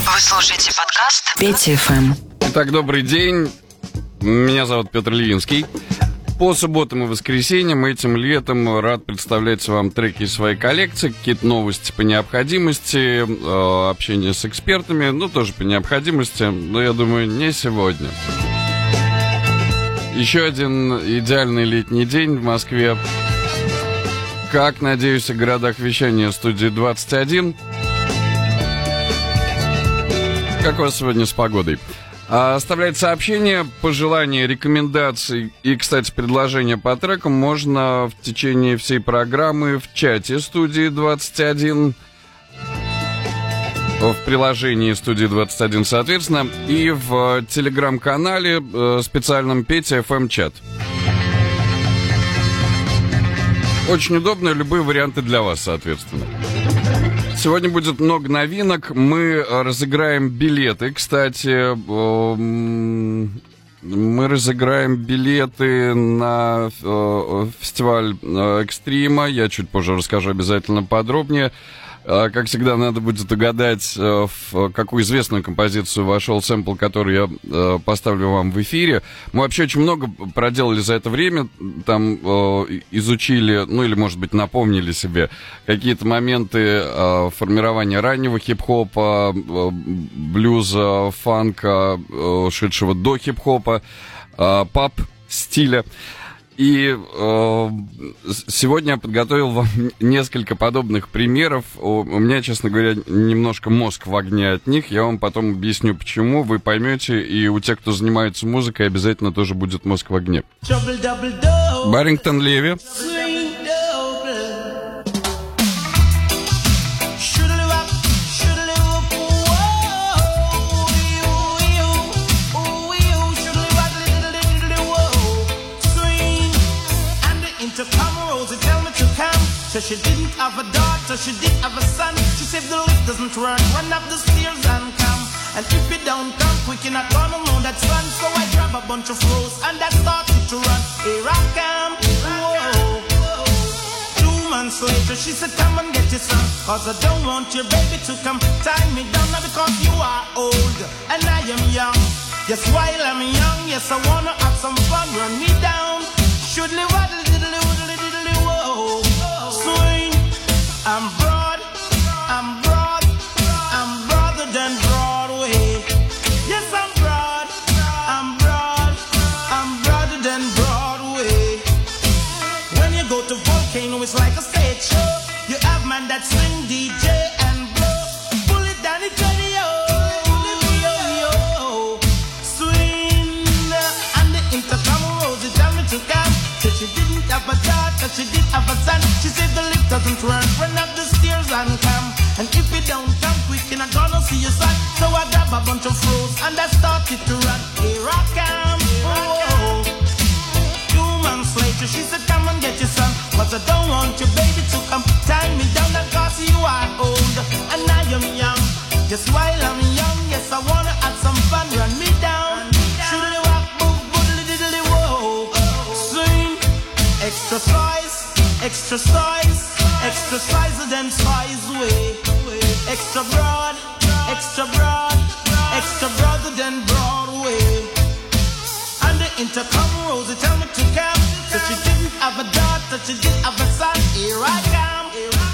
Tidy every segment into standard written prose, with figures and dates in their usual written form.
Вы слушаете подкаст Петя ФМ. Итак, добрый день. Меня зовут Петр Ильинский. По субботам и воскресеньям этим летом рад представлять вам треки из своей коллекции, какие-то новости по необходимости, общение с экспертами, ну, тоже по необходимости, но, я думаю, не сегодня. Еще один идеальный летний день в Москве. Как, надеюсь, в городах вещания студии 21. Как у вас сегодня с погодой? Оставлять сообщения, пожелания, рекомендации и, кстати, предложения по трекам можно в течение всей программы в чате студии 21, в приложении студии 21, соответственно, и в телеграм-канале специальном Петя ФМ чат. Очень удобно, любые варианты для вас, соответственно. Сегодня будет много новинок. Мы разыграем билеты. Кстати, мы разыграем билеты на фестиваль Экстрима. Я чуть позже расскажу обязательно подробнее. Как всегда, надо будет угадать, в какую известную композицию вошел сэмпл, который я поставлю вам в эфире. Мы вообще очень много проделали за это время. Там изучили, ну или, может быть, напомнили себе какие-то моменты формирования раннего хип-хопа, блюза, фанка, шедшего до хип-хопа, пап-стиля. И сегодня я подготовил вам несколько подобных примеров. У меня, честно говоря, немножко мозг в огне от них. Я вам потом объясню, почему. Вы поймете, и у тех, кто занимается музыкой, обязательно тоже будет мозг в огне. Баррингтон Леви. So she didn't have a daughter, she did have a son. She said the lift doesn't run up the stairs and come. And if you don't come quick, you're not gonna know that's fun. So I grab a bunch of rose and I started to run. Here I come, whoa. 2 months later, she said, come and get your son. Cause I don't want your baby to come tie me down. Now because you are old and I am young. Yes, while I'm young, yes, I wanna have some fun. Run me down, should live waddle diddly woodly diddly whoa. Swing, I'm broad, I'm broad, I'm broader than Broadway. Yes, I'm broad, I'm broad, I'm broader than Broadway. When you go to Volcano, it's like a stage show. You have man that swing, DJ and blow. Pull it down, it's ready, yo. Swing, and the intercom rose, it tell me to come. So she didn't have a daughter, she did have a son. She said the lift doesn't run up the stairs and come. And if you don't come quick, you're not gonna see your son. So I grab a bunch of froze and I started to run. Here I come, whoa. 2 months later, she said, come and get your son. Cause I don't want your baby to come tie me down. Cause you are old and I am young. Just while I'm young, yes, I wanna have some fun. Run me down, shoodly walk, move, boodly diddly whoa. Swing, exercise, exercise, exercise than size way. Extra broad, extra broad, extra broader than Broadway. And the intercom rose, they tell me to come. So she didn't have a daughter, she did have a son. Here I come.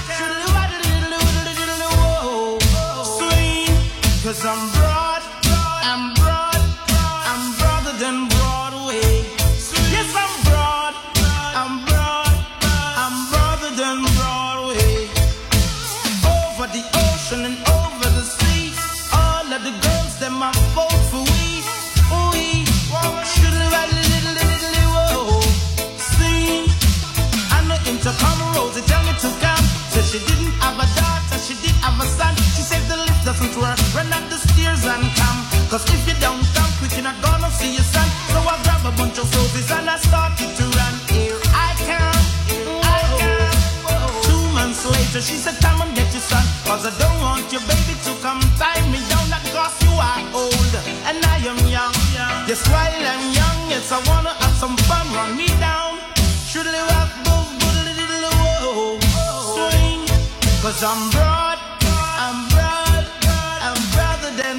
Swing, cause I'm broad, I'm broad, I'm broader than Broadway. Yes, I'm broad, I'm broad, I'm broader than Broadway. Over the ocean and over the sea, all of the girls, them are vote for we. We should have a little, whoa. Sing, and the intercom rose, they tell me to come. Said she didn't have a daughter, she did have a son. She said the lift doesn't work, run up the stairs and come. Cause if you don't come quick, you're not gonna see your son. So I grab a bunch of roses and I started to run. Here I come, I come. 2 months later, she said, come and get your son. Cause I don't want your baby to come tie me down. Not cause you are old and I am young. Yes, while I'm young, yes, I wanna have some fun. Run me down, should live up, boom, boodly diddly whoa. Swing, cause I'm broad, I'm broad, I'm broader than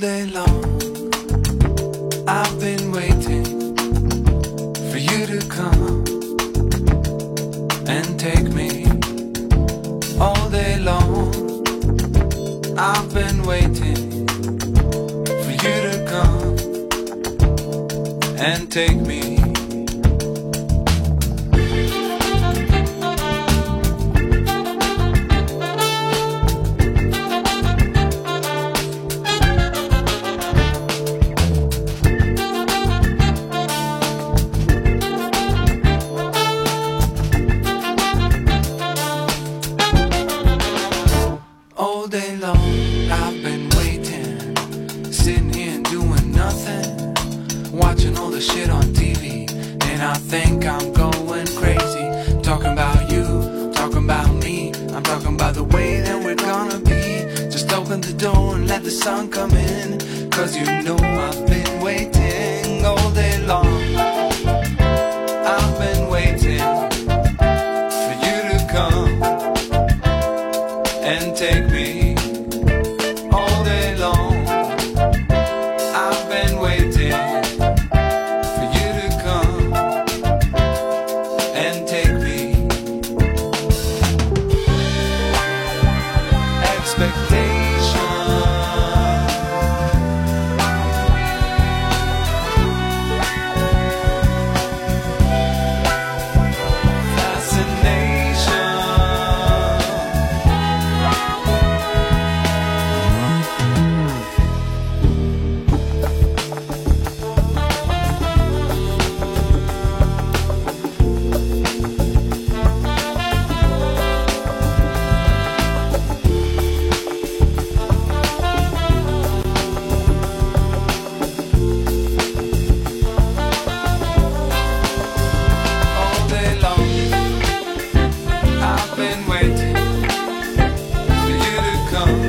day long I've been waiting for you to come and take me. All day long I've been waiting for you to come and take me. All day long I've been waiting, sitting here and doing nothing, watching all the shit on TV, and I think I'm going crazy. Talking about you, talking about me, I'm talking about the way that we're gonna be. Just open the door and let the sun come in, 'cause you know I've been waiting all day long. I've been waiting for you to come and take me. All day long I've been waiting for you to come and take me. Expectation, fascination. All day long I've been waiting for you to come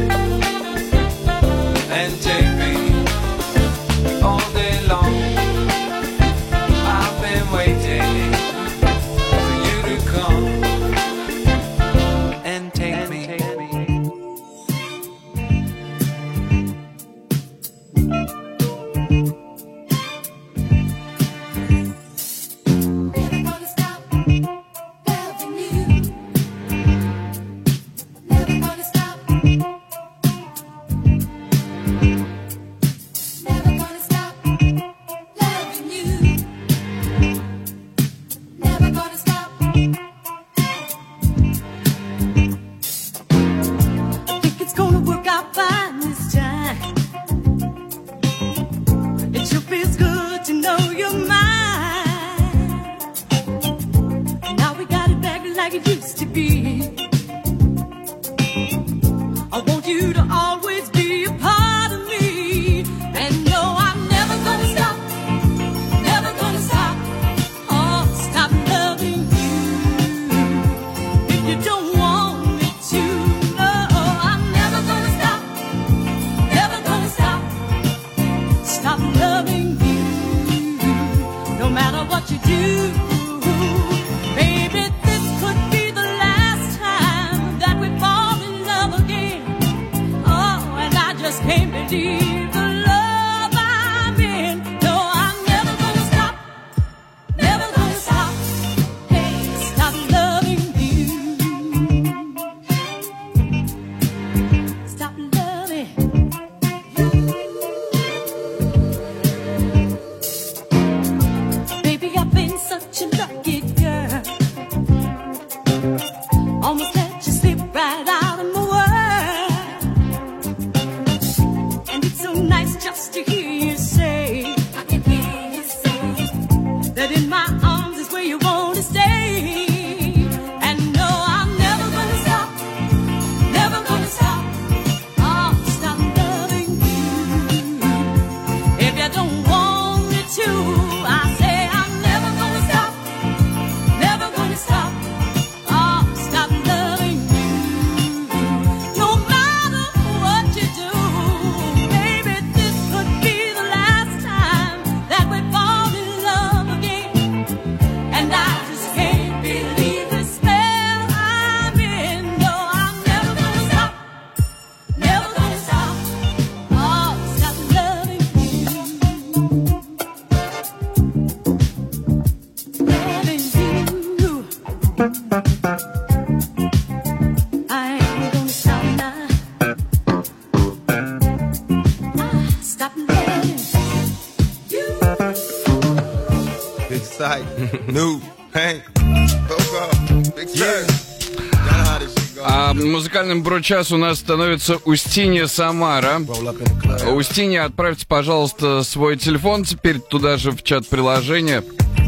and take me. All day long I've been waiting for you to come and take me. Never gonna stop loving you. Never gonna stop. Never gonna stop loving you. Never gonna stop. I think it's gonna work out fine this time. It sure feels good to know you're mine. Now we got it back like it used to be. I want you to always be a part of me. And no, I'm never gonna stop. Never gonna stop. Oh, stop loving you. If you don't want me to, no, I'm never gonna stop. Never gonna stop. Stop loving you. No matter what you do, baby, this could be the last time that we fall in love again. Oh, and I just can't believe the love I'm in. No, I'm never gonna stop. Never gonna stop. Hey, stop loving you. Stop loving you. Baby, I've been such a lucky girl. Almost let you slip right out of my world. And it's so nice stop loving you. Big sight. New. Hey. Big sight. Музыкальным бро-час у нас становится Устинья Самара. Устинья, отправьте, пожалуйста, свой телефон теперь туда же в чат приложения.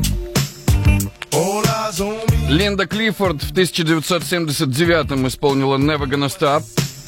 Линда Клиффорд в 1979-м исполнила Never Gonna Stop.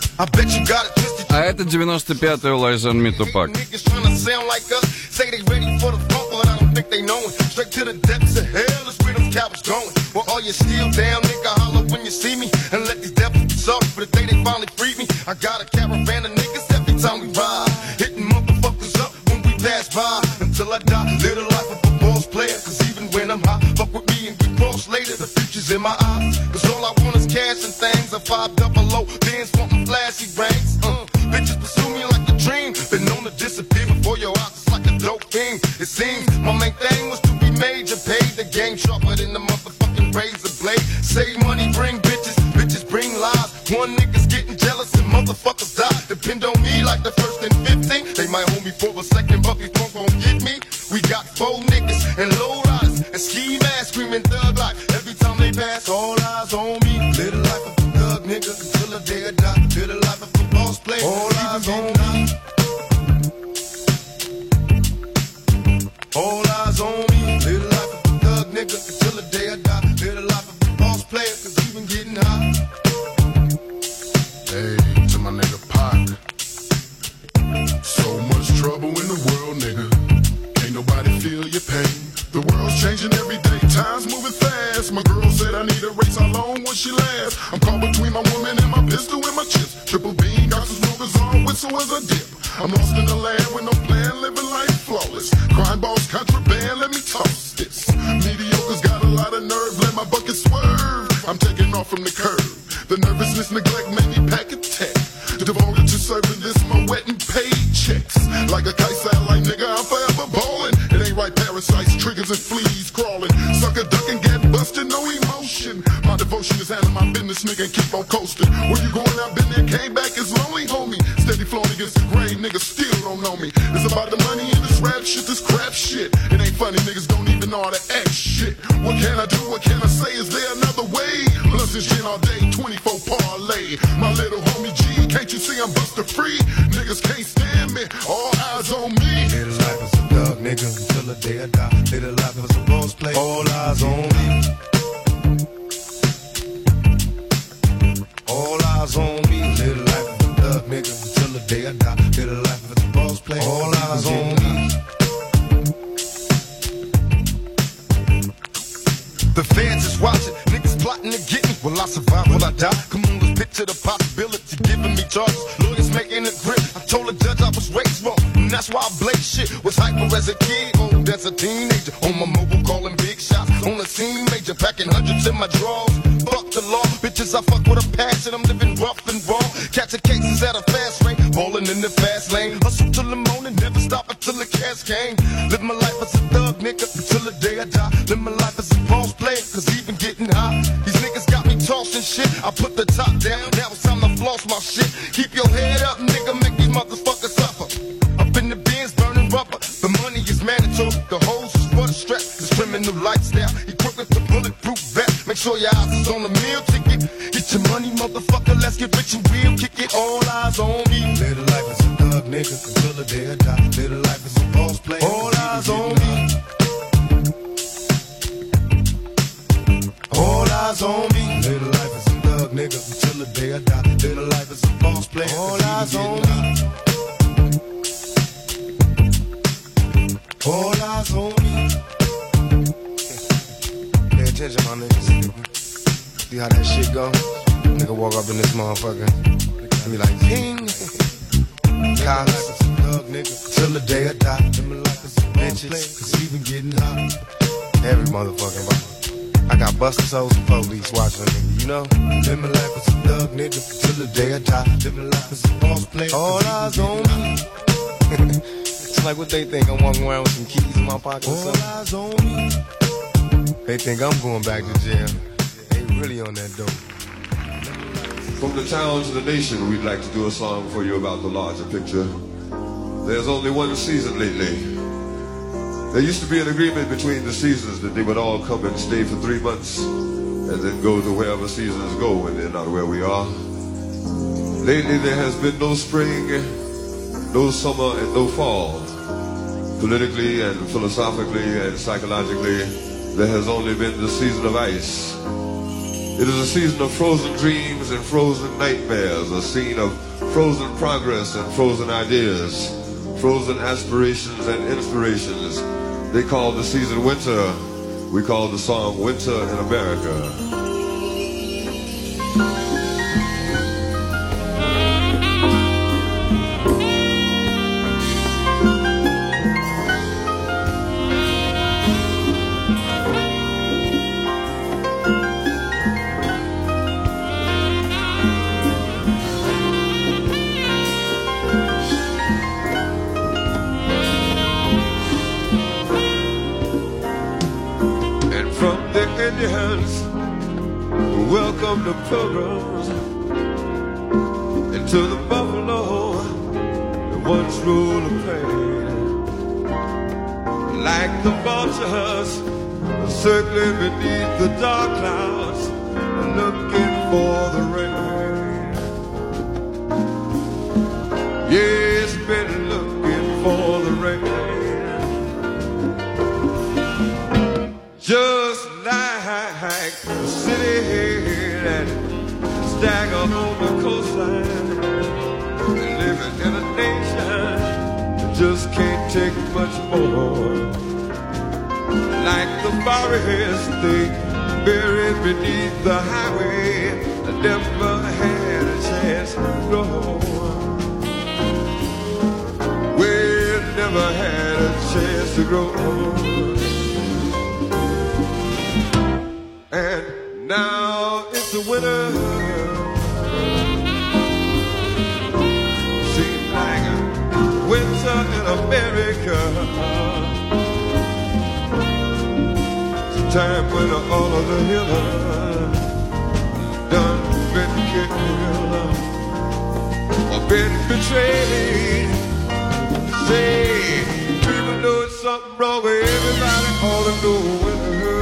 А это 95-й Lies on Me Tupac. Say they ready for the funk, but I don't think they know it. Straight to the depths of hell is where them cowards going. Well, all you still down, nigga, holler when you see me. And let these devils be sorry for the day they finally freed me. I got a caravan of niggas every time we ride. Hitting motherfuckers up when we pass by. Until I die, live the life of a boss player. Cause even when I'm high, fuck with me and get crossed later. The future's in my eyes. Cause all I want is cash and things. A 5 double O, Benz wanting flashy rings. Bitches pursue me like a dream. Been known to disappear before your eyes. Dope thing. It seems my main thing was to be major, paid the game sharper than the motherfucking razor blade. Save money, bring bitches, bitches bring lies. One nigga's getting jealous and motherfuckers die. Depend on me like the first and 15. They might hold me for a second, but before gon' get me. We got 4 niggas and low riders and ski masks screaming thug life. Every time they pass, all eyes on me. Live the life of a thug nigga until the day I die. Live the life of a boss player. All eyes on me. All eyes on me, live the life of a thug nigga until the day I die. Live the life of a boss player, cause we been getting high. Hey, to my nigga Pac. So much trouble in the world, nigga. Ain't nobody feel your pain. The world's changing every day, time's moving fast. My girl said I need a race, how long will she last? I'm caught between my woman and my pistol and my chips. Triple beam, got some smokers on, whistle as I dip. I'm lost in the land with no plan, living life flawless. Crime boss, contraband, let me toss this. Mediocre's got a lot of nerve, let my bucket swerve. I'm taking off from the curb. The nervousness, neglect made me pack a tech. Devoted to serving this, my wet and paid checks. Like a kite satellite, nigga, I'm forever ballin'. It ain't right, parasites, triggers and fleas crawling. Sucker ducking, get busted, no emotion. My devotion is handling my business, nigga, and keep on coasting. Where you going, I've been there, came back, it's lonely, homie. Steady flowing against the grain, niggas still don't know me. It's about the money in this rap shit, this crap shit. It ain't funny, niggas don't even know how to act shit. What can I do, what can I say, is there another way? Plus this gin all day, 24 parlay. My little homie G, can't you see I'm buster free? Niggas can't stand me, all eyes on me. Live the life as a thug nigga until the day I die. Live the life as a boss player, all eyes on me. All eyes on me. Live the life of a thug nigga until the day I die. Live the life of a boss player. All eyes on me. The feds is watching, niggas plotting to get me. Will I survive? Will I die? Come on, let's picture the possibility, giving me charges. Lawyers making a grip. I told the judge I was raised wrong, and that's why I blaze shit. Was hyper as a kid, old as a teenager. On my mobile, calling big shots. On the scene, major, packing hundreds in my drawers. Fuck the law, bitches, I fuck with a passion. I'm living rough and raw, catching cases at a fast rate, balling in the fast lane. Hustle till the morning, never stop until the cash came. Live my life as a thug nigga until the day I die. Live my life as a boss player, cause even getting high. These niggas got me tossing shit. I put the top down, now it's time to floss my shit. Keep your head up, nigga, make these motherfuckers suffer. Up in the bins, burning rubber. The money is mandatory, the hoes is for the stress. This criminal lifestyle, equipped with the bulletproof vest. Make sure your eyes is on the meal ticket. Get your money, motherfucker, let's get rich and real. Kick it, all eyes on me. Live the life as a thug nigga until the day I die. Live the life as a boss player. All eyes on me. All eyes on me. Live the life as a thug nigga until the day I die. Live the life as a boss player. All eyes on me. All eyes on me. Pay attention, my niggas. See how that shit go? Nigga walk up in this motherfucker and be like, ping. Cops, thug nigga, till the day I die. Live my life as a bitches, cause we been getting hot. Every motherfucking body. I got busters, hoes, and police watching a nigga, you know? Live my life as a thug nigga till the day I die. Live my life as a boss player. All eyes on me. It's like what they think, I'm walking around with some keys in my pocket or something. All eyes on me. They think I'm going back to jail. They really on that dope. From the towns of the nation, we'd like to do a song for you about the larger picture. there's only one season lately. There used to be an agreement between the seasons that they would all come and stay for 3 months and then go to wherever seasons go when they're not where we are. Lately there has been no spring, no summer, and no fall. Politically and philosophically and psychologically, there has only been the season of ice. It is a season of frozen dreams and frozen nightmares, a scene of frozen progress and frozen ideas, frozen aspirations and inspirations. They call the season winter. We call the song Winter in America. Indians welcome the pilgrims into the buffalo that once ruled the plain. Like the vultures circling beneath the dark clouds, looking for the rain. Yes, been looking for the rain. Just like the city that stagger on the coastline, living in a nation that just can't take much more. Like the forest they buried beneath the highway, I never had a chance to grow. We never had a chance to grow. And now it's the winter. Seems like a winter in America. It's a time when all of the healers done been killed or been betrayed. Say, people know it's something wrong with everybody all to know winter.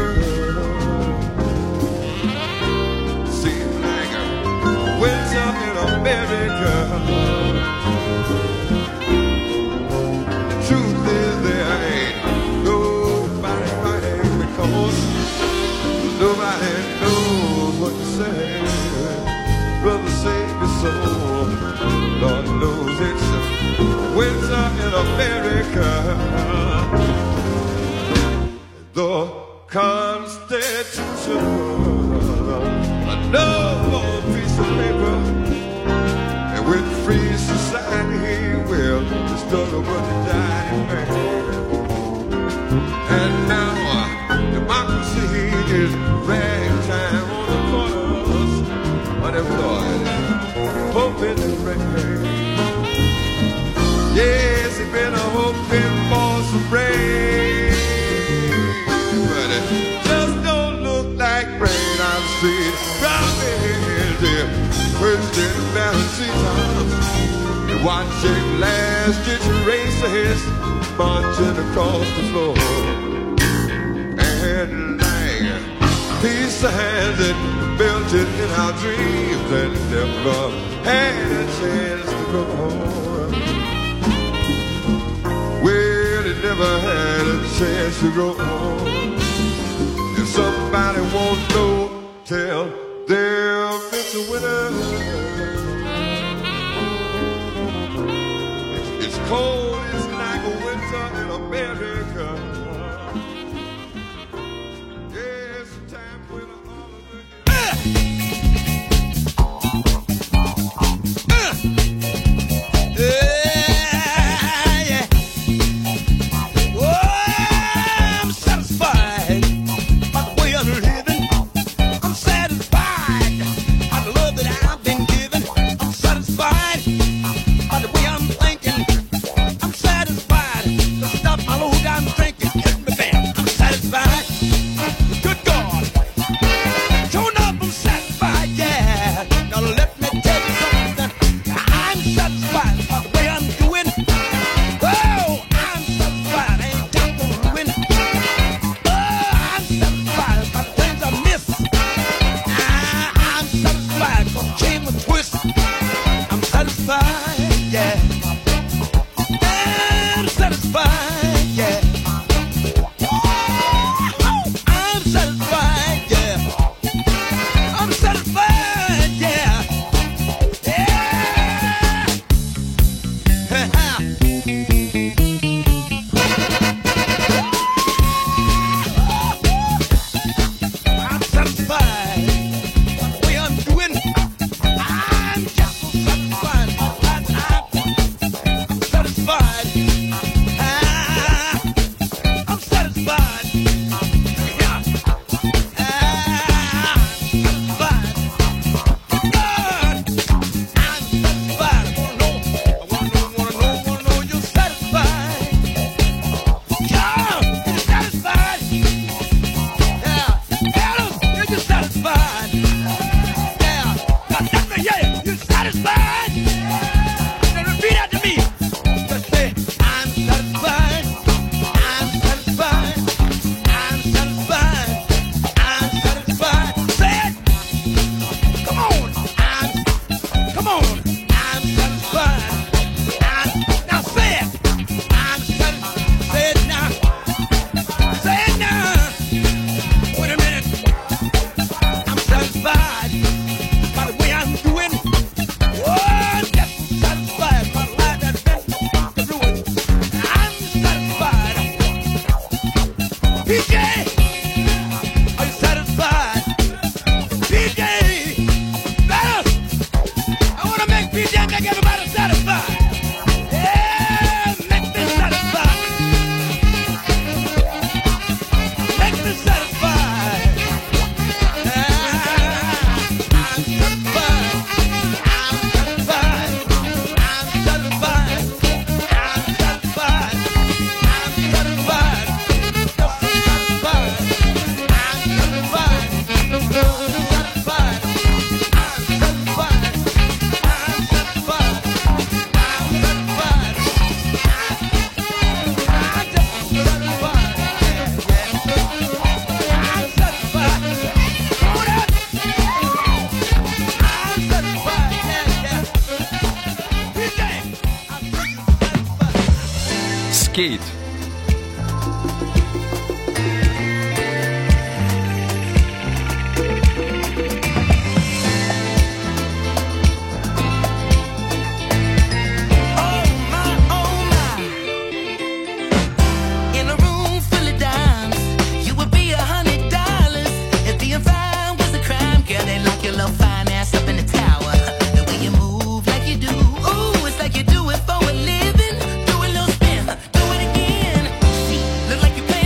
Winter in America. The truth is there ain't nobody fighting because nobody knows what to say. Brother, save your soul. Lord knows it's winter in America. The Constitution, no piece of paper, and with free society, well, the struggle but to die in vain. And now democracy is ragtime on the corners, unemployed, hoping to rain. Yes, it's been a hoping for some rain, but it just don't look like rain. I've seen promises here, Christian Valentine, and watching last-ditch races marching across the floor, and like peace signs that melted in our dreams and never had a chance to go home. Well, it never had a chance to go home. If somebody won't know, tell them it's a winter. It's cold, it's like a winter in America. Yes, time when all of it. I'm satisfied by the way I'm living. I'm satisfied by the love that I've been given. I'm satisfied by the way I'm thinking. I'm satisfied to stop my low down drinking. satisfied. I'm satisfied. Yeah. Satisfied. God, I'm satisfied. I wanna know you're satisfied. Yeah, you're satisfied. Yeah, Adam, you're satisfied. Yeah, God, that's me, yeah, you're satisfied. Now repeat after me. Just say, I'm satisfied. I'm satisfied. I'm satisfied. I'm satisfied. Say it. Come on. Come on. I'm satisfied. Now say it. I'm satisfied. Say it now. Say it now. Wait a minute. I'm satisfied by the way I'm doing. Oh, yes, I'm satisfied by the life that's been through it. I'm satisfied. PJ, are you satisfied? PJ, fellas, I want to make PJ make everybody satisfied. Yeah, make me satisfied. Make me satisfied. I'm satisfied. I'm satisfied. I'm satisfied. I'm satisfied. I'm satisfied. Just satisfied. I'm satisfied. I'm satisfied. I'm satisfied. I'm satisfied. I'm satisfied. I'm just satisfied. Yeah. I'm satisfied. Hold up. I'm satisfied. Yeah. PJ, I'm satisfied. Скейт. In a room full of dimes, you would be $100 if being fine was a crime. Girl, they lock your little fine ass up in the tower. The way you move like you do, ooh, it's like you do it for a living. Do a little spin, do it again. See, look like you play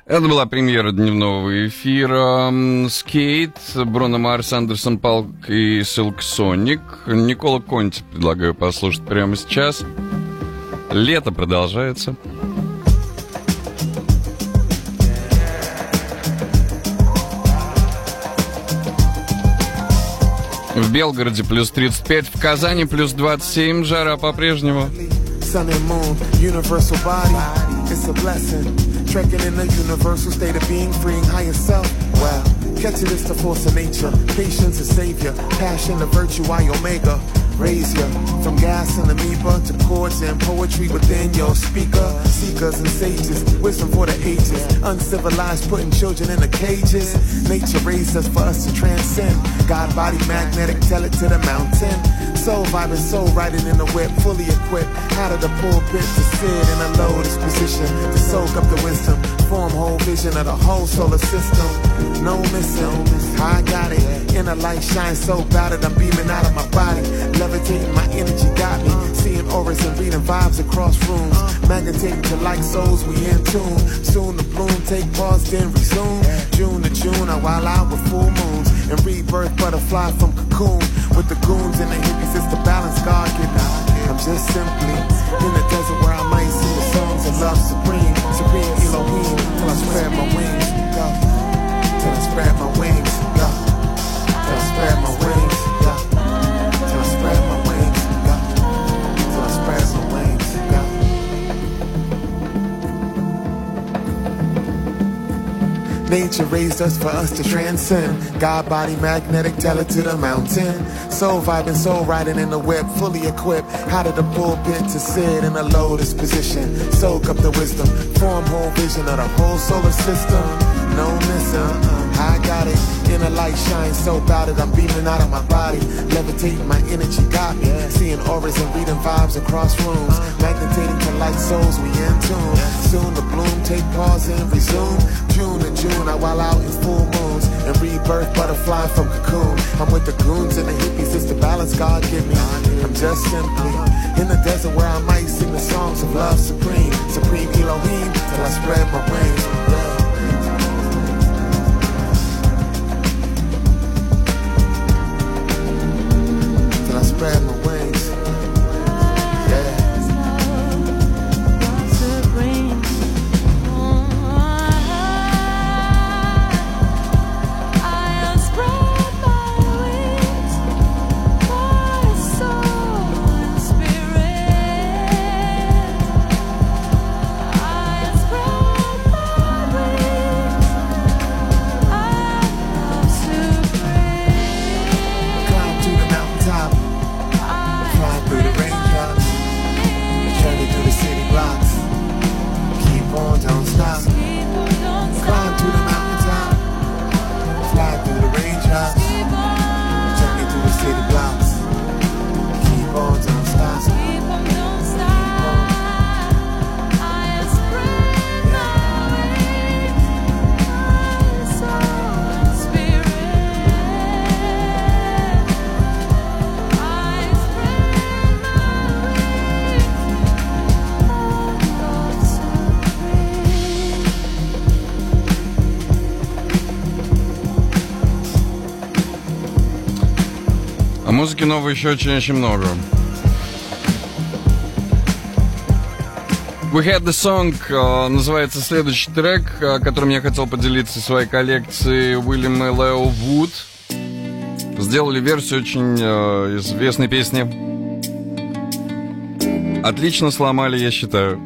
Это была премьера дневного эфира. Скейт, Бруно Марс, Андерсон Палк и Silk Sonic. Никола Конти предлагаю послушать прямо сейчас. Лето продолжается. В Белгороде плюс 35, в Казани плюс 27, жара по-прежнему. Sun and moon, universal body, it's a blessing. Trekking in the universal state of being, freeing higher self. Wow, catch it, it's the force of nature. Patience is savior, passion, the virtue, I omega. Raise ya from gas and amoeba to chords and poetry within your speaker. Seekers and sages, wisdom for the ages. Uncivilized, putting children in the cages. Nature raised us for us to transcend. God body magnetic, tell it to the mountain. Soul vibing, soul riding in the whip, fully equipped. Out of the pulpit to sit in a lotus position to soak up the wisdom. Form whole vision of the whole solar system. No missing, I got it. Inner light shines so bright that I'm beaming out of my body. Levitating, my energy got me. Seeing auras and reading vibes across rooms. Magnetating to like souls, we in tune. Soon to bloom, take pause, then resume. June to June, I wild out with full moons. And rebirth, butterfly from cocoon. With the goons and the hippies, it's the balance God given. I'm just simply in the desert where I might sing the songs of love supreme. Supreme Elohim, till I spread my wings. Go. Till I spread my wings. Go. Till I spread my wings. Go. Till I spread my wings. Go. Till I spread my wings. Go. Nature raised us for us to transcend. God body magnetic, tell it to the mountain. Soul vibing, soul riding in the whip, fully equipped. Out of the pulpit to sit in a lotus position. Soak up the wisdom, form whole vision of the whole solar system. No missing, I got it. Inner light shines so bright that I'm beaming out of my body. Levitating, my energy got me. Seeing auras and reading vibes across rooms. Magnetating to light souls, we in tune. Soon to bloom, take pause and resume. June to June, I wild out in full moons. And rebirth, butterfly from cocoon. I'm with the goons and the hippies, it's the balance God give me. I'm just simply in the desert where I might sing the songs of love supreme. Supreme Elohim, till I spread my wings. Till I spread my wings. Yeah. Музыки новой еще очень много. We Had The Song называется следующий трек, которым я хотел поделиться своей коллекцией. Уильям и Лео Вуд сделали версию очень известной песни. Отлично сломали, я считаю.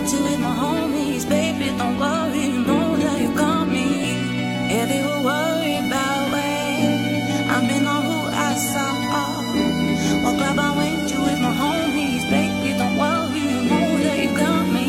went to with my homies, baby, don't worry, you know that you got me. If you were worried about where I've been or who I saw, what club I went to with my homies, baby, don't worry, you know that you got me.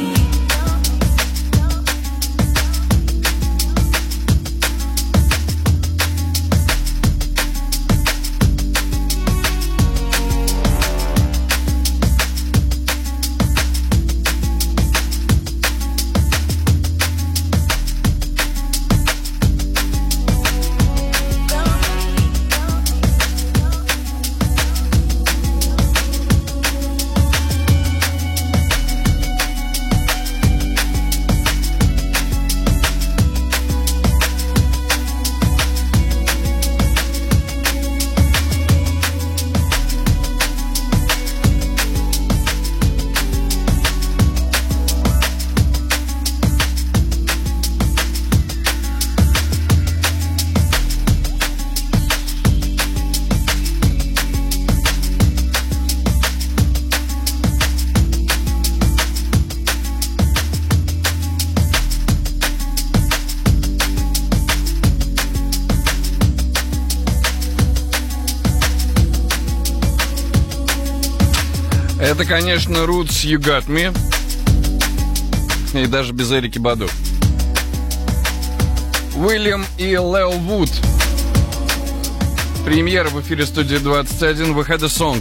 Это, конечно, Roots You Got Me. И даже без Эрики Баду. Уильям и Лео Вуд. Премьера в эфире студии 21. We Had a Song.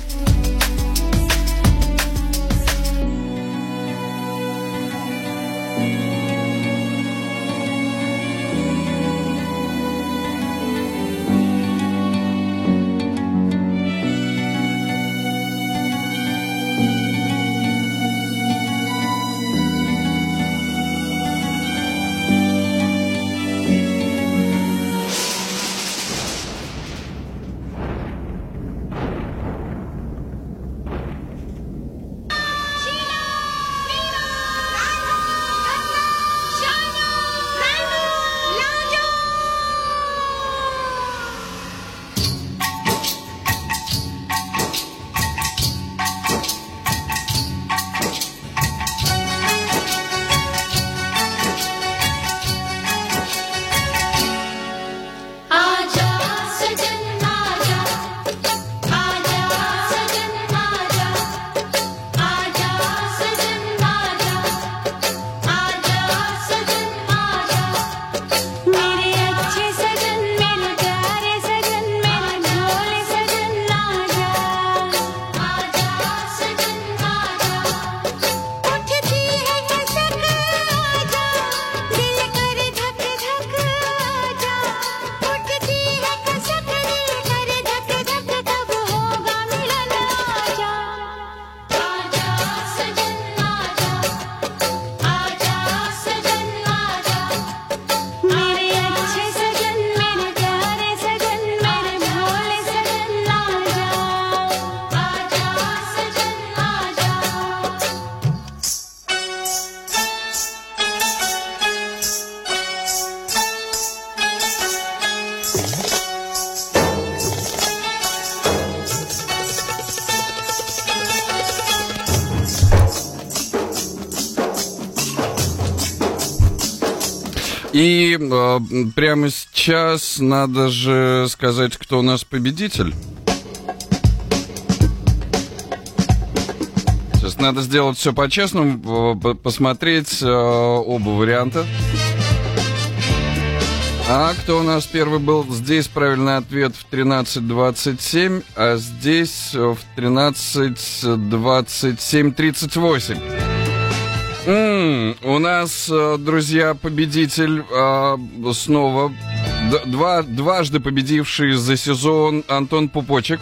И прямо сейчас надо же сказать, кто у нас победитель. Сейчас надо сделать все по-честному, посмотреть оба варианта. А кто у нас первый был? Здесь правильный ответ в 13:27, а здесь в 13:27:38. У нас, друзья, победитель снова, дважды победивший за сезон Антон Пупочек.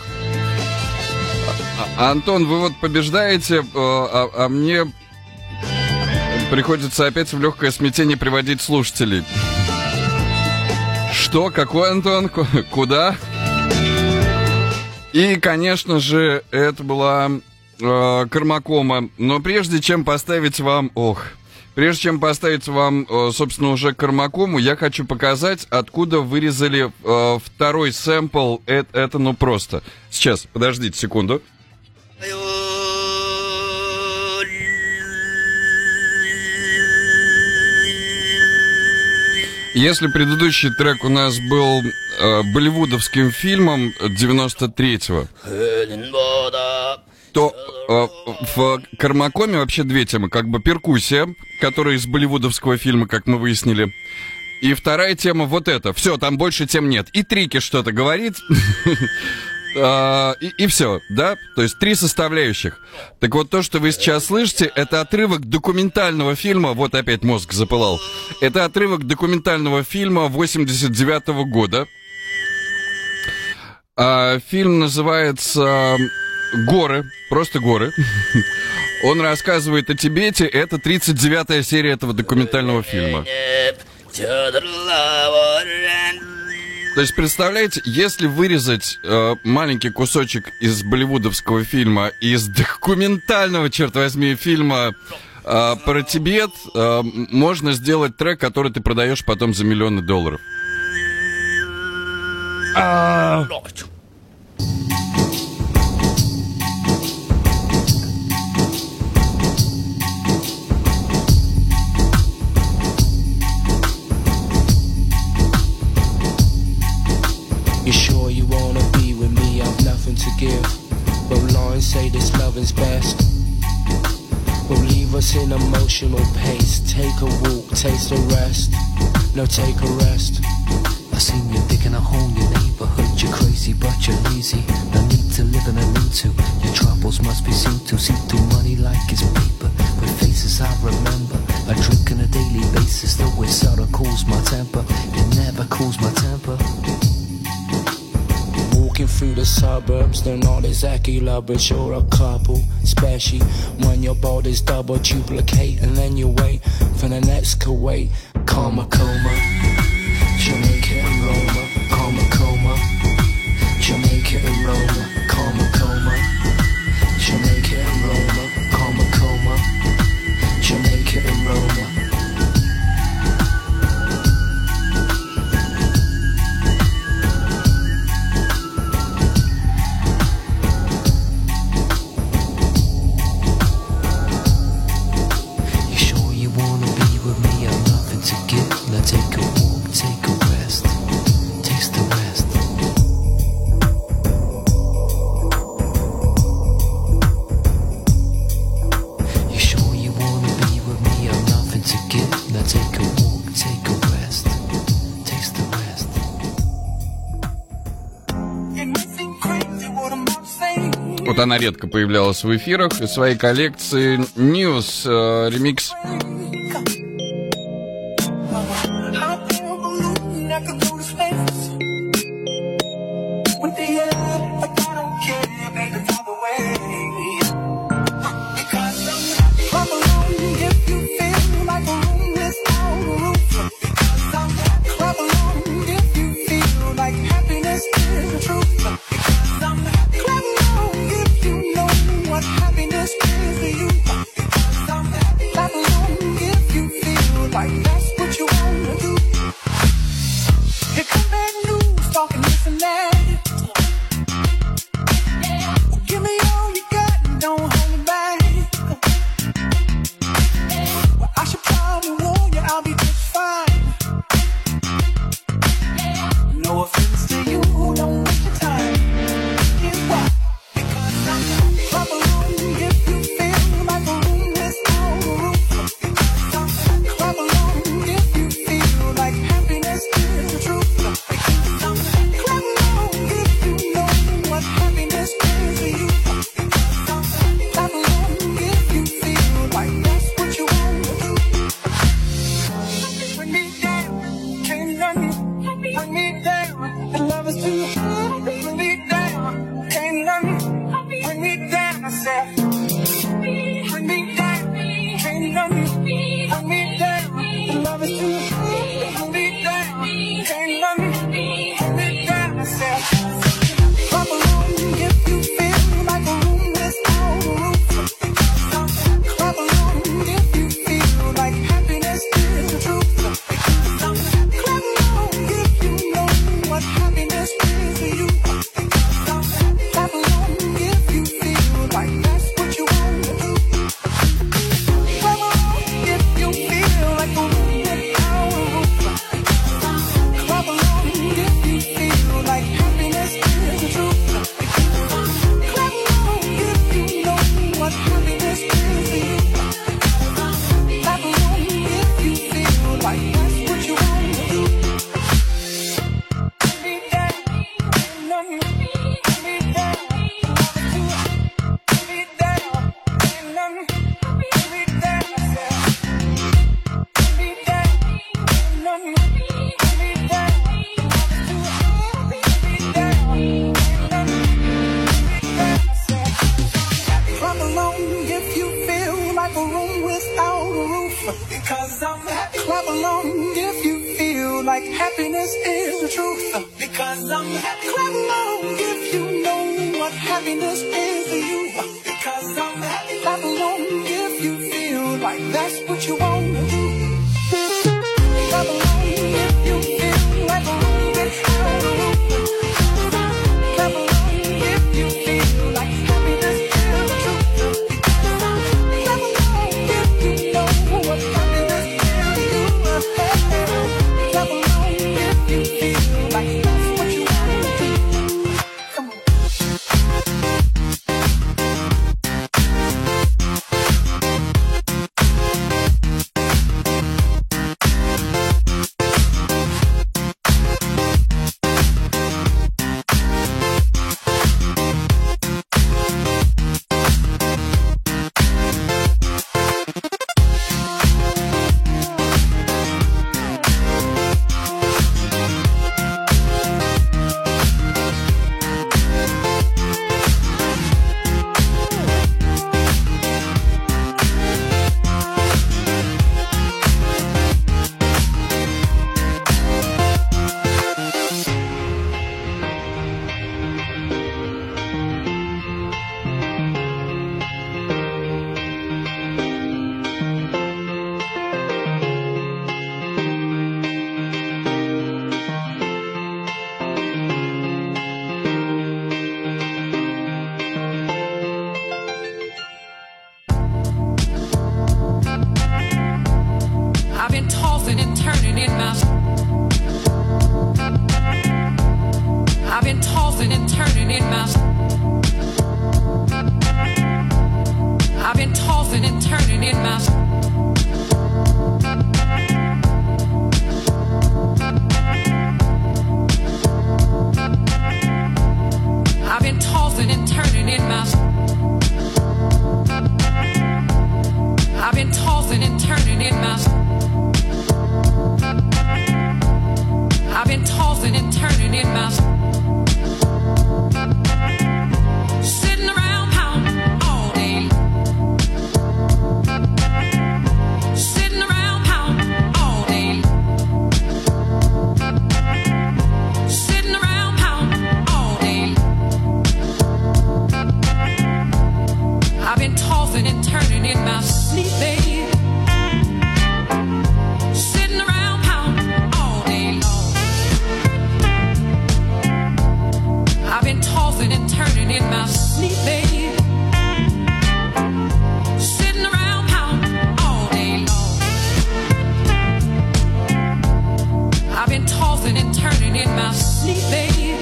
Антон, вы вот побеждаете, а мне приходится опять в легкое смятение приводить слушателей. Что? Какой Антон? Куда? И, конечно же, это была Кармакома. Но прежде чем поставить вам... собственно, уже Кармакому, я хочу показать, откуда вырезали второй сэмпл. Это ну просто. Сейчас, подождите секунду. Если предыдущий трек у нас был болливудовским фильмом 93-го, то в Кармакоме вообще две темы. Как бы перкуссия, которая из болливудовского фильма, как мы выяснили. И вторая тема вот эта. Все, там больше тем нет. И Трики что-то говорит. И все, да? То есть 3 составляющих. Так вот, то, что вы сейчас слышите, это отрывок документального фильма. Вот опять мозг запылал. Это отрывок документального фильма 89-го года. Фильм называется «Горы». Просто «Горы». Он рассказывает о Тибете. Это 39-я серия этого документального фильма. То есть, представляете, если вырезать маленький кусочек из болливудовского фильма, из документального, черт возьми, фильма про Тибет, можно сделать трек, который ты продаешь потом за миллионы долларов. You sure you wanna be with me? I've nothing to give, but lines say this loving's best. Will leave us in emotional pace. Take a walk, taste a rest. No, take a rest. I seen you digging a hole in your neighborhood. You're crazy, but you're lazy. No need to live in a need to. Your troubles must be seen to. See through money like it's paper. With faces I remember. I drink on a daily basis, though it sorta cools my temper. It never cools my temper. Walking through the suburbs, they're not exactly lovers, you're a couple. Especially when your body's double duplicate, and then you wait for the next Kuwait. Karma coma, Jamaica and Roma. Karma coma, Jamaica and Roma. Karma coma, Jamaica and Roma. Karma coma, Jamaica and Roma. Take a walk, take a rest, taste the rest. You sure you wanna be with me? I've nothing to give. Now take a walk, take a rest, taste the rest. Вот она редко появлялась в эфирах. Из своей коллекции News ремикс. a room without a roof. Because I'm happy. Clap along if you feel like happiness is the truth. Because I'm happy. Clap along if you know what happiness is to you. Because I'm happy. Clap along if you feel like that's what you want to do. Clap along if you feel like a room without a roof. Clap along if you feel like happiness is the truth. Clap along if you know what happiness is to you. Clap along if you feel like that's what you want to do. Come on. I've been tossing and turning in my. I've been tossing and turning in my. I've been tossing and turning in my. I've been tossing and turning in my. I've been tossing and turning in my. I've been tossing and turning in my. Sitting around pounding all day. Sitting around pounding all day. Sitting around pounding all day. I've been tossing and turning in my sleep, baby. Sitting around pounding all day long. I've been tossing and turning in my sleep, baby. Sitting around pounding all day long. I've been tossing and turning in my sleep, baby.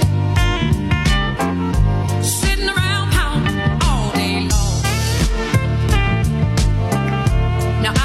Sitting around pounding all day long. Now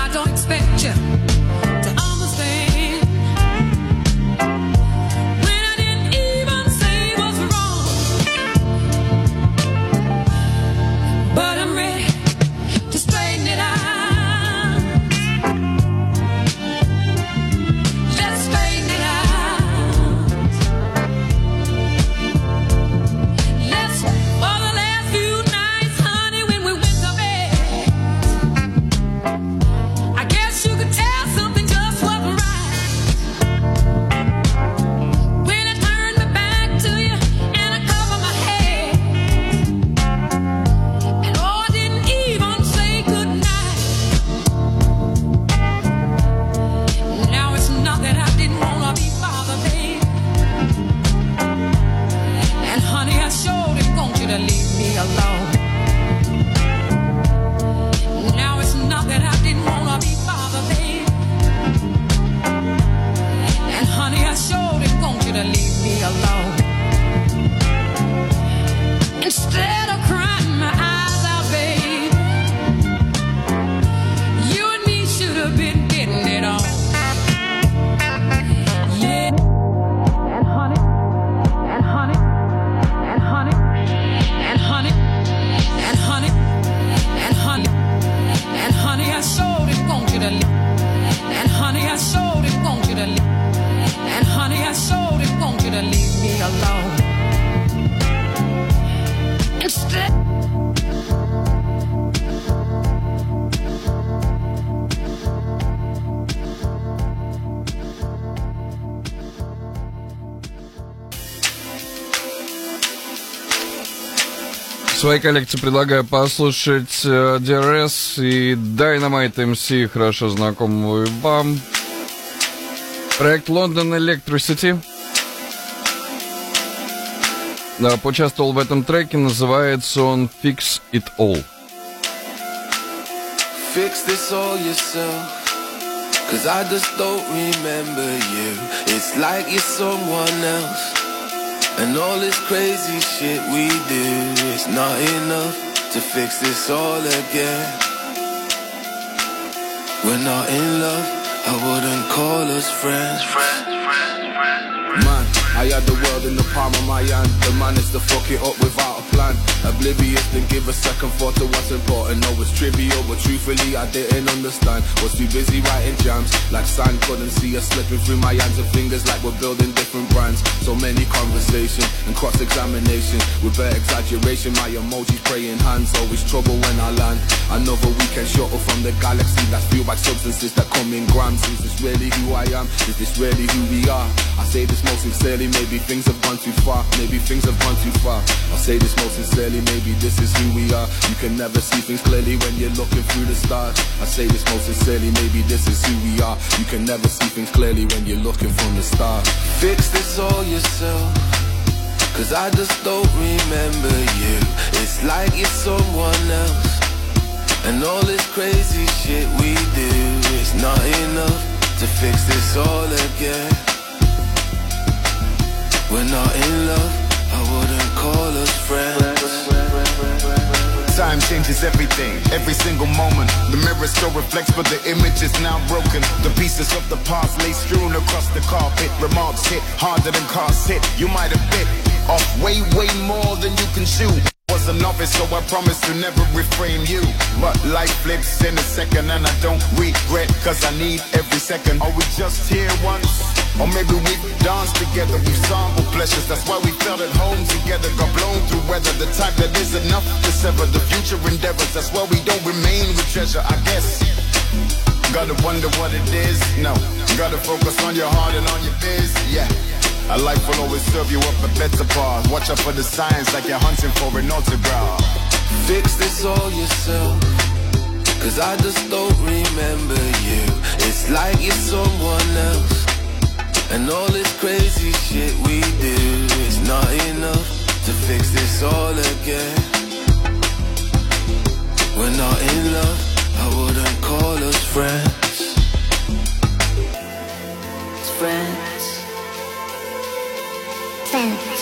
В своей коллекции предлагаю послушать DRS и Dynamite MC, хорошо знакомую вам. Проект London Electricity. Поучаствовал в этом треке, называется он Fix It All. Fix this all yourself, 'cause I just don't remember you. It's like you're someone else, and all this crazy shit we do is not enough to fix this all again. We're not in love, I wouldn't call us friends. Man, I had the world in the palm of my hand. The man is to fuck it up without a plan. Oblivious, then give a second thought to what's important. No, it's trivial, but truthfully I didn't understand. Was too busy writing jams, like sand. Couldn't see us slipping through my hands and fingers, like we're building different brands. So many conversations and cross-examination with bare exaggeration. My emojis praying hands, always trouble when I land. Another weekend shuttle from the galaxy that's fueled by substances that come in grams. Is this really who I am? Is this really who we are? I say this most sincerely, maybe things have gone too far. Maybe things have gone too far. I say this most sincerely, maybe this is who we are. You can never see things clearly when you're looking through the stars. I say this most sincerely, maybe this is who we are. You can never see things clearly when you're looking from the stars. Fix this all yourself, 'cause I just don't remember you. It's like you're someone else, and all this crazy shit we do is not enough to fix this all again. We're not in love, I wouldn't call us friends. Time changes everything, every single moment. The mirror still reflects, but the image is now broken. The pieces of the past lay strewn across the carpet. Remarks hit harder than cars hit. You might have bit off way, way more than you can chew. Was a novice, so I promise to never reframe you. But life flips in a second and I don't regret, 'cause I need every second. Are we just here once? Or maybe we've danced together, we've sampled pleasures. That's why we felt at home together. Got blown through weather, the type that is enough to sever the future endeavors. That's why we don't remain with treasure, I guess. Gotta wonder what it is, no. Gotta focus on your heart and on your biz, yeah. A life will always serve you up a better path. Watch out for the signs like you're hunting for an autograph. Fix this all yourself, 'cause I just don't remember you. It's like you're someone else, and all this crazy shit we do is not enough to fix this all again. We're not in love, I wouldn't call us friends. It's friends. Friends.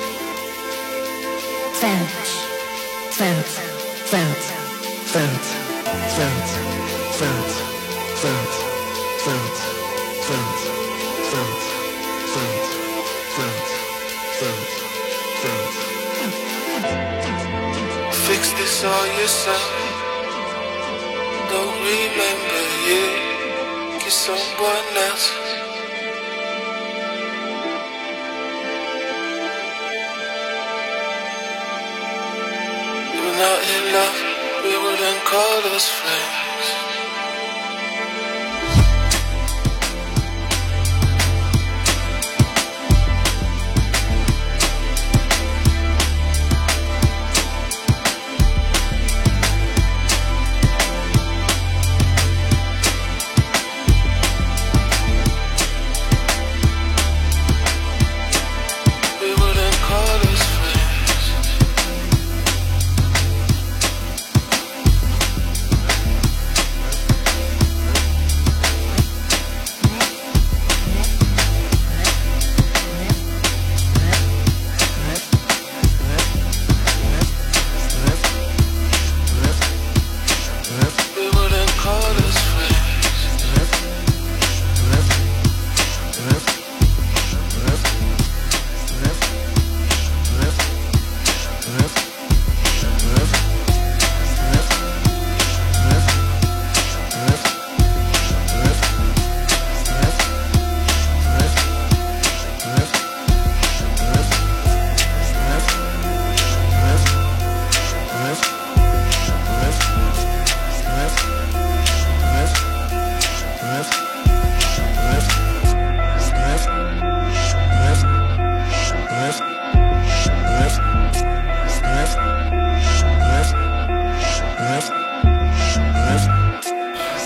Friends. Friends. Friends. Friends. Friends. Friends. Friends. Friends. Friends. Friends. Friends. Friends. Friends. Fix this all yourself. Don't remember you. Get someone else. We're not in love. We wouldn't call us friends.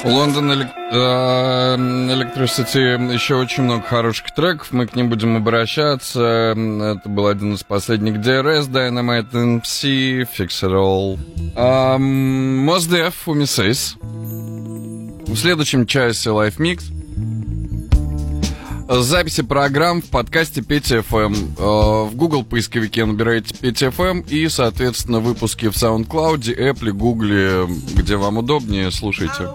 Лондон Electricity, еще очень много хороших треков, мы к ним будем обращаться. Это был один из последних DRS, Dynamite MC, Fix It All. Mos Def, Umisays. В следующем часе Live Mix. Записи программ в подкасте Петя ФМ. В Google поисковике набираете Петя ФМ и, соответственно, выпуски в SoundCloud, Apple, Google, где вам удобнее, слушайте.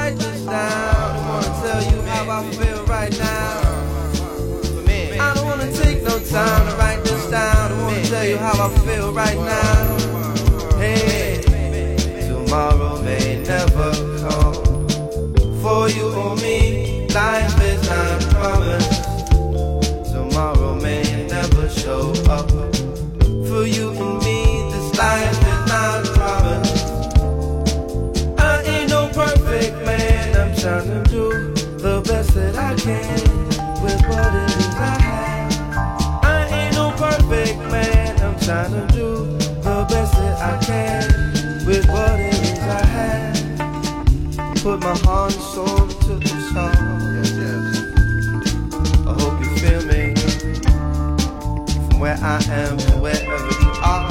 Life is not promised. Tomorrow may never show up. For you and me, this life is not promised. I ain't no perfect man. I'm trying to do the best that I can with what it is I have. I ain't no perfect man. I'm trying to do the best that I can with what it is I have. Put my heart and soul into the song. I hope you feel me. From where I am to wherever you are.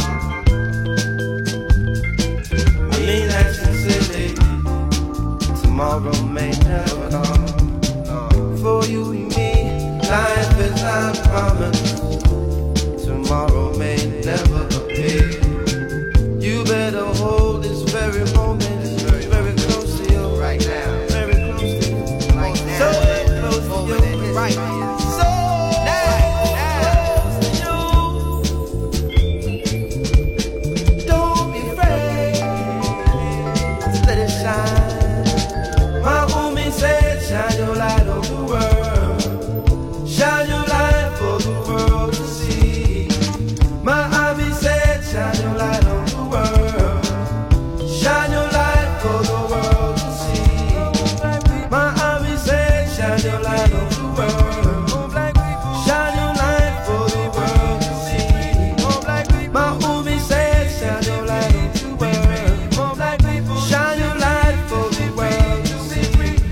I mean that sincerely. Tomorrow may never come. For you and me, life is not promised. Tomorrow may never appear. You better hold this very moment. Very close to you right now. Very close to you right now. So close to you right now. So close to you. Don't be afraid to let it shine. My woman said, shine your light on the world. Shine your light for the world to see. My hobby said, shine your light on the world. Shine your light for the world to see. My hobby said, shine your light on the world. Shine your light for the world to see. My hobby said, shine your light on the world. Shine your light for the world to see.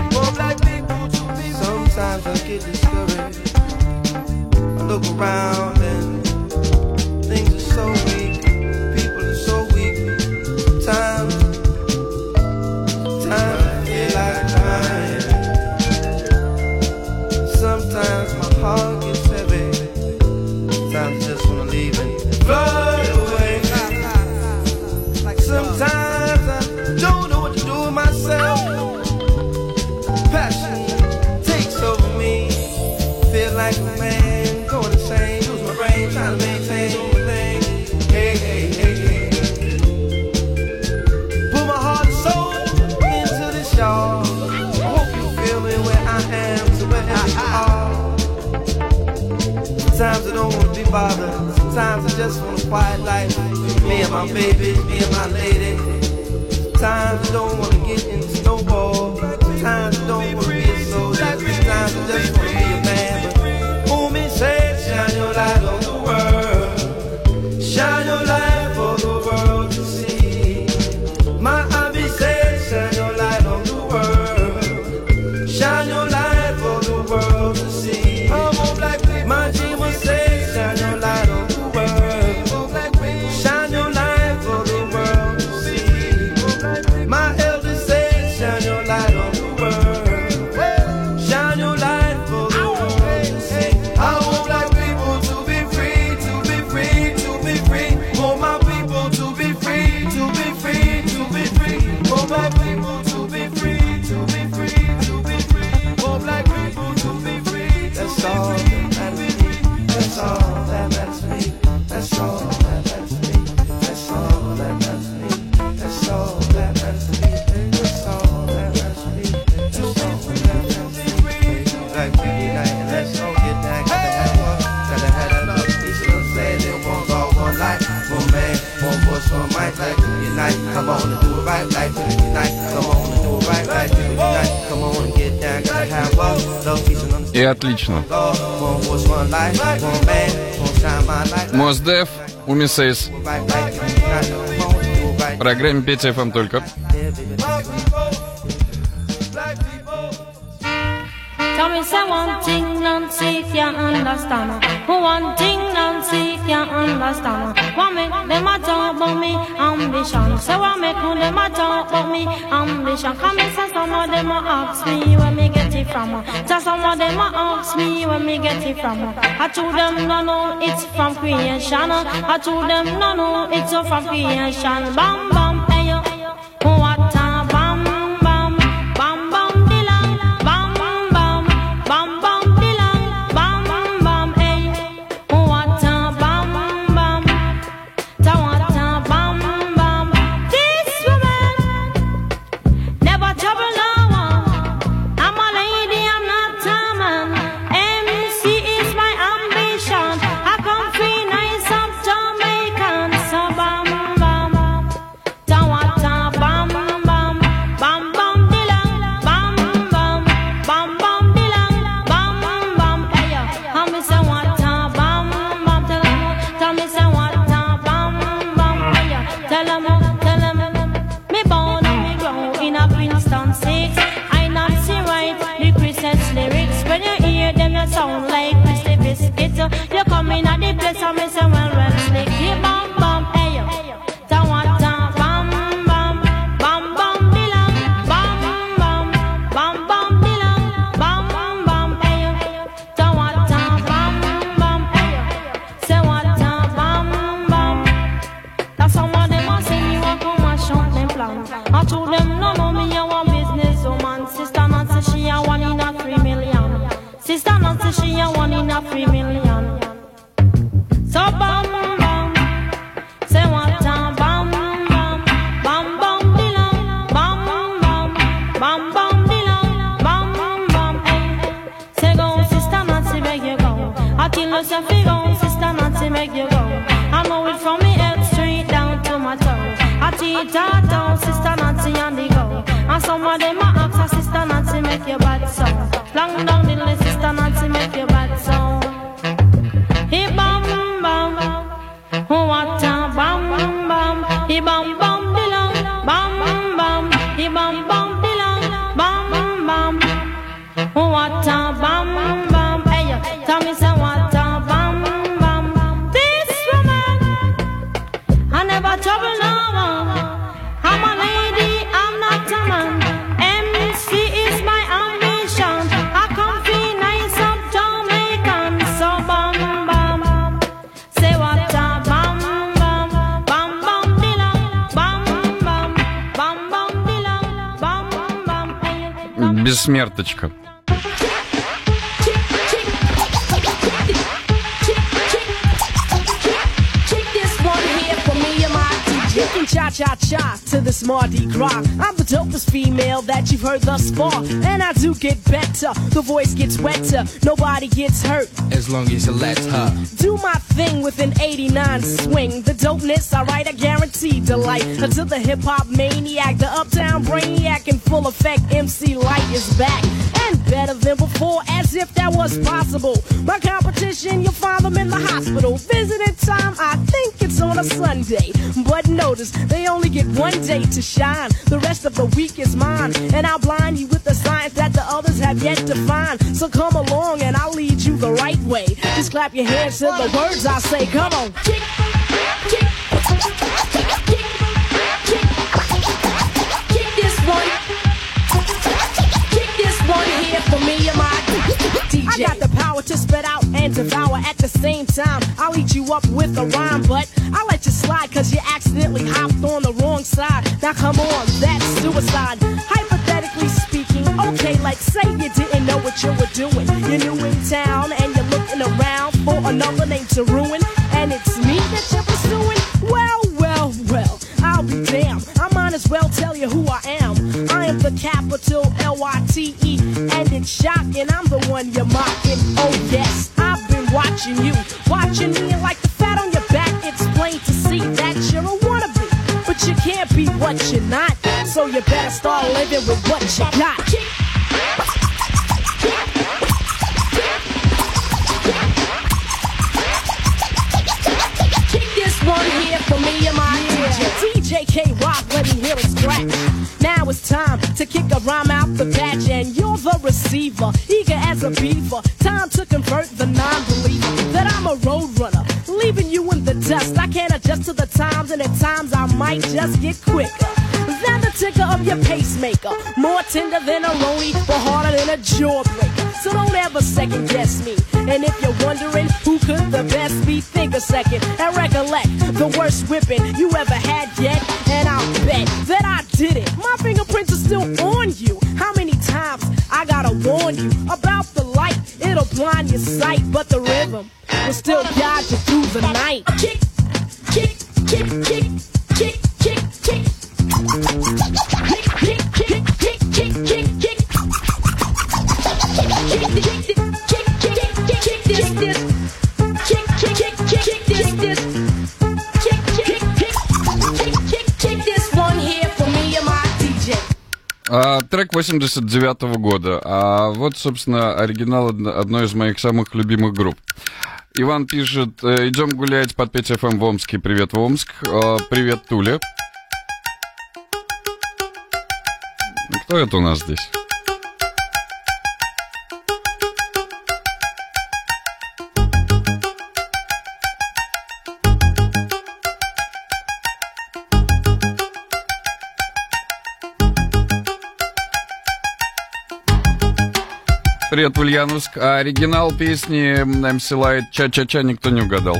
Sometimes I get discouraged. I look around and things are so weak. People are so weak. Sometimes I feel like crying. Sometimes my heart gets heavy. Sometimes I just wanna leave and float away. Sometimes I don't know what to do with myself. Passion takes over me. Feel like a man going insane. Lose my brain trying to maintain my thing. Hey, hey, hey, hey. Put my heart and soul into this, y'all. I hope you feel me where I am to wherever you are. Sometimes I don't wanna be bothered. Sometimes I just want a quiet life. Me and my baby, me and my lady. Sometimes I don't wanna get into no war. Sometimes I don't wanna be a soldier. Sometimes I just wanna be a man. But Umi said, shine your light on the world. Shine your light for the world to see. My hobby said, shine your light on the world. Shine your light for the world to see. My dreamer said, shine your light on the world. Shine your light for the world to see. My elder said, shine your light on the world. Shine your light for the world to see. I want black people to be free, to be free, to be free. Want my people to be free, to be free, to be free. Want my people to be free, to be free, to be free. Want black people to be free. That's all that matters to me. That's all that matters to me. That's all that matters to me. That's all that matters to me. That's all that matters to me. That's all that matters to me. That's all that matters to me. Black people unite and let's all get down. Gotta have one. Gotta have that up. These little say they want all one life. One man, one voice, one mic. Like unite. Come on and do it right. Like unite. Come on and do it right. Like unite. Come on and get down. Gotta have one. Love, peace and understanding. И отлично. One voice, one life. One man, one shine my light. Mos Def, Umisays. В программе Петя ФМ только. black people. Tell me say one thing Nancy can't understand. One thing Nancy can't understand. What make them a talk about me ambition? Say what make them a talk about me ambition? Come and say some of them a ask me where me get it from. Say some of them a ask me where me get it from. I told them no no it's from creation. I told them no no it's from creation. Bam bam hey yo, what a bam bam bam bam dilang bam bam bam bam dilang bam bam hey, what a bam bam ta what a bam bam. This woman never trouble no one. I'm a lady, I'm not a man. MC is my ambition. I come free nice up Jamaican. So bam bam ta what a bam bam bam bam dilang bam bam bam bam dilang bam bam hey yo. Tell me say what a bam bam. Tell me say what a bam bam hey yo. Tell 'em me born and me grow in a Princeton 6. I not see right the Christmas lyrics. When you hear them you sound like Christy Biscuit. You come in at the place and me say well slick. Yeah, bam bam hey yo. Ta what a bam bam bam bam dilang bam bam bam bam dilang bam bam hey yo. Ta what a bam bam hey yo. Say what a bam bam. That's some of them a say me want come and shout them plan. I told them no no me a one business woman. Sister Nancy she a 1 in a 3 million. Sister Nancy she a 1 in a 3 million. So bam bam. Say what a bam bam bam bam dilang bam bam bam bam dilang bam bam hey. Say go Sister Nancy make you go. I tell you say fi go Sister Nancy make you go. I know it from me head straight down to my toes. I teach her down Sister Nancy on the go. And some of them a ask her Sister Nancy make you bad so. Long down the list Sister Nancy make you bad so. Hey bam bam, what a bam bam. Hey bam bam dilang bam bam. Hey bam bam dilang bam bam. What a bam bam. Hey yo, tell me say what a bam bam. This woman I never trouble no one. I'm a lady, I'm not a man. MC is my ambition. I come feel nice up Jamaican. So bam bam. Say what a bam bam bam bam dilang bam bam bam bam dilang bam bam hey. Бессмерточка. Cha-cha-cha to this Mardi Gras. I'm the dopest female that you've heard thus far. And I do get better, the voice gets wetter, nobody gets hurt. As long as you let her do my thing with an 89 swing. The dopeness, alright, I guarantee delight. Until the hip-hop maniac, the uptown brainiac in full effect, MC Light is back. And better than before, as if that was possible. My competition, you'll find them in the hospital. Visiting time, I think it's on a Sunday. But notice, they only get one day to shine. The rest of the week is mine. And I'll blind you with the science that the others have yet to find. So come along and I'll lead you the right way. Just clap your hands to the words I say. Come on. Kick, kick, kick this one. Kick this one here for me and my DJ. I got the power to spit out and devour at the same time. I'll eat you up with a rhyme, but I'll let you slide cause you accidentally hopped on the wrong side. Now come on, that's suicide. Hypothetically speaking, okay, like say you didn't know what you were doing. You're new in town and you're looking around for another name to ruin. And it's me that you're pursuing? Well, well, well, I'll be damned. I might as well tell you who I am. I am the capital L-Y-T-E. And it's shocking, I'm the one you're mocking. Oh yes, I've been watching you. Watching me and like the fat on your back, it's plain to see that you're a wannabe. But you can't be what you're not. So you better start living with what you got. Kick this one here for me and my DJ K-Rock, let me hear it scratch. Now it's time to kick a rhyme out the patch, and you're the receiver, eager as a beaver. Time to convert the non-believer that I'm a road runner, leaving you in the dust. I can't adjust to the times, and at times I might just get quicker than the ticker of your pacemaker. More tender than a roni, but harder than a jawbreaker. So don't ever second guess me. And if you're wondering who could the best be, think a second and recollect the worst whipping you ever had yet. And I'll bet that I did it. My fingerprints are still on you. How many times I gotta warn you about the light? It'll blind your sight, but the rhythm will still guide you through the night. Kick, kick, kick, kick, kick, kick, kick. Kick, kick, kick, kick, kick, kick, kick. Трек 89-го года. А вот, собственно, оригинал одной из моих самых любимых групп. Иван пишет: идем гулять под 5 FM в Омске. Привет, Омск. Привет, Туля. Кто это у нас здесь? Привет, Ульяновск. А оригинал песни MC Light «Ча-ча-ча» никто не угадал.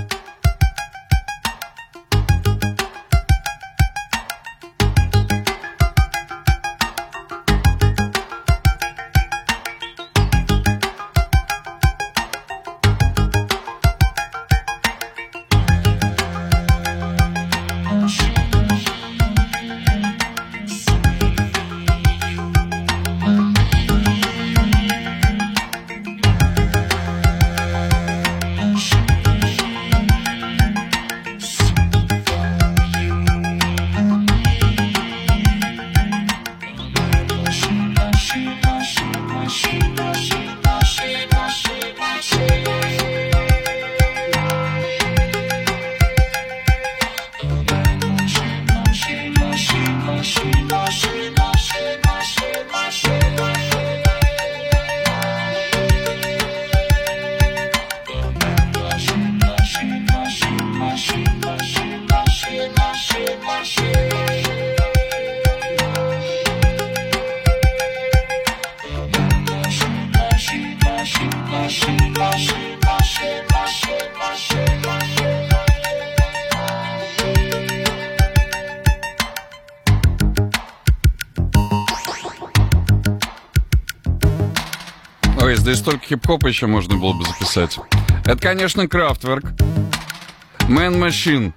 Ой, здесь столько хип-хопа еще можно было бы записать. Это, конечно, Kraftwerk. Man Machine.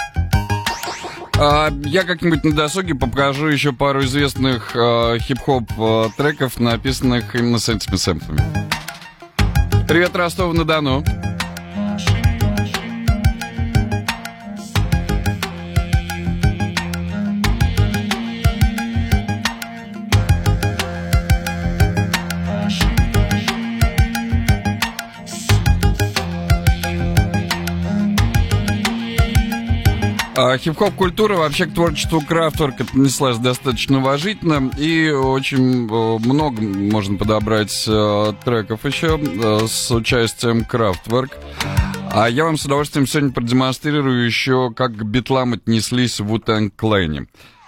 Я как-нибудь на досуге покажу еще пару известных хип-хоп треков, написанных именно с этими сэмплами. Привет, Ростов-на-Дону. Хип-хоп-культура вообще к творчеству Kraftwerk отнеслась достаточно уважительно, и очень много можно подобрать треков еще с участием Kraftwerk. А я вам с удовольствием сегодня продемонстрирую еще, как к битлам отнеслись в Wu-Tang Clan.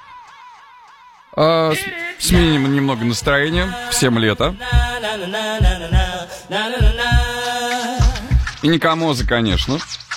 Сменим немного настроения, всем лето. И не Камоза, конечно.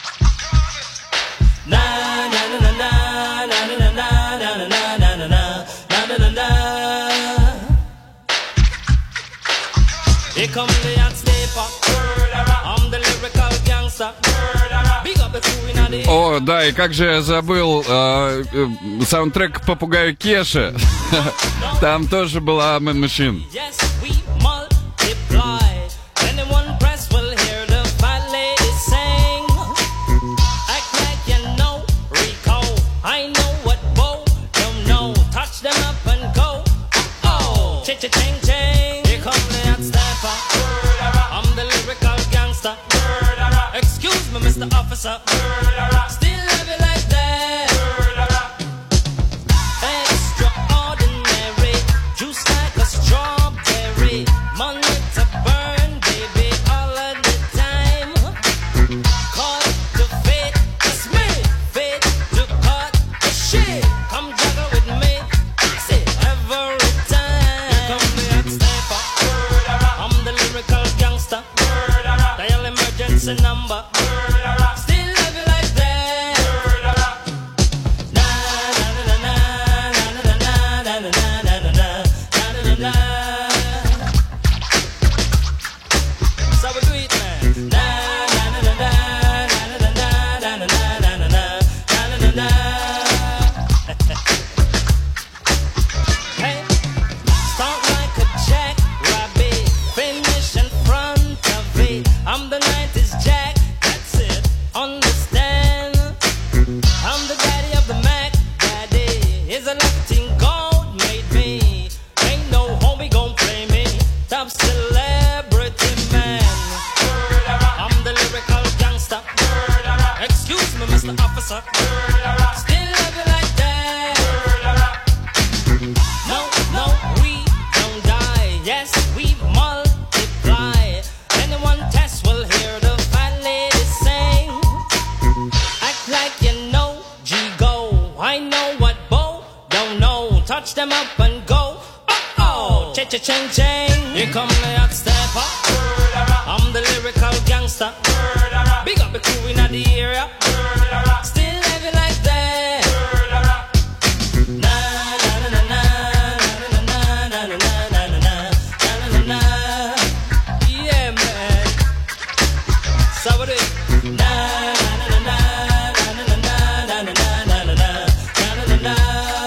Here come the hot stepper. I'm the lyrical gangster. Big up the crew in the... О, да, и как же я забыл саундтрек к «Попугаю Кеше». Там тоже была Man Machine. Yes, we multiply. Anyone press will hear the fat lady sing. Act like you know Rico. I know what Bo don't know. Touch them up and go. Oh, ching-ching-ching. Here come the hot stepper. I'm the lyrical gangster. Excuse me, Mr. Officer. Still love you like that. Extraordinary. na. So we do it, man. Na na na na na na na na na na na na na na na. Hey, start like a jackrabbit, finish in front of it. I'm the 90s Jack, that's it. Understand? I'm the daddy of the Mac. Daddy is a lifting gold made me. Ain't no homie gon' play me. Top celebrity man. I'm the lyrical gangster. Excuse me, Mr. Officer. Still love you like that. No, no, we don't die. Yes, we multiply. Anyone test will hear the fat lady sing. Act like you know G-Go. I know what Bo don't know. Touch them up and go. Oh, cha-cha-ching-ching. Here come the hot stepper. I'm the lyrical gangster. Big up the crew in the area. Still living like that. Na na na na na na na na na na na na na. Yeah, man. So what it? Na na na na na na na na na na na na na.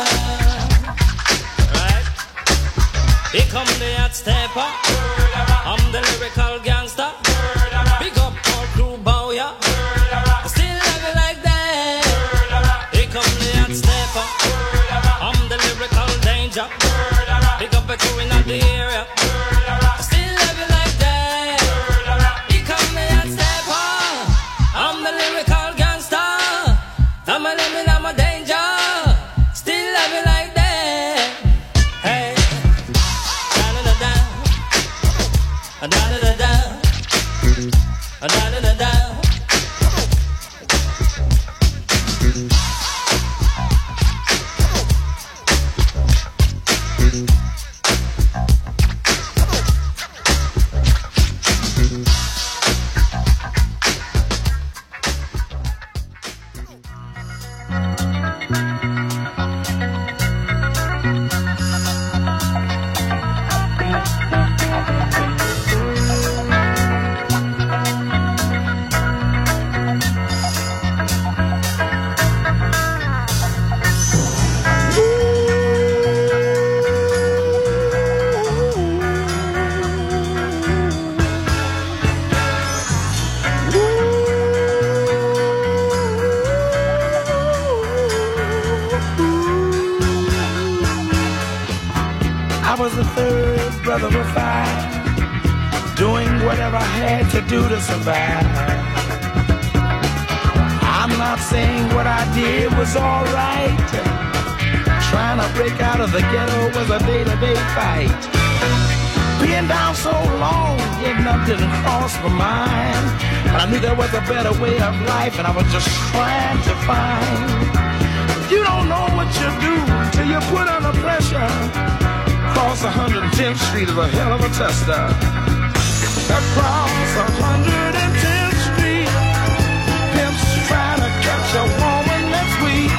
Right? Here come the hot stepper. I'm the lyrical gangster. Big up all crew bow ya. Still love you like that. Here come the hot stepper. I'm the lyrical danger. Big up the crew in the area. Still love you like that. Here come the hot stepper. I'm the lyrical gangster. I'm a living, I'm a danger. Still love you like that. Hey. Da-da-da-da. Da-da-da-da. Da-da-da-da. I was the third brother of five, doing whatever I had to do to survive. I'm not saying what I did was alright. Trying to break out of the ghetto was a day-to-day fight. Being down so long, getting up didn't cross my mind. But I knew there was a better way of life, and I was just trying to find. You don't know what you do till you put under pressure. Across 110th Street is a hell of a tester. Across 110th Street, pimps trying to catch a woman that's weak.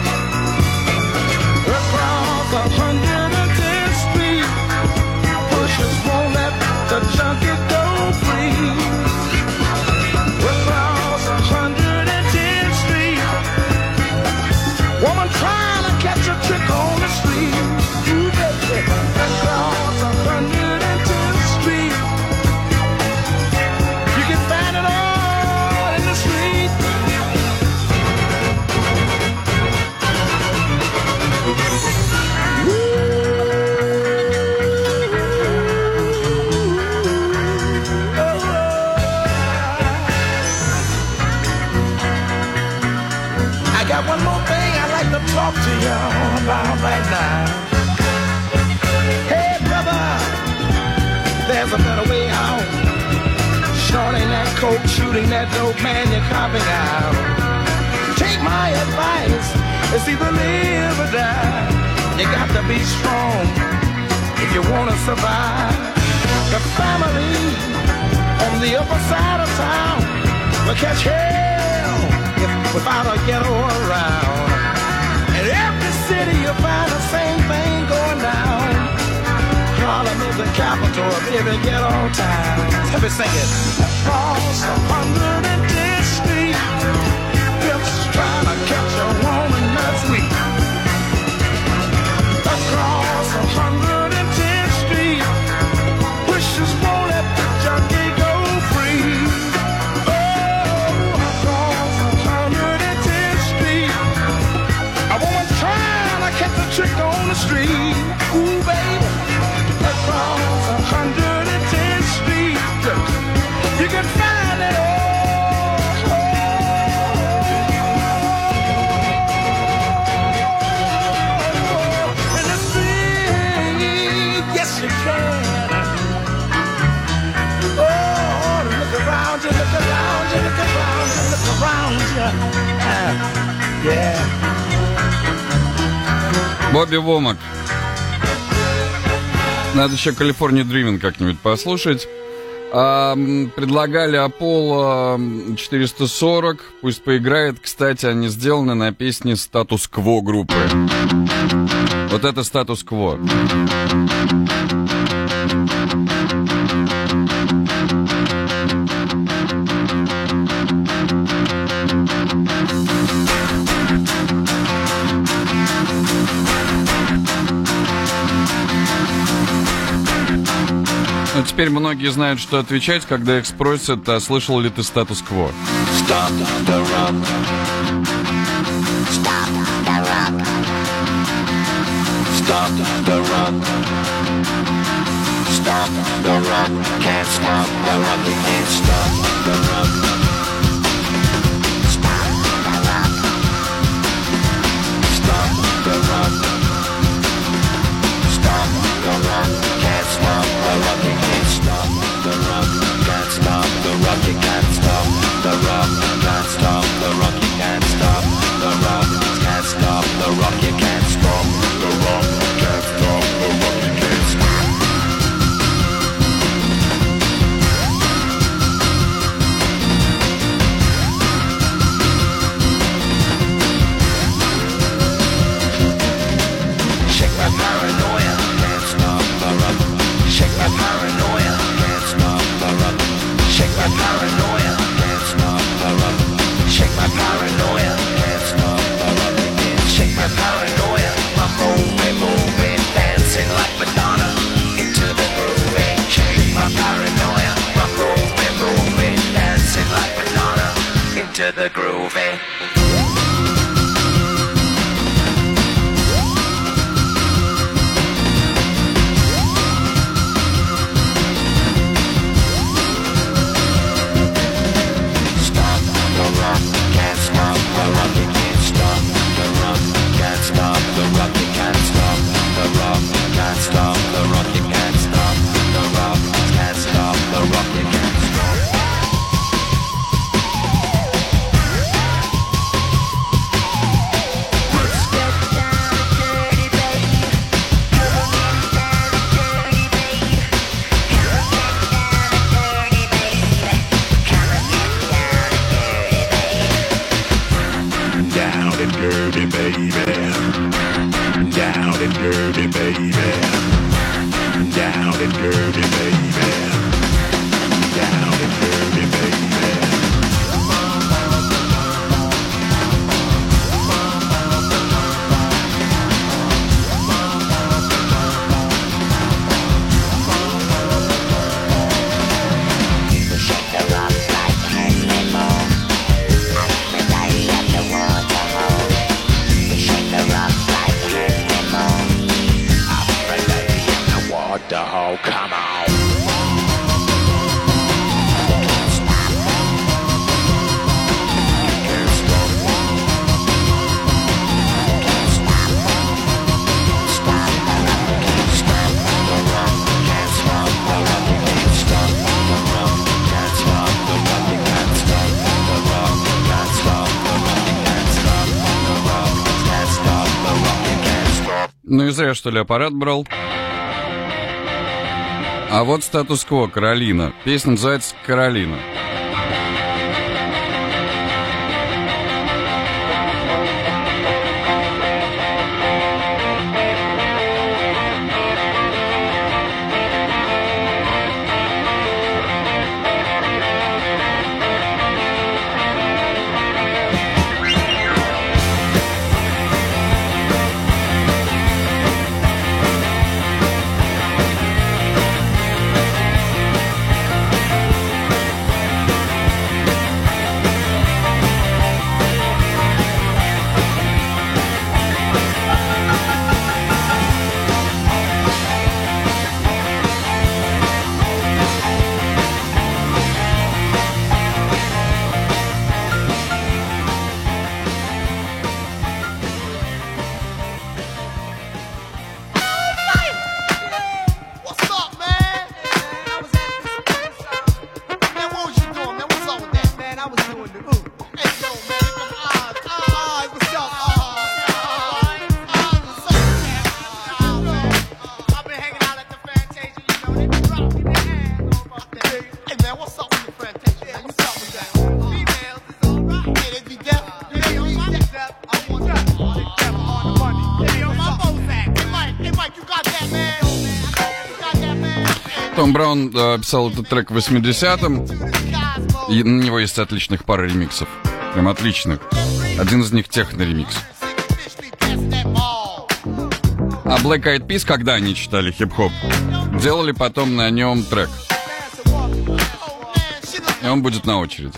Across 110th Street, pushers won't let the junkie go free. Across 110th Street, woman trying to catch a trick on the street. Across 110th Street, you can find it all in the street. I got one more thing I'd like to talk to you about right now. Hey brother, there's a better way out. Shorting that coke, shooting that dope, man, you're copping out. Take my advice, it's either live or die. You got to be strong if you want to survive. The family on the upper side of town will catch hell without a ghetto around. In every city you'll find the same thing going down. the capital of every ghetto town. Let me sing it. Across 110th Street, pimps trying to catch a woman that's sweet. Across 110th Street, pushers won't let the junkie go free. Oh, across 110th Street, a woman trying to catch a trick on the street. Ooh, baby, across 110th Street, you can find it all. In the street, yes you can. Oh, look around you, look around you, look around you, look around you. Yeah. Бобби Вомак. Надо еще California Dreaming как-нибудь послушать. Предлагали Apollo 440. Пусть поиграет. Кстати, они сделаны на песне Status Quo группы. Вот это Status Quo. Ну, теперь многие знают, что отвечать, когда их спросят, а слышал ли ты статус-кво. Stop the rock. Stop the rock. Stop the rock. Stop the rock. Can't stop the rock. You can't stop the rock. Stop the rock. Stop the rock. Stop the rock. Can't stop the rock. You can't stop the rock. Can't stop the rock. You can't stop the rock. Can't stop the rock. You can't stop the rock. Can't stop the rock. You can't stop the rock. Can't stop the rock. You can't stop. Shake my paranoia. Can't stop the rock. Shake my paranoia. Can't stop the rock. Shake my paranoia. Can't stop the rock. Shake my paranoia. Can't stop the rock. Shake my paranoia. I'm moving, dancing like Madonna into the groove. Shake my paranoia. I'm moving, dancing like Madonna into the groove. Can't stop the rock, you can't stop the rock. Can't stop the rock, you can't stop the rock. Can't stop the rock, you can't stop the rock. Can't stop the rock, you can't stop. Let's get down and dirty, baby. Come on, down and dirty, baby. Come on, down and dirty, baby. Come on, down and dirty, baby. Down and dirty, baby. Down and dirty, baby. Down and dirty, baby. Down and dirty, baby. Shake the rock like animal. Everybody at the water hole. Shake the rock like animal. Everybody at the water hole. Come on. Ну и зря, что ли, аппарат брал. А вот статус-кво, Каролина. Песня называется «Каролина». Том Браун писал этот трек в 80-м. И на него есть отличных пара ремиксов. Прям отличных. Один из них техно-ремикс. А Black Eyed Peas, когда они читали хип-хоп, делали потом на нем трек. И он будет на очереди.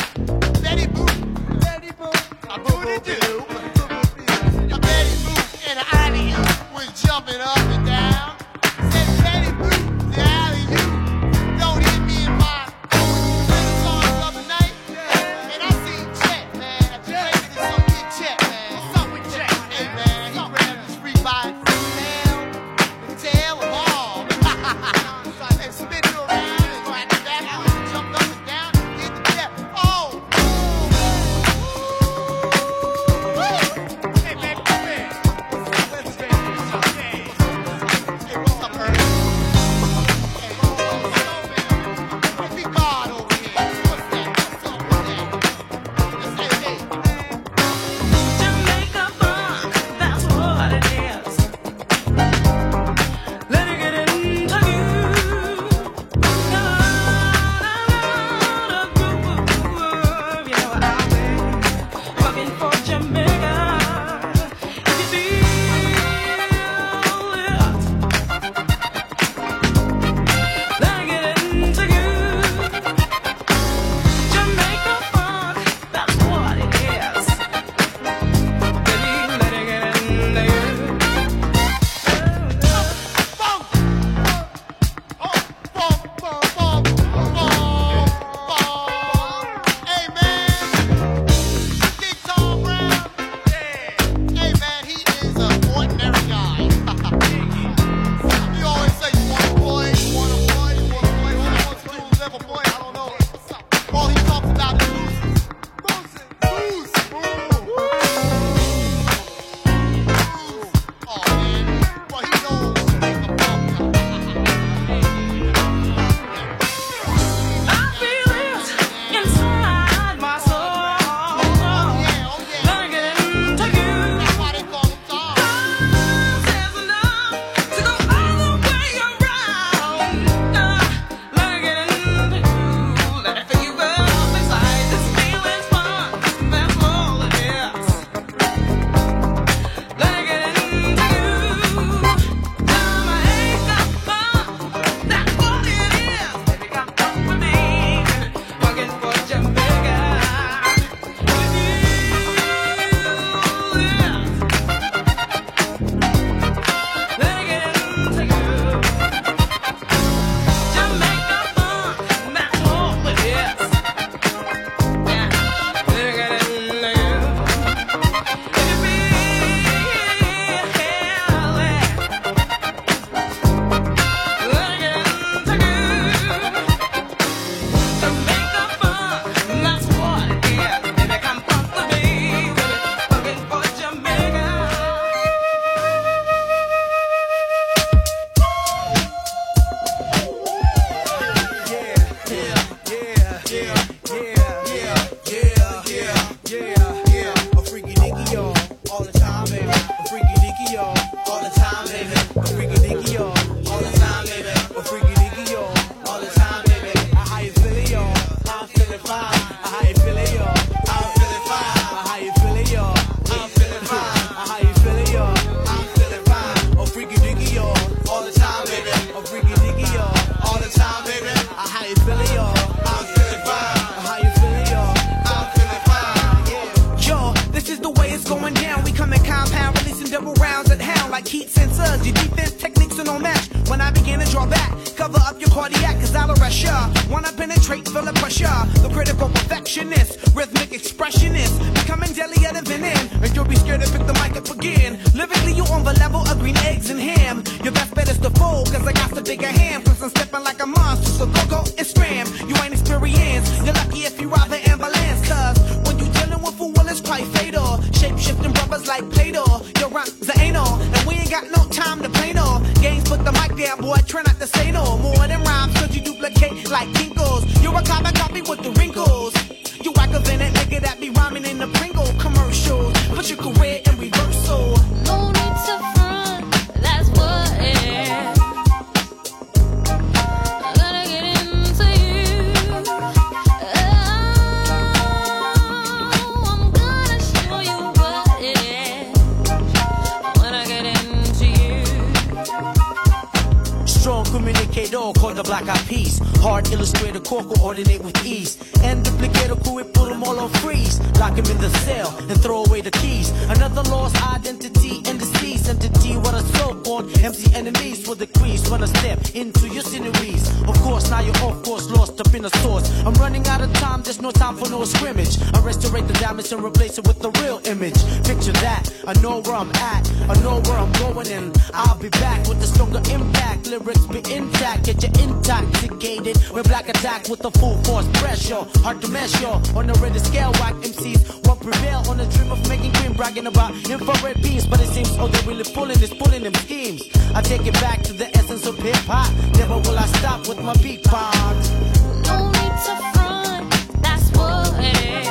K-Dog called the Black Eyed Peas. Hard illustrator core coordinate with ease. And duplicator crew, it put them all on freeze. Lock him in the cell and throw away the keys. Another lost identity in the seas. Entity, what a so-called MC enemies for the crease. When I step into your sinews. Of course, now you're off course, lost up in a source. I'm running out of time, there's no time for no scrimmage. I restore the damage and replace it with the real image. Picture that, I know where I'm at, I know where I'm going, and I'll be back with a stronger impact. Lyrics be intact, get you intoxicated with black attack with the full force pressure. Hard to measure on the rated scale. Whack MCs won't prevail on the dream of making green, bragging about infrared beams. But it seems all they're really pulling is pulling them schemes. I take it back to the essence of hip hop. Never will I stop with my beat part. No need to front, that's what it is.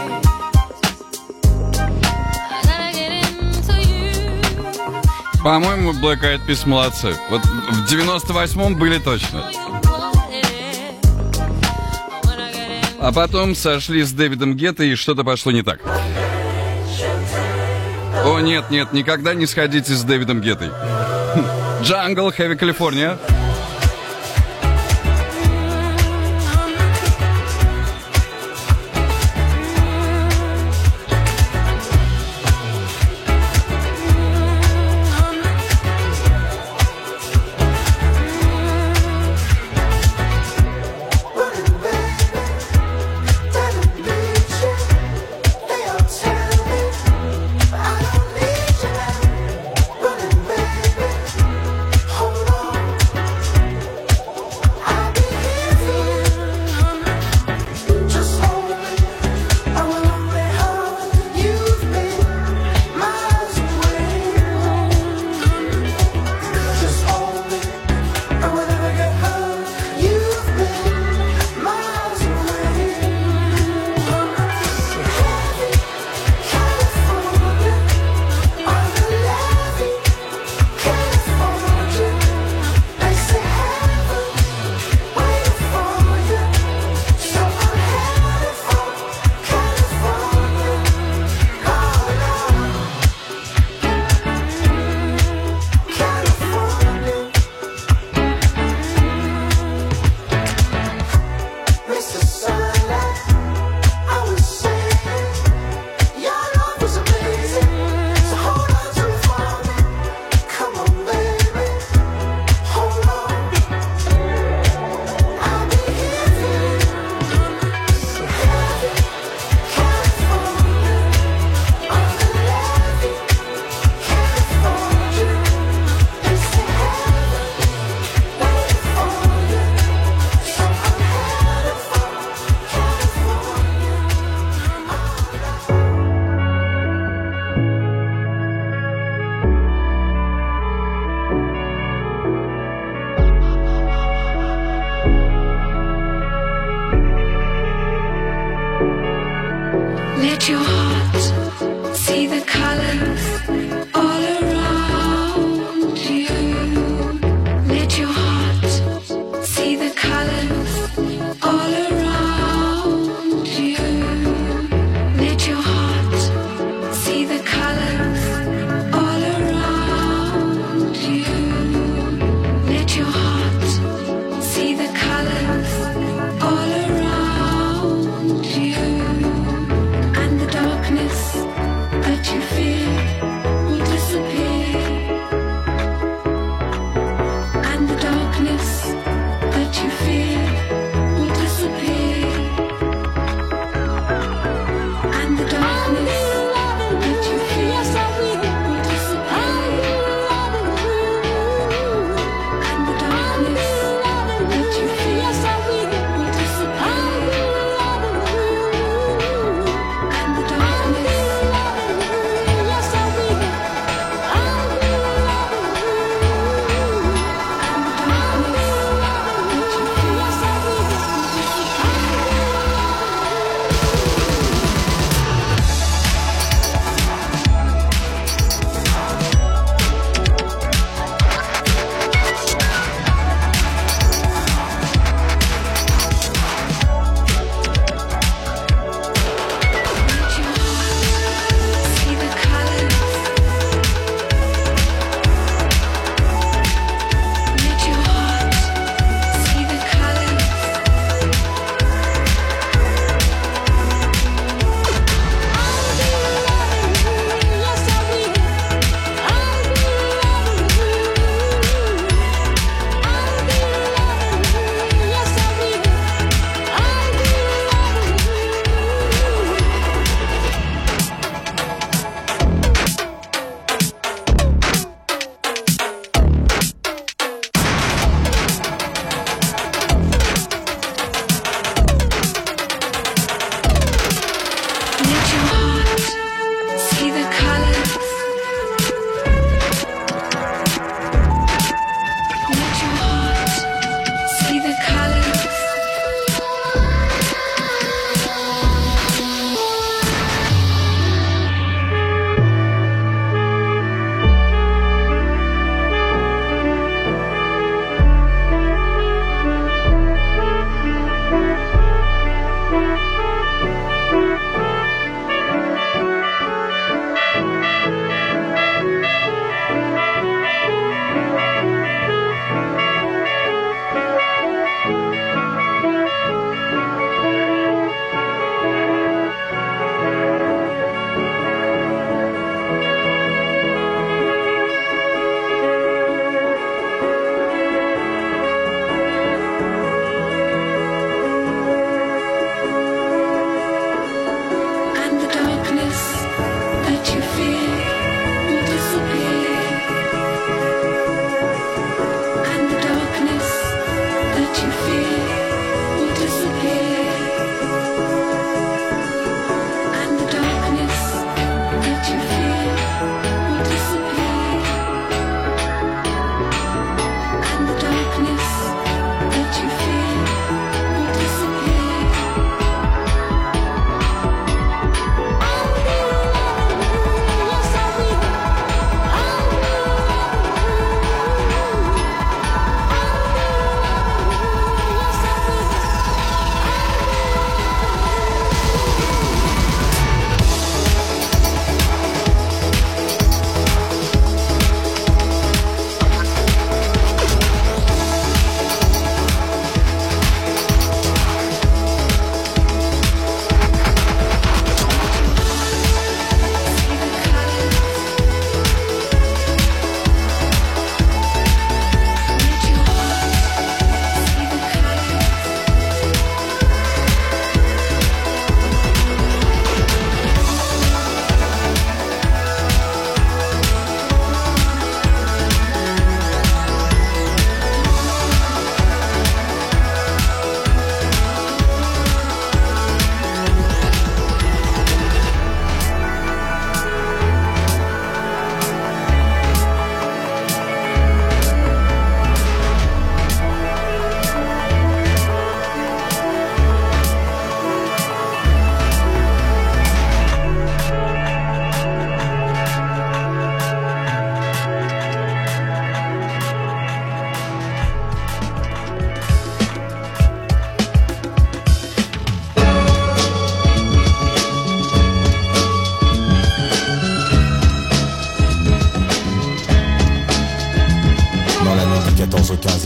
I gotta get into you. По-моему, Black Eyed Peas молодцы. Вот в 98-м были точно. А потом сошли с Дэвидом Гетто, и что-то пошло не так. О, нет, нет, никогда не сходите с Дэвидом Геттой. Jungle, Heavy California.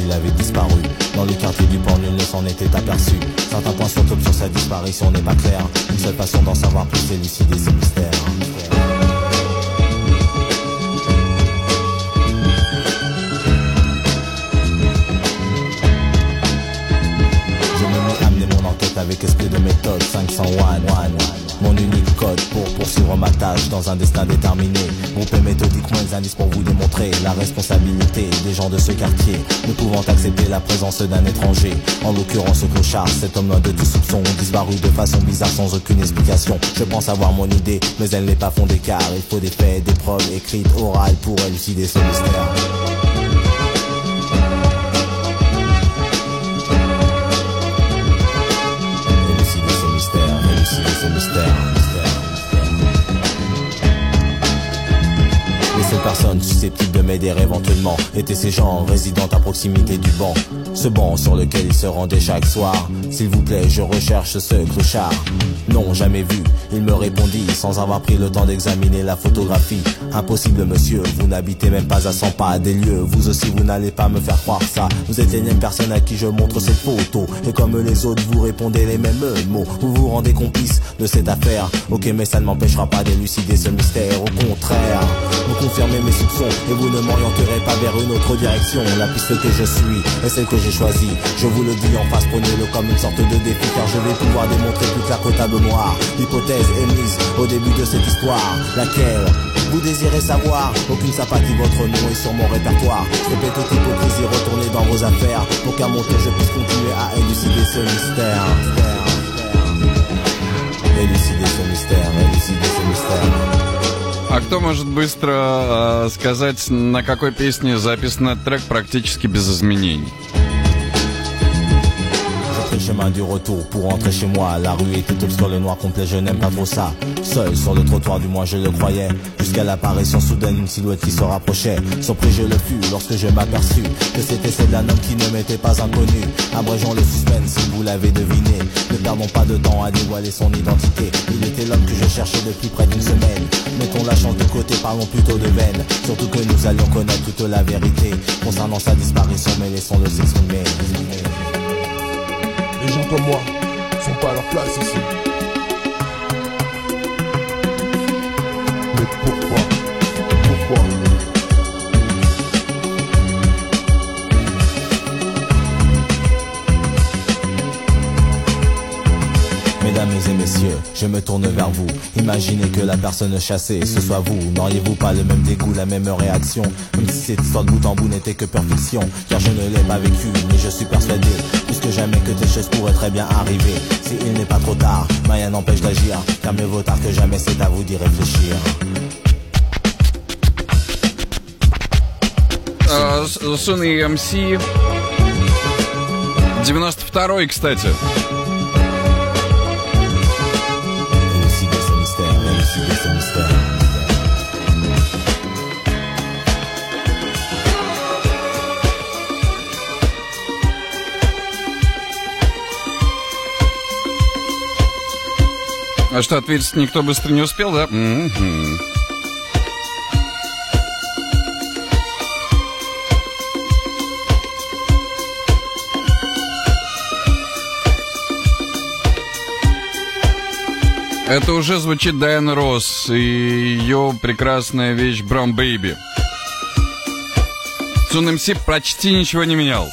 il avait disparu. Dans le quartier du port, nul ne s'en était aperçu. Certains points sont sur sa disparition n'est pas clair. Une seule façon d'en savoir plus, c'est élucider ce mystère. Avec esprit de méthode 501, mon unique code pour poursuivre ma tâche dans un destin déterminé. Grouper méthodiquement les indices pour vous démontrer la responsabilité des gens de ce quartier, ne pouvant accepter la présence d'un étranger. En l'occurrence ce clochard, cet homme loin de tout soupçon, disparu de façon bizarre sans aucune explication. Je pense avoir mon idée, mais elle n'est pas fondée car il faut des faits, des preuves écrites, orales pour élucider ce mystère. Les seules personnes susceptibles de m'aider éventuellement étaient ces gens résidant à proximité du banc. Ce banc sur lequel il se rendait chaque soir. S'il vous plaît, je recherche ce clochard. Non, jamais vu, il me répondit sans avoir pris le temps d'examiner la photographie. Impossible monsieur, vous n'habitez même pas à 100 pas des lieux. Vous aussi vous n'allez pas me faire croire ça. Vous êtes l'énième personne à qui je montre cette photo. Et comme les autres vous répondez les mêmes mots. Vous vous rendez complice de cette affaire. Ok, mais ça ne m'empêchera pas d'élucider ce mystère. Au contraire, vous confirmez mes soupçons et vous ne m'orienterez pas vers une autre direction. La piste que je suis est celle que j'ai choisie. Je vous le dis en face, prenez-le comme une sorte de défi, car je vais pouvoir démontrer plus clair qu'au tableau noir. L'hypothèse est mise au début de cette histoire, laquelle vous désirez savoir. Aucune sympathie, votre nom est sur mon répertoire. Je répète toute hypocrisie, retournez dans vos affaires, pour qu'à mon tour je puisse continuer à élucider ce mystère. Élucider ce mystère, élucider ce mystère. А кто может быстро сказать, на какой песне записан этот трек практически без изменений? Le chemin du retour pour rentrer chez moi. La rue était obscure, le noir complet, je n'aime pas trop ça. Seul sur le trottoir, du moins je le croyais, jusqu'à l'apparition soudaine d'une silhouette qui se rapprochait. Surpris je le fus lorsque je m'aperçus que c'était celle d'un homme qui ne m'était pas inconnu. Abrégeons le suspense si vous l'avez deviné. Ne perdons pas de temps à dévoiler son identité. Il était l'homme que je cherchais depuis près d'une semaine. Mettons la chance de côté, parlons plutôt de veine. Surtout que nous allions connaître toute la vérité concernant sa disparition, mais laissons-le s'exprimer. Les gens comme moi sont pas à leur place ici. Mais pourquoi? Pourquoi? Mesdames et messieurs, je me tourne vers vous. Imaginez que la personne chassée, ce soit vous. N'auriez-vous pas le même dégoût, la même réaction? Même si cette histoire de bout en bout n'était que pure fiction. Car je ne l'ai pas vécu, mais je suis persuadé plus que jamais que des choses pourraient très bien arriver. Si il n'est pas trop tard, rien n'empêche d'agir. Car mieux vaut tard que jamais, c'est à vous d'y réfléchir. Sunny MC 92-й, кстати. А что, ответить никто быстро не успел, да? Это уже звучит Дайана Росс и ее прекрасная вещь Brown Baby. Sun MC почти ничего не менял.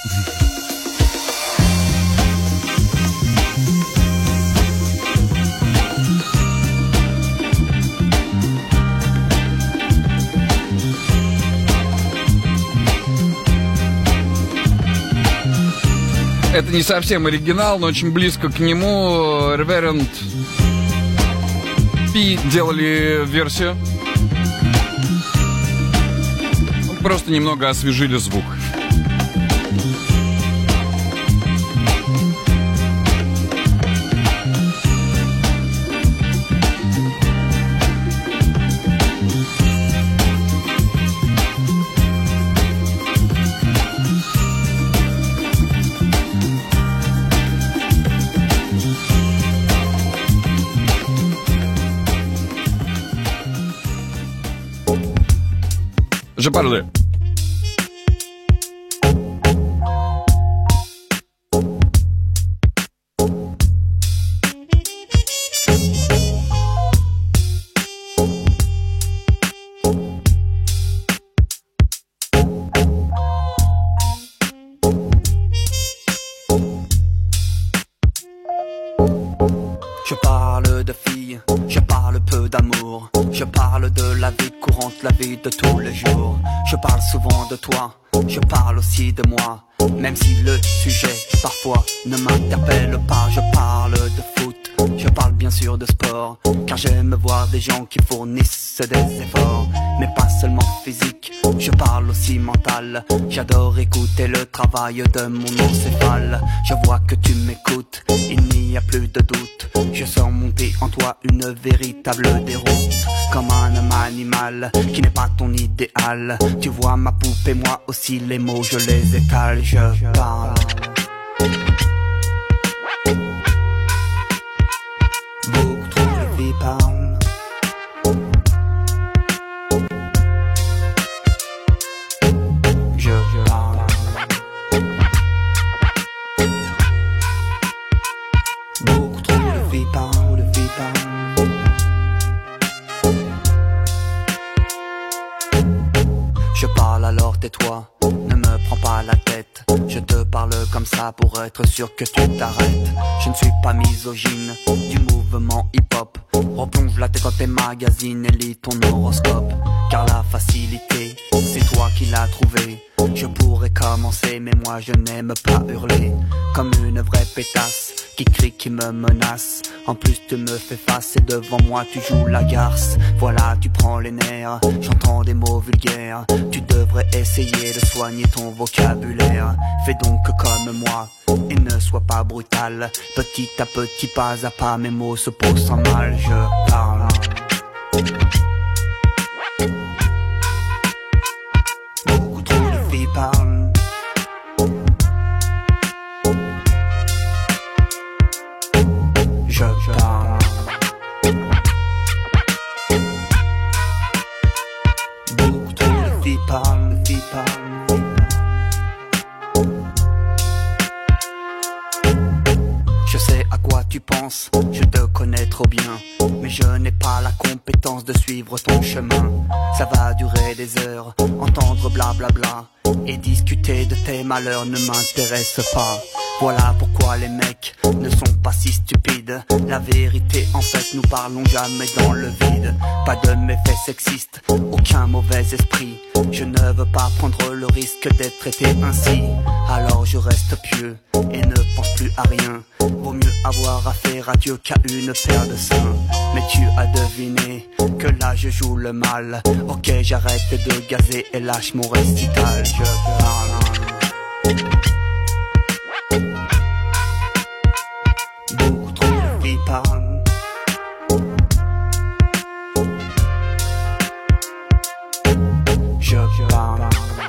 Это не совсем оригинал, но очень близко к нему. Reverend P делали версию. Просто немного освежили звук. Je parle. Je parle de filles, je parle peu d'amour. Je parle de la vie courante, la vie de tous les jours. Je parle souvent de toi, je parle aussi de moi. Même si le sujet parfois ne m'interpelle pas. Je parle de foot, je parle bien sûr de sport, car j'aime voir des gens qui fournissent des efforts. Mais pas seulement physique, je parle aussi mental. J'adore écouter le travail de mon encéphale. Je vois que tu m'écoutes, il n'y a plus de doute. Je sens monter en toi une véritable déroute. Comme un homme animal qui n'est pas ton idéal. Tu vois ma poupée, moi aussi les mots je les étale. Je parle. Beaucoup trop de vie parle. Je parle. Beaucoup trop de vie parle, de vie parle. Je parle alors tais-toi, ne me prends pas la tête. Je te parle comme ça pour être sûr que tu t'arrêtes. Je ne suis pas misogyne du mouvement hip-hop. Replonge la tête dans tes magazines et lis ton horoscope. Car la facilité, c'est toi qui l'as trouvée. Je pourrais commencer mais moi je n'aime pas hurler. Comme une vraie pétasse qui crie, qui me menace. En plus tu me fais face et devant moi tu joues la garce. Voilà, tu prends les nerfs, j'entends des mots vulgaires. Tu devrais essayer de soigner ton vocabulaire. Fais donc comme moi et ne sois pas brutal. Petit à petit, pas à pas, mes mots se posent sans mal. Je parle. Beaucoup trop de filles parlent. Je parle. Beaucoup trop de filles parlent, de filles parlent. Je sais à quoi tu penses, je te connais trop bien. Mais je n'ai pas la compétence de suivre ton chemin. Ça va durer des heures, entendre blablabla et discuter de tes malheurs ne m'intéresse pas. Voilà pourquoi les mecs ne sont pas si stupides. La vérité en fait nous parlons jamais dans le vide. Pas de méfaits sexistes, aucun mauvais esprit. Je ne veux pas prendre le risque d'être traité ainsi. Alors je reste pieux et ne pense plus à rien. Vaut mieux avoir affaire à Dieu qu'à une paire de seins. Mais tu as deviné que là je joue le mal. Ok, j'arrête de gazer et lâche mon récital. Je parle. Beaucoup trop de filles parlent. Je parle.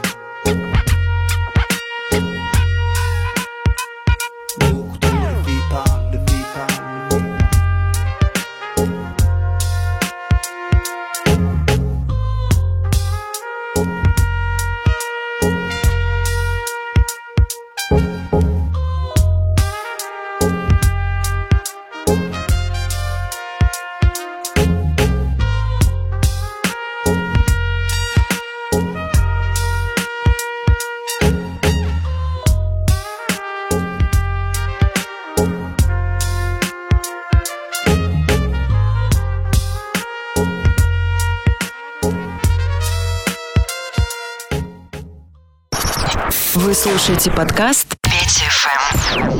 Beaucoup trop de filles parlent, de filles parlent. Вы слушаете подкаст Петя ФМ.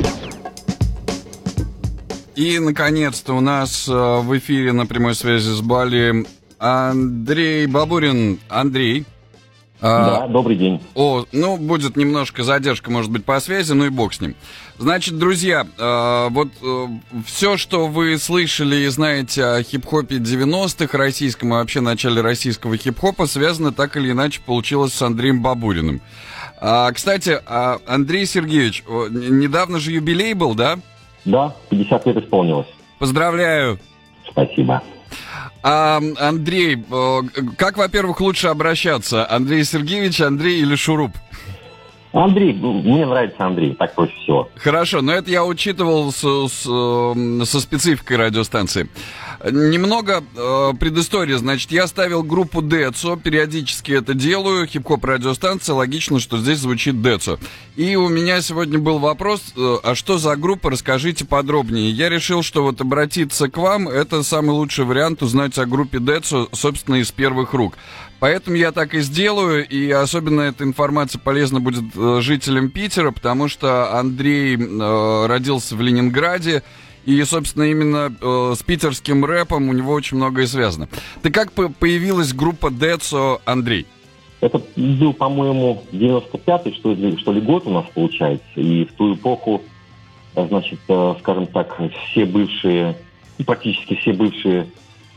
И, наконец-то, у нас в эфире на прямой связи с Бали Андрей Бабурин. Андрей. Да, добрый день. Ну, будет немножко задержка, может быть, по связи, ну и бог с ним. Значит, друзья, вот все, что вы слышали и знаете о хип-хопе 90-х, российском и вообще начале российского хип-хопа, связано так или иначе получилось с Андреем Бабуриным. Кстати, Андрей Сергеевич, недавно же юбилей был, да? Да, 50 лет исполнилось. Поздравляю. Спасибо. Андрей, как, во-первых, лучше обращаться? Андрей Сергеевич, Андрей или Шуруп? Андрей, мне нравится Андрей, так проще всего. Хорошо, но это я учитывал со спецификой радиостанции. Немного предыстории. Значит, я ставил группу Децо, периодически это делаю, хип-хоп радиостанция, логично, что здесь звучит Децо. И у меня сегодня был вопрос, а что за группа, расскажите подробнее. Я решил, что вот обратиться к вам, это самый лучший вариант узнать о группе Децо, собственно, из первых рук. Поэтому я так и сделаю, и особенно эта информация полезна будет жителям Питера, потому что Андрей родился в Ленинграде, и, собственно, именно с питерским рэпом у него очень многое связано. Ты как появилась группа Децо, Андрей? Это был, по-моему, 95-й, что ли, год у нас получается. И в ту эпоху, значит, скажем так, все бывшие, практически все бывшие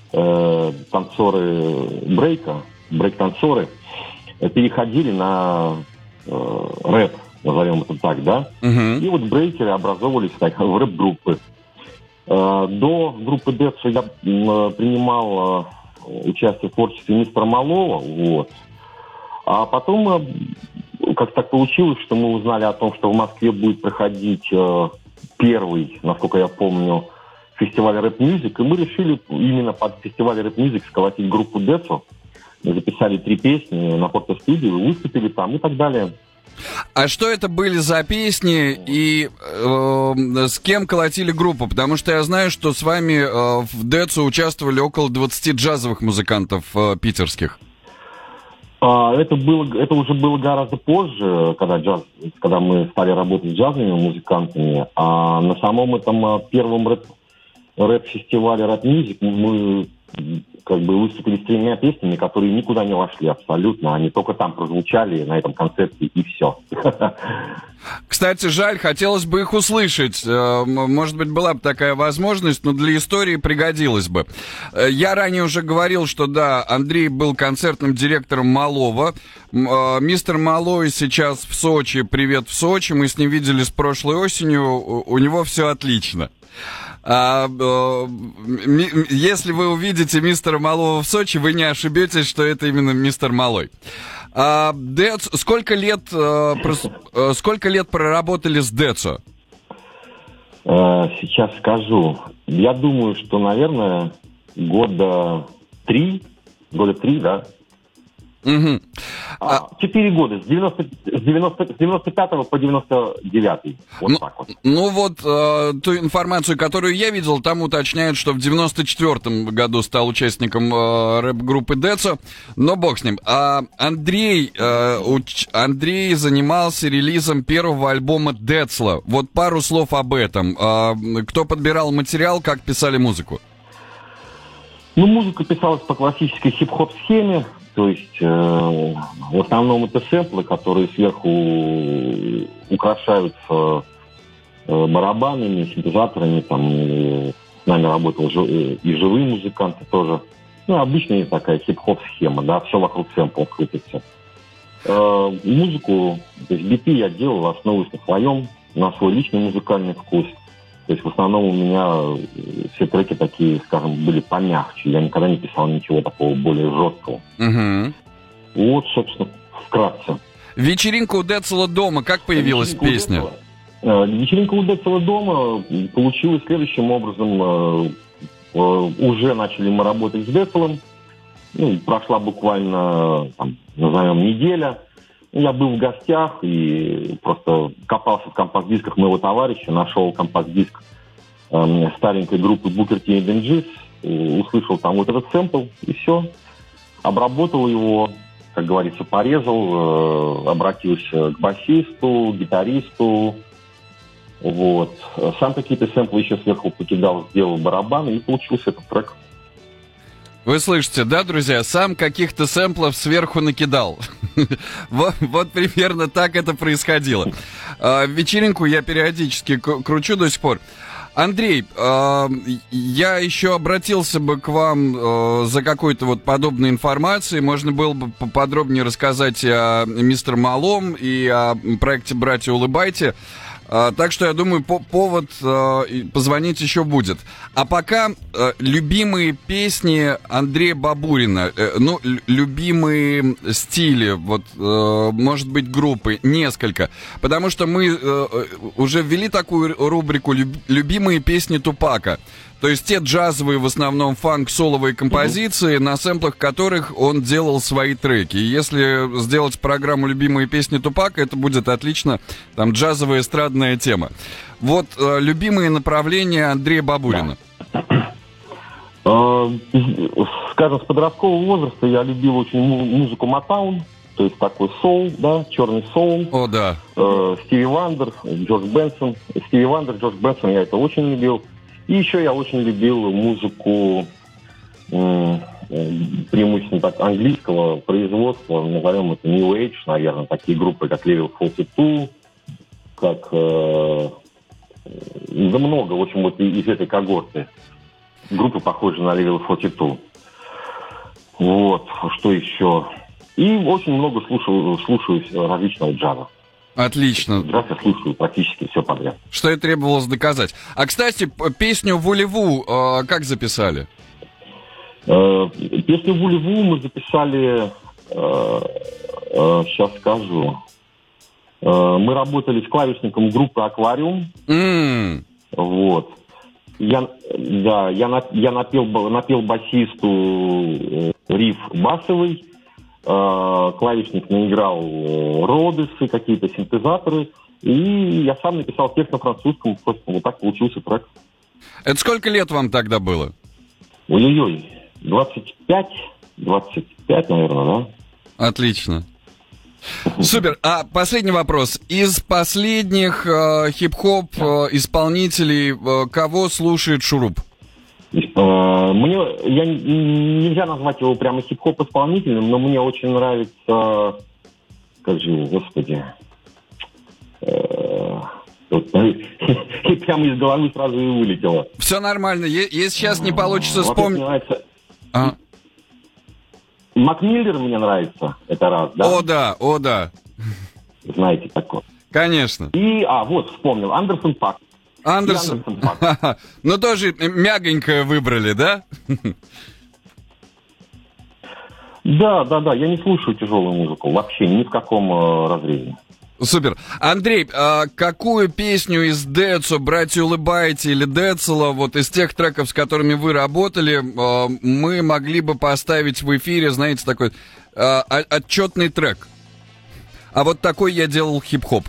танцоры брейк-танцоры переходили на рэп, назовем это так, да? И вот брейкеры образовывались в рэп-группы. До группы Децо я принимал участие в творчестве мистера Малова, вот. А потом как так получилось, что мы узнали о том, что в Москве будет проходить первый, насколько я помню, фестиваль рэп-мьюзик, и мы решили именно под фестиваль рэп-мьюзик сколотить группу Децо. Мы записали 3 песни на фотостудию, выступили там и так далее. А что это были за песни и с кем колотили группу? Потому что я знаю, что с вами в Децо участвовали около 20 джазовых музыкантов питерских. Это уже было гораздо позже, когда мы стали работать с джазовыми музыкантами. А на самом этом первом рэп-фестивале рэп-мьюзик мы как бы выступили с 3 песнями, которые никуда не вошли абсолютно. Они только там прозвучали на этом концерте, и все. Кстати, жаль, хотелось бы их услышать. Может быть, была бы такая возможность, но для истории пригодилось бы. Я ранее уже говорил, что да, Андрей был концертным директором Малова. Мистер Малой сейчас в Сочи. Привет в Сочи. Мы с ним виделись прошлой осенью. У него все отлично. Если вы увидите мистера Малова в Сочи, вы не ошибетесь, что это именно мистер Малой. Децо, сколько лет проработали с Децо? Сейчас скажу. Я думаю, что, наверное, года 3, да? Угу. 4 года, с 95 по 99. Вот так вот. Ну вот, ту информацию, которую я видел, там уточняют, что в 94-м году стал участником рэп-группы Децо, но бог с ним. Андрей занимался релизом первого альбома Децла. Вот пару слов об этом. Кто подбирал материал, как писали музыку? Ну, музыка писалась по классической хип-хоп-схеме. То есть в основном это сэмплы, которые сверху украшаются барабанами, синтезаторами. Там с нами работал и живые музыканты тоже. Ну, обычная такая хип-хоп-схема, да, все вокруг сэмплов крутится. Музыку, то есть биты я делал, основываясь на свой личный музыкальный вкус. То есть в основном у меня все треки такие, скажем, были помягче. Я никогда не писал ничего такого более жесткого. Угу. Вот, собственно, вкратце. «Вечеринка у Децла дома». Как появилась песня? «Вечеринка у Децла дома» получилась следующим образом. Уже начали мы работать с Децлом. Ну, прошла буквально, назовем, неделя. Я был в гостях и просто копался в компакт-дисках моего товарища, нашел компакт-диск старенькой группы Booker T and the MGs, услышал там вот этот сэмпл, и все. Обработал его, как говорится, порезал, обратился к басисту, гитаристу. Вот. Сам какие-то сэмплы еще сверху покидал, сделал барабаны, и получился этот трек. Вы слышите, да, друзья? Сам каких-то сэмплов сверху накидал. Вот примерно так это происходило. Вечеринку я периодически кручу до сих пор. Андрей, я еще обратился бы к вам за какой-то вот подобной информацией. Можно было бы поподробнее рассказать о мистер Малом и о проекте «Братья, улыбайте». Так что, я думаю, повод позвонить еще будет. А пока любимые песни Андрея Бабурина, любимые стили, вот, может быть, группы, несколько. Потому что мы уже ввели такую рубрику «Любимые песни Тупака». То есть те джазовые, в основном фанк-соловые композиции, на сэмплах которых он делал свои треки. И если сделать программу «Любимые песни Тупака», это будет отлично, там, джазовая эстрадная тема. Вот любимые направления Андрея Бабурина. Скажем, с подросткового возраста я любил очень музыку Мотаун, то есть такой соул, да, черный соул. О, да. Стиви Вандер, Джордж Бенсон. Стиви Вандер, Джордж Бенсон, я это очень любил. И еще я очень любил музыку преимущественно так английского производства, назовем это New Age, наверное, такие группы, как Level 42, как... да много, в общем, вот из этой когорты. Группы похожи на Level 42. Вот, что еще? И очень много слушаю различного джаза. Отлично. Джаз я слушаю практически все подряд. Что и требовалось доказать. А, кстати, песню «Вулеву» как записали? Песню «Вулеву» мы записали, сейчас скажу. Мы работали с клавишником группы «Аквариум». Вот. Я напел басисту риф басовый. Клавишник наиграл родесы, какие-то синтезаторы. И я сам написал текст на французском. Просто вот так получился трек. Это сколько лет вам тогда было? Ой-ой-ой. 25, наверное, да? Отлично. Супер. А последний вопрос. Из последних хип-хоп исполнителей кого слушает Шуруп? Нельзя назвать его прямо хип-хоп исполнителем, но мне очень нравится, как же его, господи, и прямо из головы сразу и вылетело. Все нормально. Если сейчас не получится вспомнить... Мак Миллер мне нравится, это раз, да? О да. Знаете такое. Конечно. И, вот, вспомнил, Андерсон Пак. Андерсон Пак. Ну, тоже мягонькое выбрали, да? Да, я не слушаю тяжелую музыку, вообще ни в каком разрезе. Супер. Андрей, какую песню из Децо, «Братья улыбайте» или Децела, вот из тех треков, с которыми вы работали, мы могли бы поставить в эфире, знаете, такой отчетный трек? А вот такой я делал хип-хоп.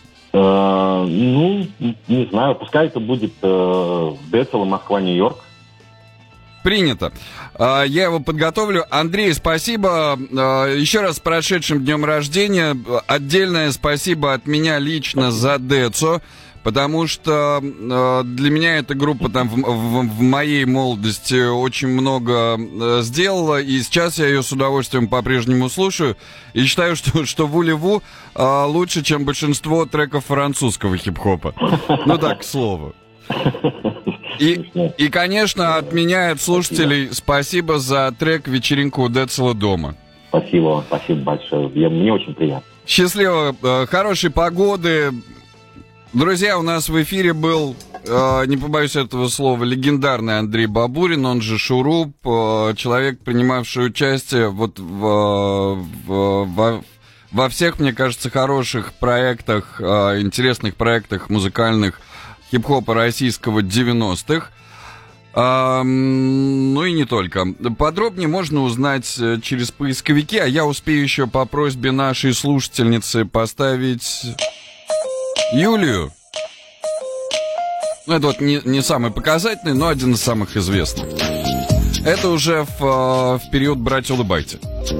Не знаю, пускай это будет Децела, Москва, Нью-Йорк. Принято. Я его подготовлю. Андрей, спасибо. Еще раз с прошедшим днем рождения. Отдельное спасибо от меня лично за Децо, потому что для меня эта группа там в моей молодости очень много сделала, и сейчас я ее с удовольствием по-прежнему слушаю, и считаю, что «Вулеву» лучше, чем большинство треков французского хип-хопа. Ну так, к слову. И, конечно, от меня, от слушателей, спасибо за трек «Вечеринку у Децела дома». Спасибо большое. Мне очень приятно. Счастливо, хорошей погоды. Друзья, у нас в эфире был, не побоюсь этого слова, легендарный Андрей Бабурин, он же Шуруп, человек, принимавший участие вот во всех, мне кажется, хороших проектах, интересных проектах музыкальных хип-хопа российского 90-х. Ну и не только. Подробнее можно узнать через поисковики, а я успею еще по просьбе нашей слушательницы поставить Юлию. Ну, это вот не самый показательный, но один из самых известных. Это уже в период «Братья улыбайте».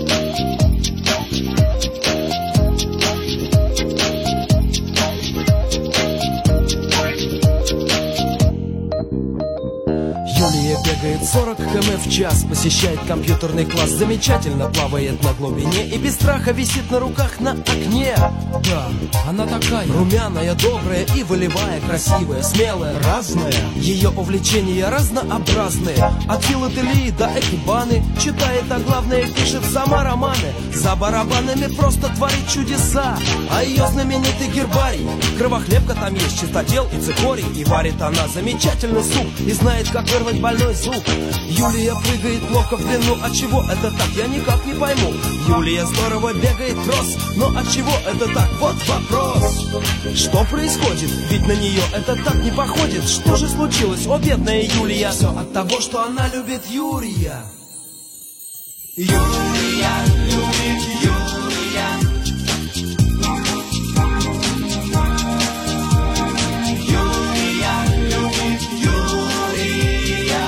Юлия бегает 40 км в час, посещает компьютерный класс, замечательно плавает на глубине и без страха висит на руках на окне. Да, она такая румяная, добрая и волевая, красивая, смелая, разная. Ее увлечения разнообразные, от филателии до экибаны. Читает, а главное пишет сама романы. За барабанами просто творит чудеса. А ее знаменитый гербарий, кровохлебка там есть, чистотел и цикорий. И варит она замечательный суп, и знает, как вырвать больной зуб. Юлия прыгает плохо в длину, от чего это так, я никак не пойму. Юлия здорово бегает кросс, но от чего это так, вот вопрос. Что происходит, ведь на нее это так не походит. Что же случилось, о бедная Юлия? Все от того, что она любит Юрия. Юлия любит Юрия. Юлия любит Юрия.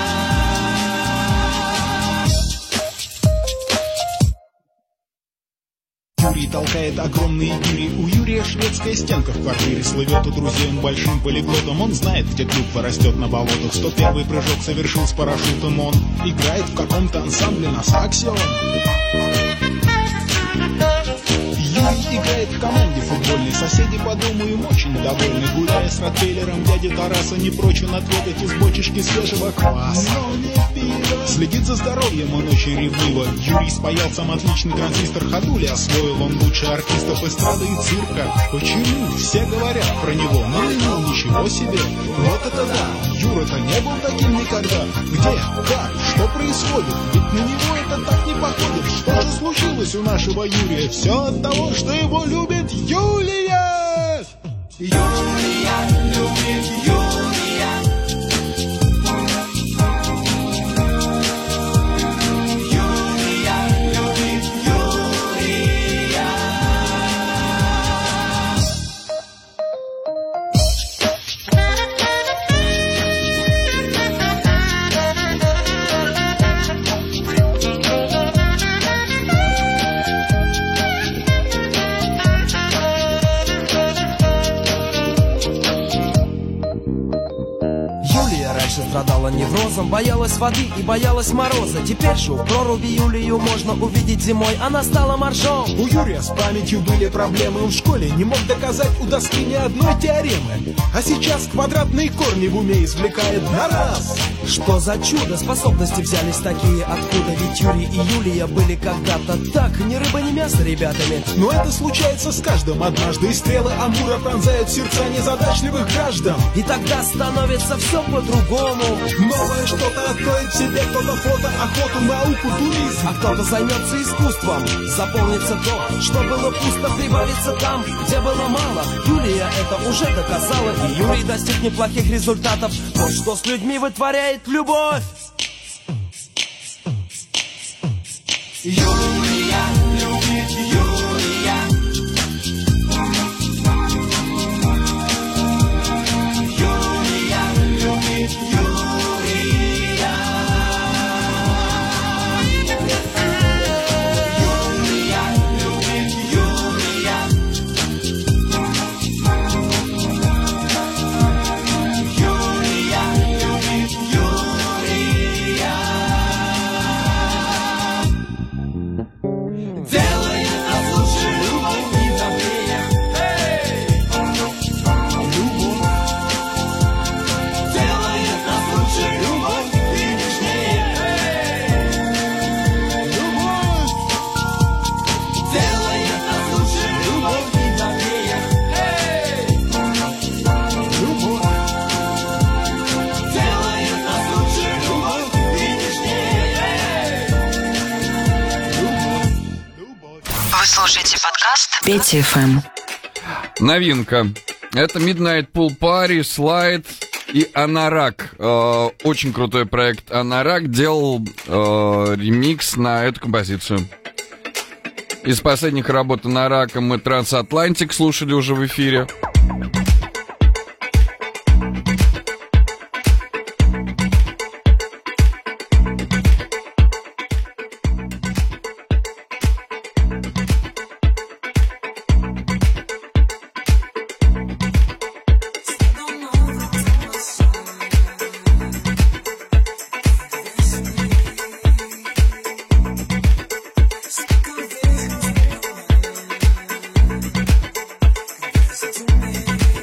Юрий толкает огромные гири. У Юрия шведская стенка в квартире. Слывет у друзей он большим полиглотом. Он знает, где клюква растет на болотах. 101-й прыжок совершил с парашютом. Он играет в каком-то ансамбле на саксе. Юрий играет в команде футбольной. Соседи по дому им очень довольны. Гуляя с ротвейлером, дядя Тараса не прочь он отведать из бочечки свежего кваса. Следит за здоровьем он очень ревниво. Юрий спаял сам отличный транзистор ходули. Освоил он лучше артистов эстрады и цирка. Почему? Все говорят про него. Ну, ничего себе. Вот это да. Юра-то не был таким никогда. Где? Как? Что происходит? Ведь на него это так не походит. Что же случилось у нашего Юрия? Все от того, что его любит Юлия. Юлия любит Юрия. Страдала неврозом, боялась воды и боялась мороза. Теперь же у проруби Юлию можно увидеть зимой. Она стала моржом. У Юрия с памятью были проблемы. Он в школе не мог доказать у доски ни одной теоремы. А сейчас квадратные корни в уме извлекает на раз. Что за чудо, способности взялись такие откуда? Ведь Юрий и Юлия были когда-то так, ни рыба, ни мясо ребятами. Но это случается с каждым однажды. И стрелы Амура пронзают сердца незадачливых граждан. И тогда становится все по-другому. Новое что-то откроет в себе. Кто-то фото, охоту, науку, туризм. А кто-то займется искусством. Заполнится то, что было пусто, прибавится там, где было мало. Юлия это уже доказала. И Юрий достиг неплохих результатов. Вот что с людьми вытворяет любовь. Юлия любит Юрия. Юлия любит Юрия. Юлия любит Юрия. Юлия любит Юрия. Делает нас лучше любовь и добрее. Любовь делает нас лучше, любовь и нежнее. Любовь делает нас лучше, любовь и добрее. Любовь делает нас лучше, любовь и нежнее. Вы слушаете подкаст Петя FM. Новинка. Это Midnight Pool Party, Slide и Анарак. Очень крутой проект Анарак делал ремикс на эту композицию. Из последних работ Анарака мы Трансатлантик слушали уже в эфире. Stick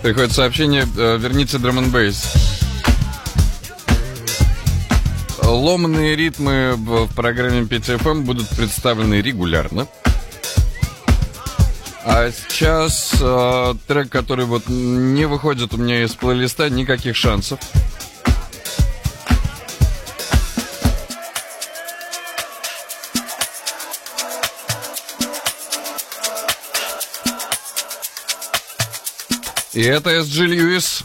Приходит сообщение, верните драм н бейс. Ломаные ритмы в программе Петя ФМ будут представлены регулярно. А сейчас трек, который вот не выходит у меня из плейлиста, никаких шансов. И это SG Lewis.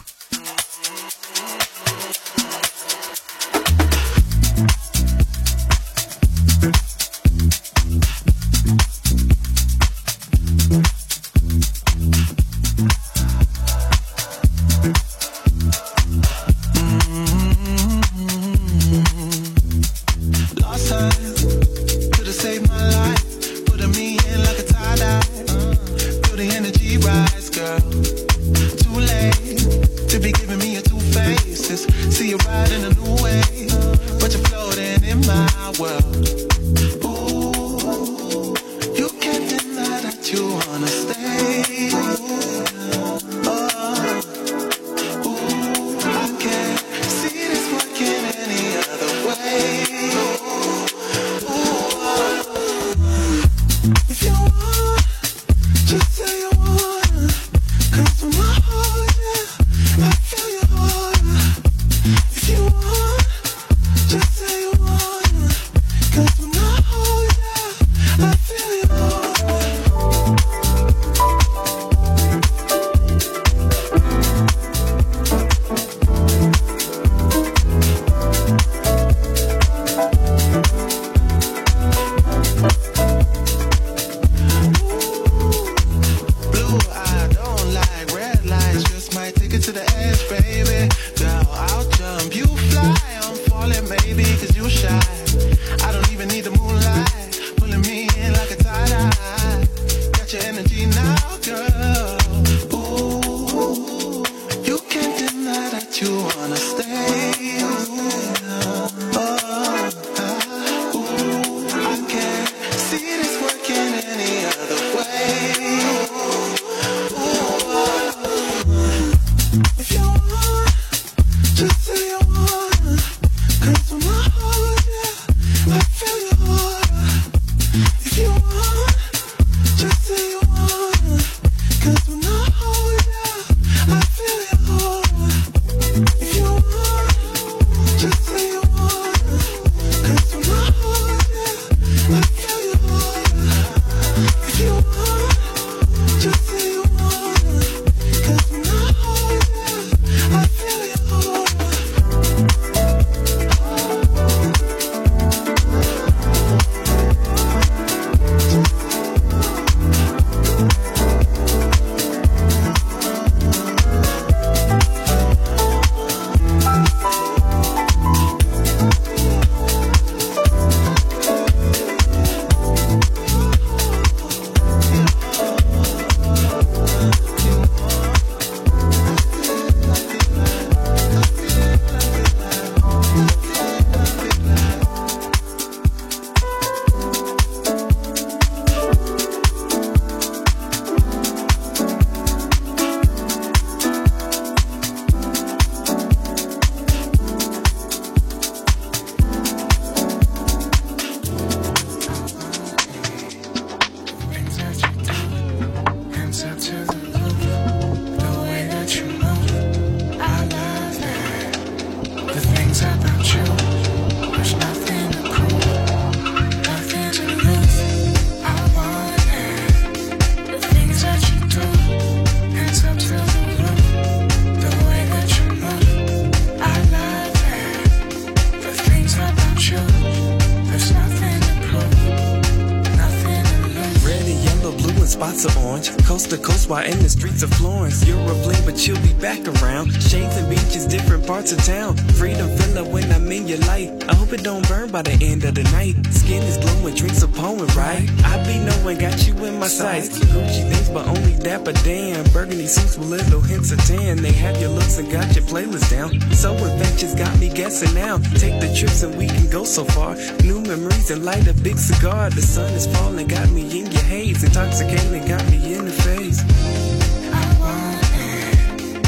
spots of orange, coast to coast while in the streets of Florence. You're a bling, but you'll be back around. Shades and beaches, different parts of town. Freedom feeling when I'm in your light. I hope it don't burn by the end of the night. Skin is glowing, drinks a poem, right? I be knowing, got you in my sights. Gucci things, but only dapper damn. Burgundy suits with little hints of tan. They have your looks and got your playlist down. So infectious, got me guessing now. Take the trips and we can go so far. New memories and light a big cigar. The sun is falling, got me in your haze. Intoxicating, got me in the face. I want it.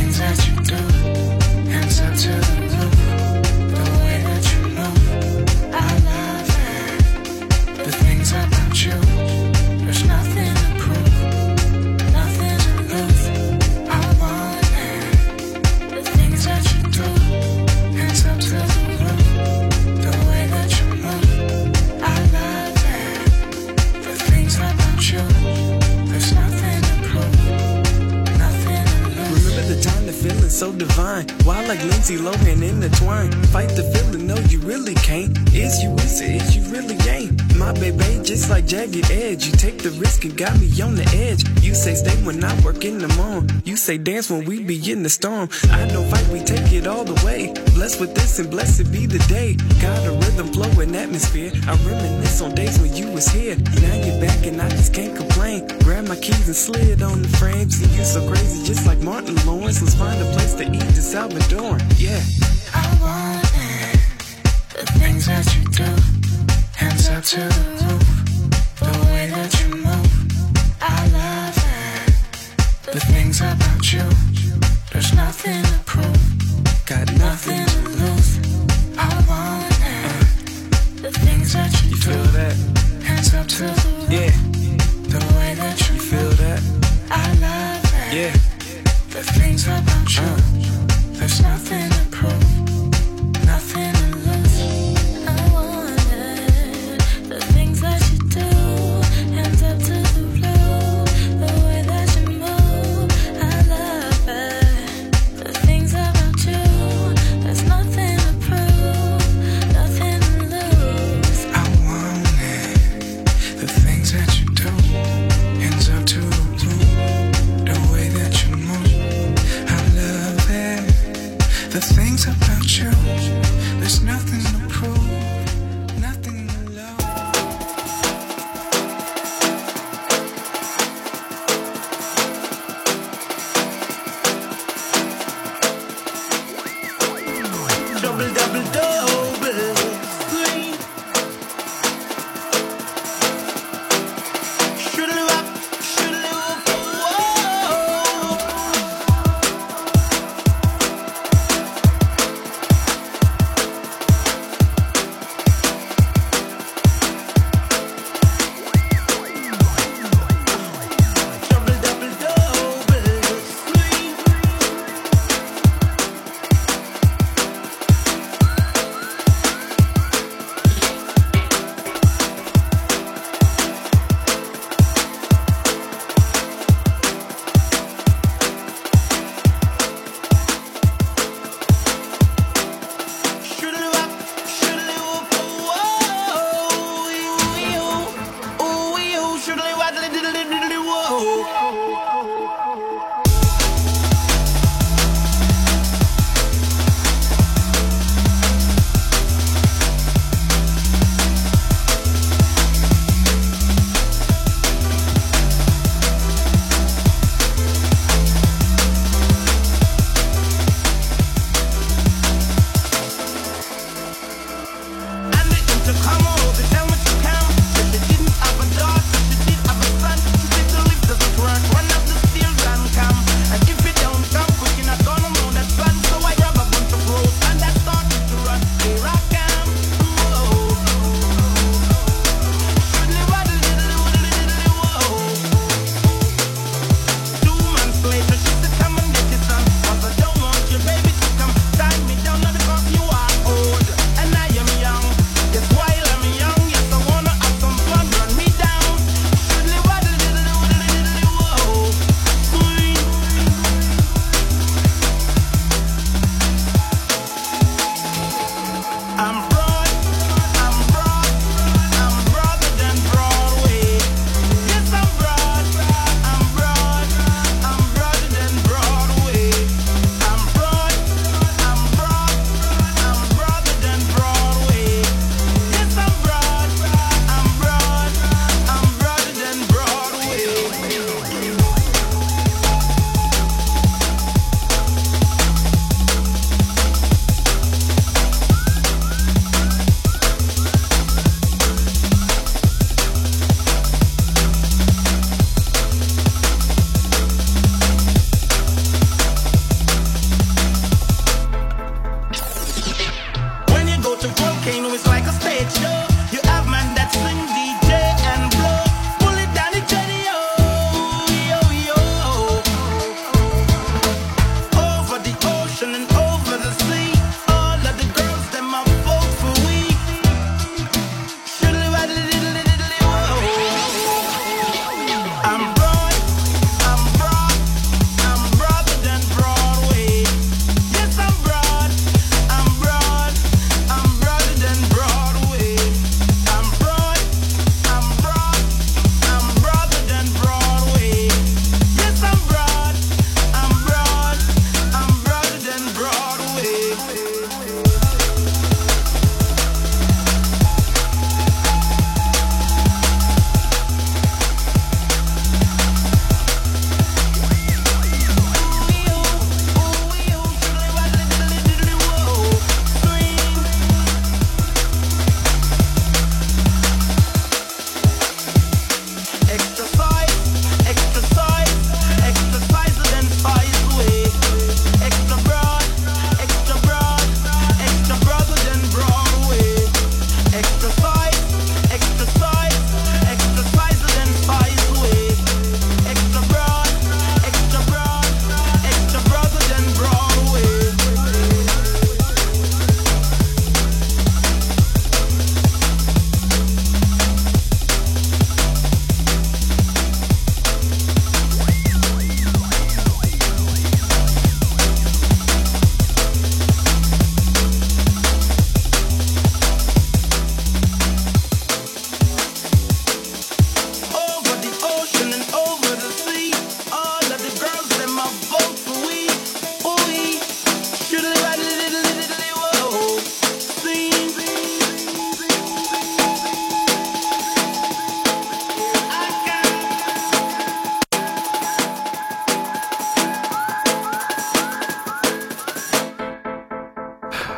things that you do, hands up to the roof. The way that you move, I love it. The things about you, there's nothing to prove, nothing to lose. I want it. The things that you do, hands up to the roof. The way that you move, I love it. The things about you, there's nothing to prove, nothing to lose. Remember the time the feeling so divine, wild like Lindsay Lohan intertwined. Fight the feeling, no you really can't. Is you is it, is you really ain't. My baby just like jagged edge. You take the risk and got me on the edge. You say stay when I work in the morn. You say dance when we be in the storm. I don't fight, we take it all the way. Blessed with this and blessed be the day. Got a rhythm, flow, and atmosphere. I reminisce on days when you was here. Now you're back and I just can't complain. Grab my keys and slid on the frames. And you so crazy just like Martin Lawrence. Let's find a place to eat the Salvadoran. Yeah. I want it. The things that you do, hands up to the roof. The way that you move, I love it. The things about you, there's nothing to prove, got nothing to lose. I want it. The things that you do, feel that? Hands up to the roof. Yeah. The way that you feel that? I love it. Yeah. The things about you, there's nothing to prove, nothing to lose. I want it. The things that you do, hands up to the roof. The way that you move, I love it. The things about you, there's nothing to prove, nothing to lose. I want it. The things that you do, hands up to the roof. The way that you move, I love it. The things about you, there's nothing to prove, nothing to love. Double, double, double. Sweet. Shoodle-up, shoodle-up, whoa. Double, double, double. Sweet.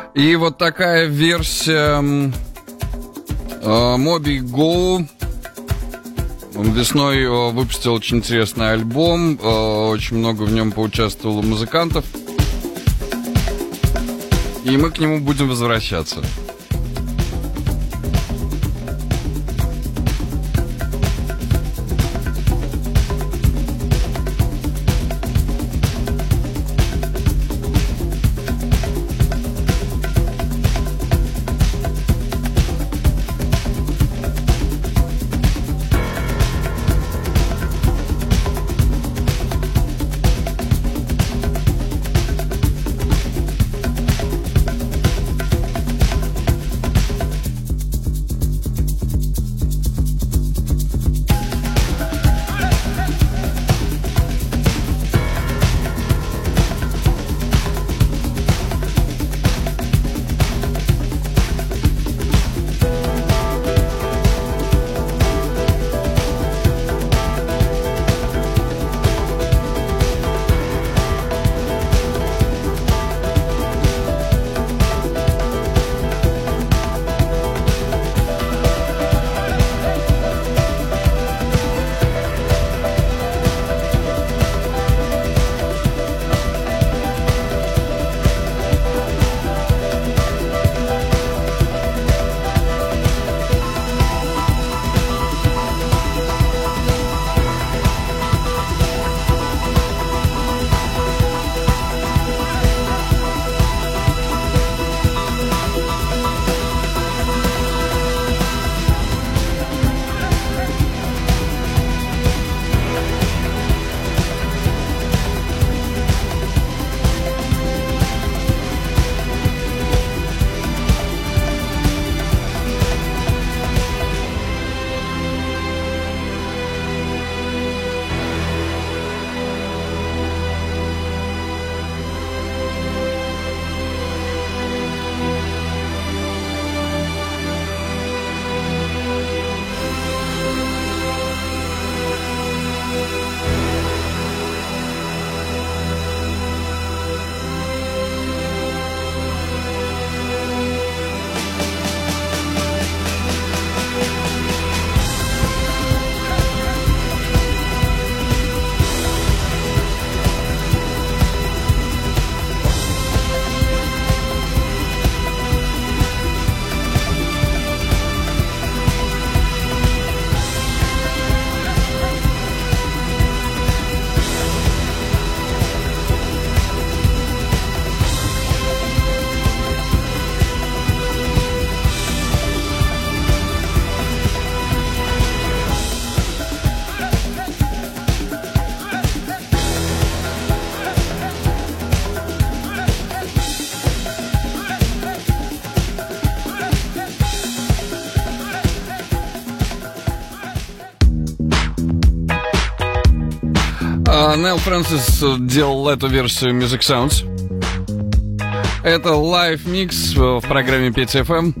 И вот такая версия Moby Go. Он весной выпустил очень интересный альбом. Очень много в нем поучаствовало музыкантов. И мы к нему будем возвращаться. Нейл Фрэнсис делал эту версию Music Sounds. Это лайв-микс в программе Петя ФМ.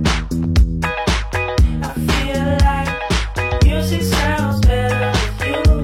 Music sounds better with you.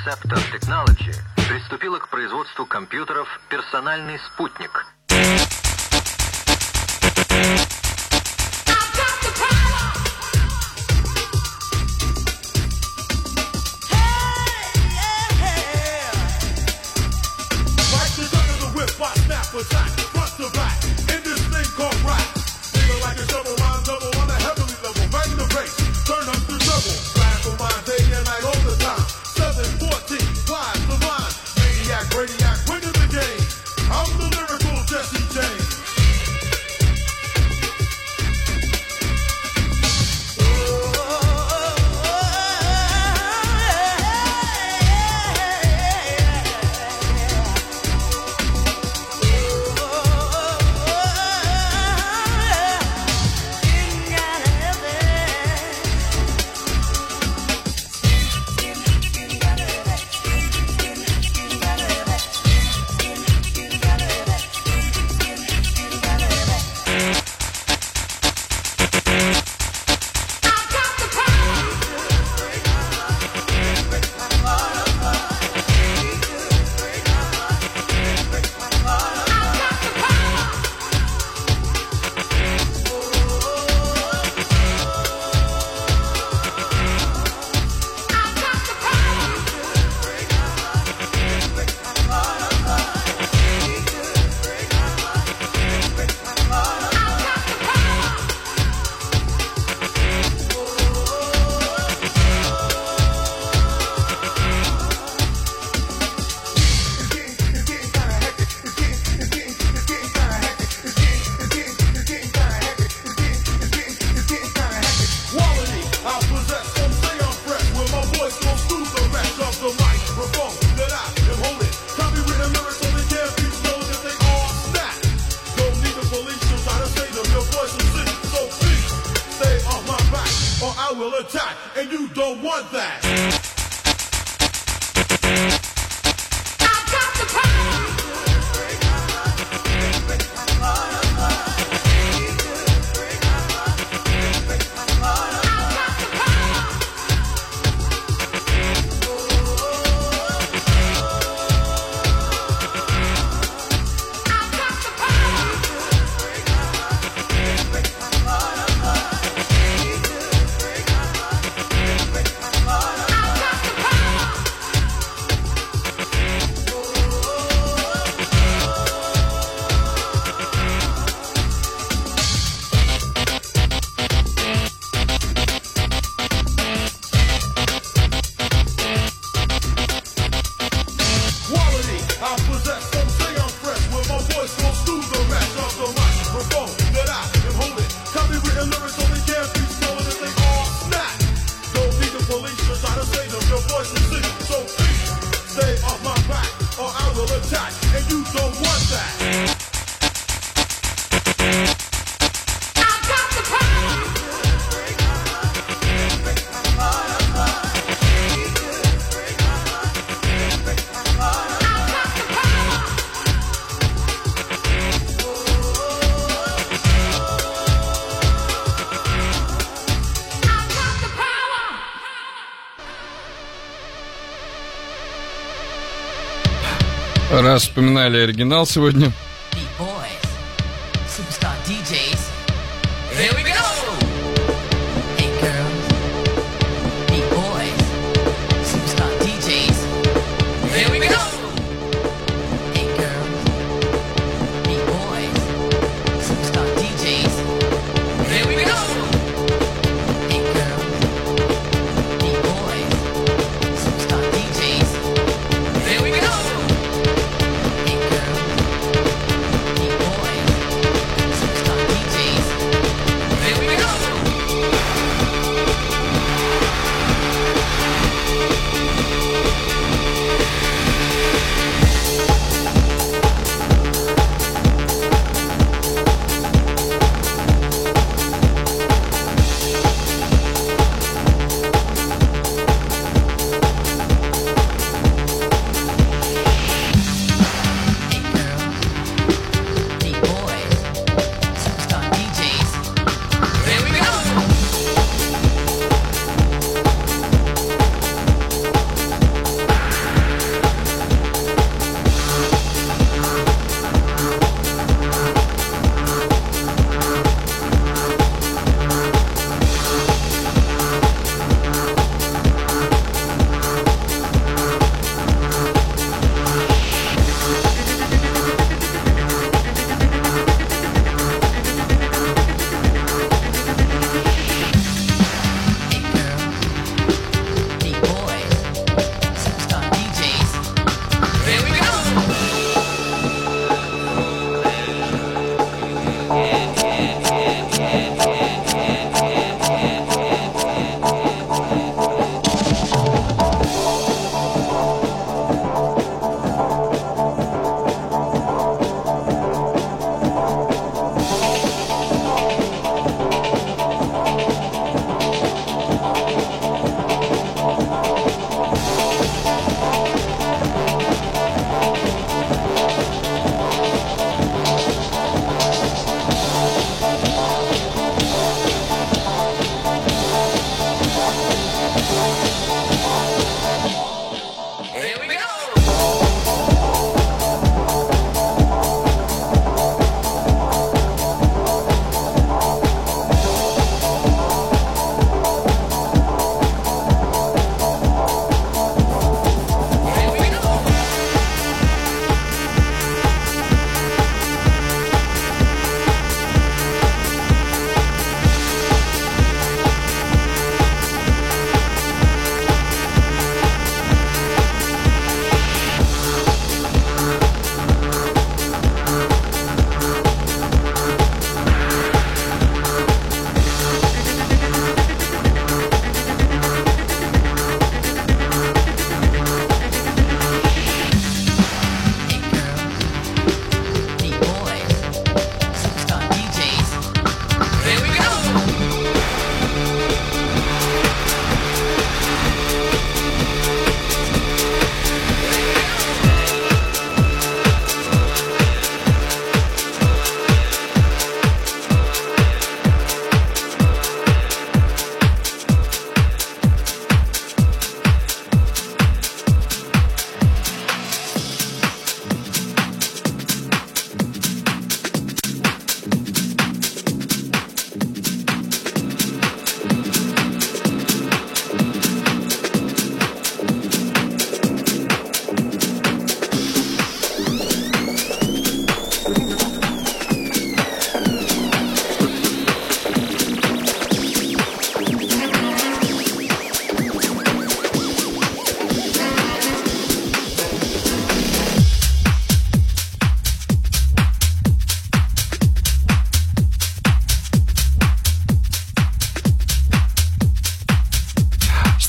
Scepter Technology приступила к производству компьютеров «Персональный спутник». Attack, front to back, in this thing called rap. Feeling like a double rhyme double on a heavenly level. Bang the bass, turn up the double. Flash for mine day and night all the time. 714, flies the line. Maniac, radiac, winning the game. I'm the lyrical Jesse James. Раз вспоминали оригинал сегодня.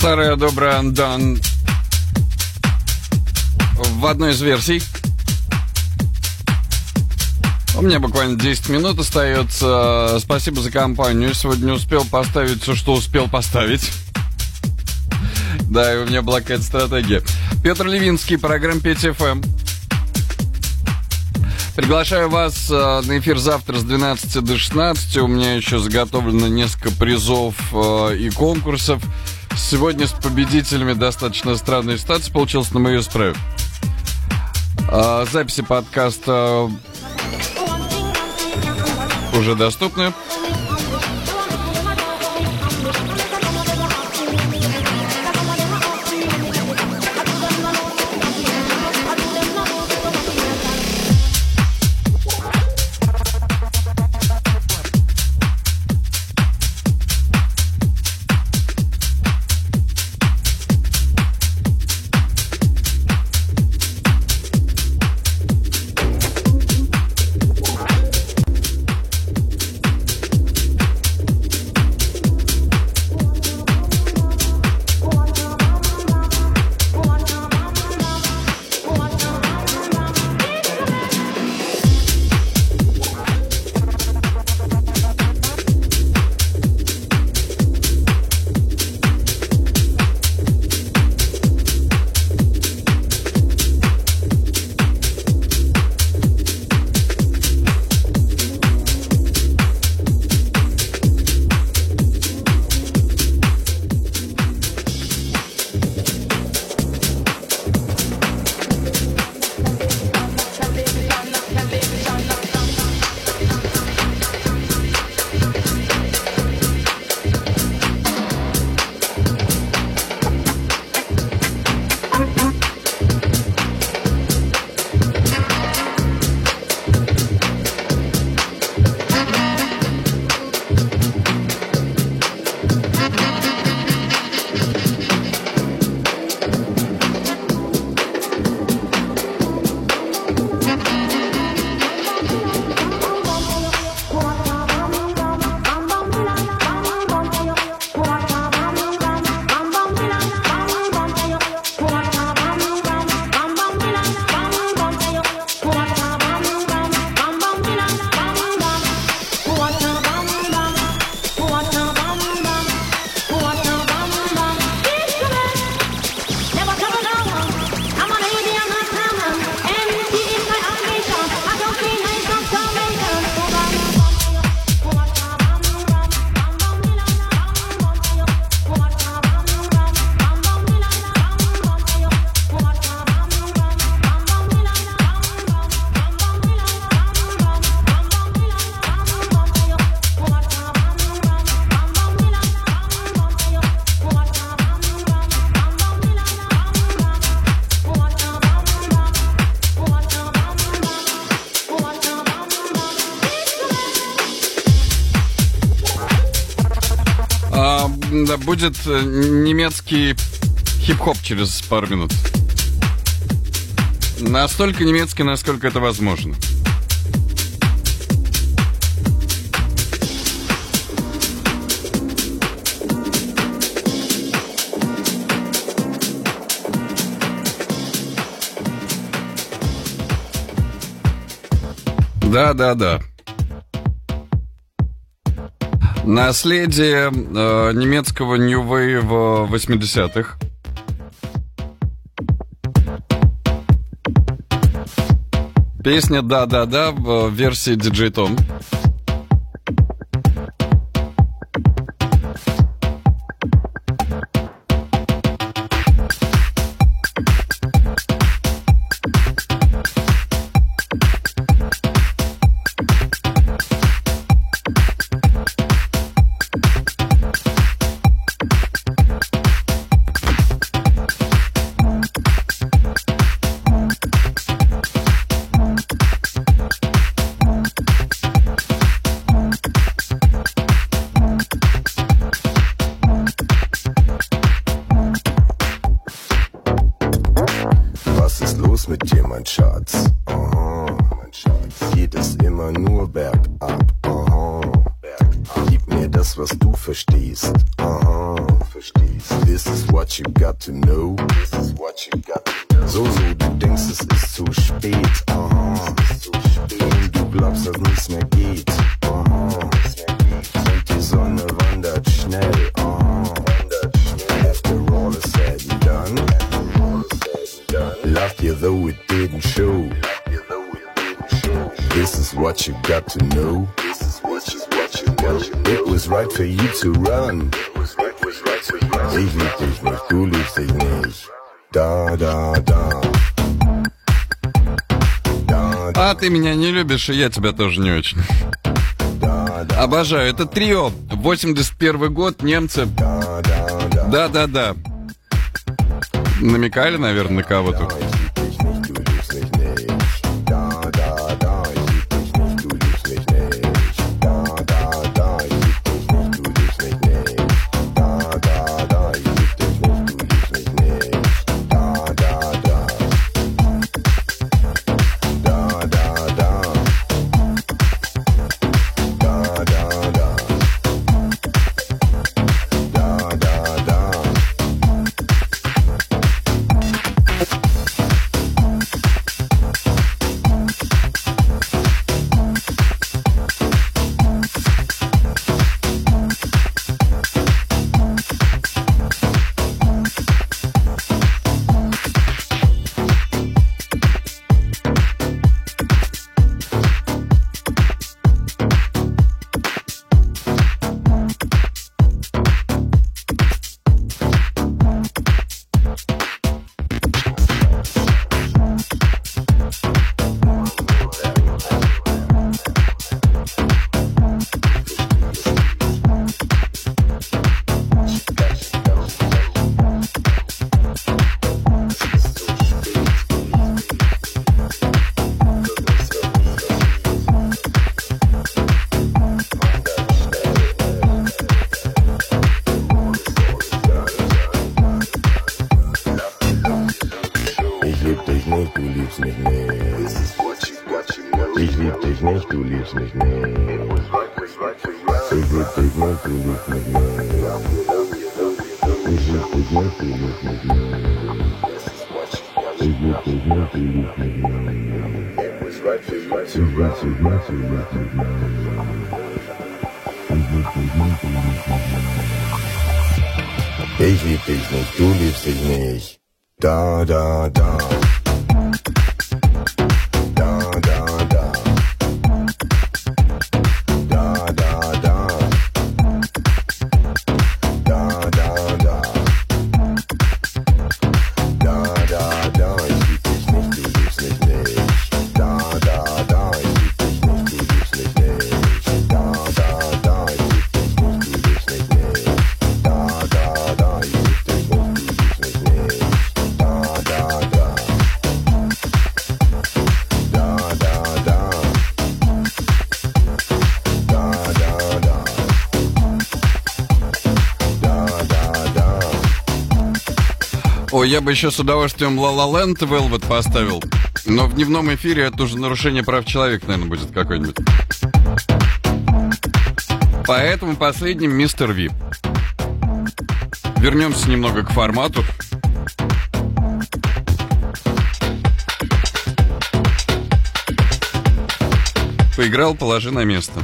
Старая добрая Undone в одной из версий. У меня буквально 10 минут остается. Спасибо за компанию. Сегодня успел поставить все, что успел поставить. Да, и у меня была какая-то стратегия. Петр Левинский, программа Петя ФМ. Приглашаю вас на эфир завтра с 12 до 16. У меня еще заготовлено несколько призов и конкурсов. Сегодня с победителями достаточно странная ситуация получилась, но мы ее исправим. Записи подкаста уже доступны. Да, будет немецкий хип-хоп через пару минут. Настолько немецкий, насколько это возможно. Да. Наследие немецкого New Wave 80-х. Песня «Да» в версии DJ Tom. Mit dir, mein Schatz. Geht es immer nur bergab. Gib mir das, was du verstehst. This is what you got to know. So, du denkst, es ist zu spät. Aha. Und du glaubst, dass nichts mehr geht. Aha. Und die Sonne wandert schnell. Aha. After all is said and done. Loved you though it didn't show. This is what you got to know. It was right for you to run. Ich lieb dich nicht, du liebst dich nicht. Da, da, da. А ты меня не любишь, и я тебя тоже не очень. Обожаю. Это трио. 81 год, немцы. Да-да-да. Намекали, наверное, на кого-то. Ich lieb dich nicht, du liebst dich nicht. Da, da, da. Ой, я бы еще с удовольствием La La Land Velvet поставил. Но в дневном эфире это уже нарушение прав человека, наверное, будет какое-нибудь. Поэтому последним Мистер Ви. Вернемся немного к формату. Поиграл, положи на место.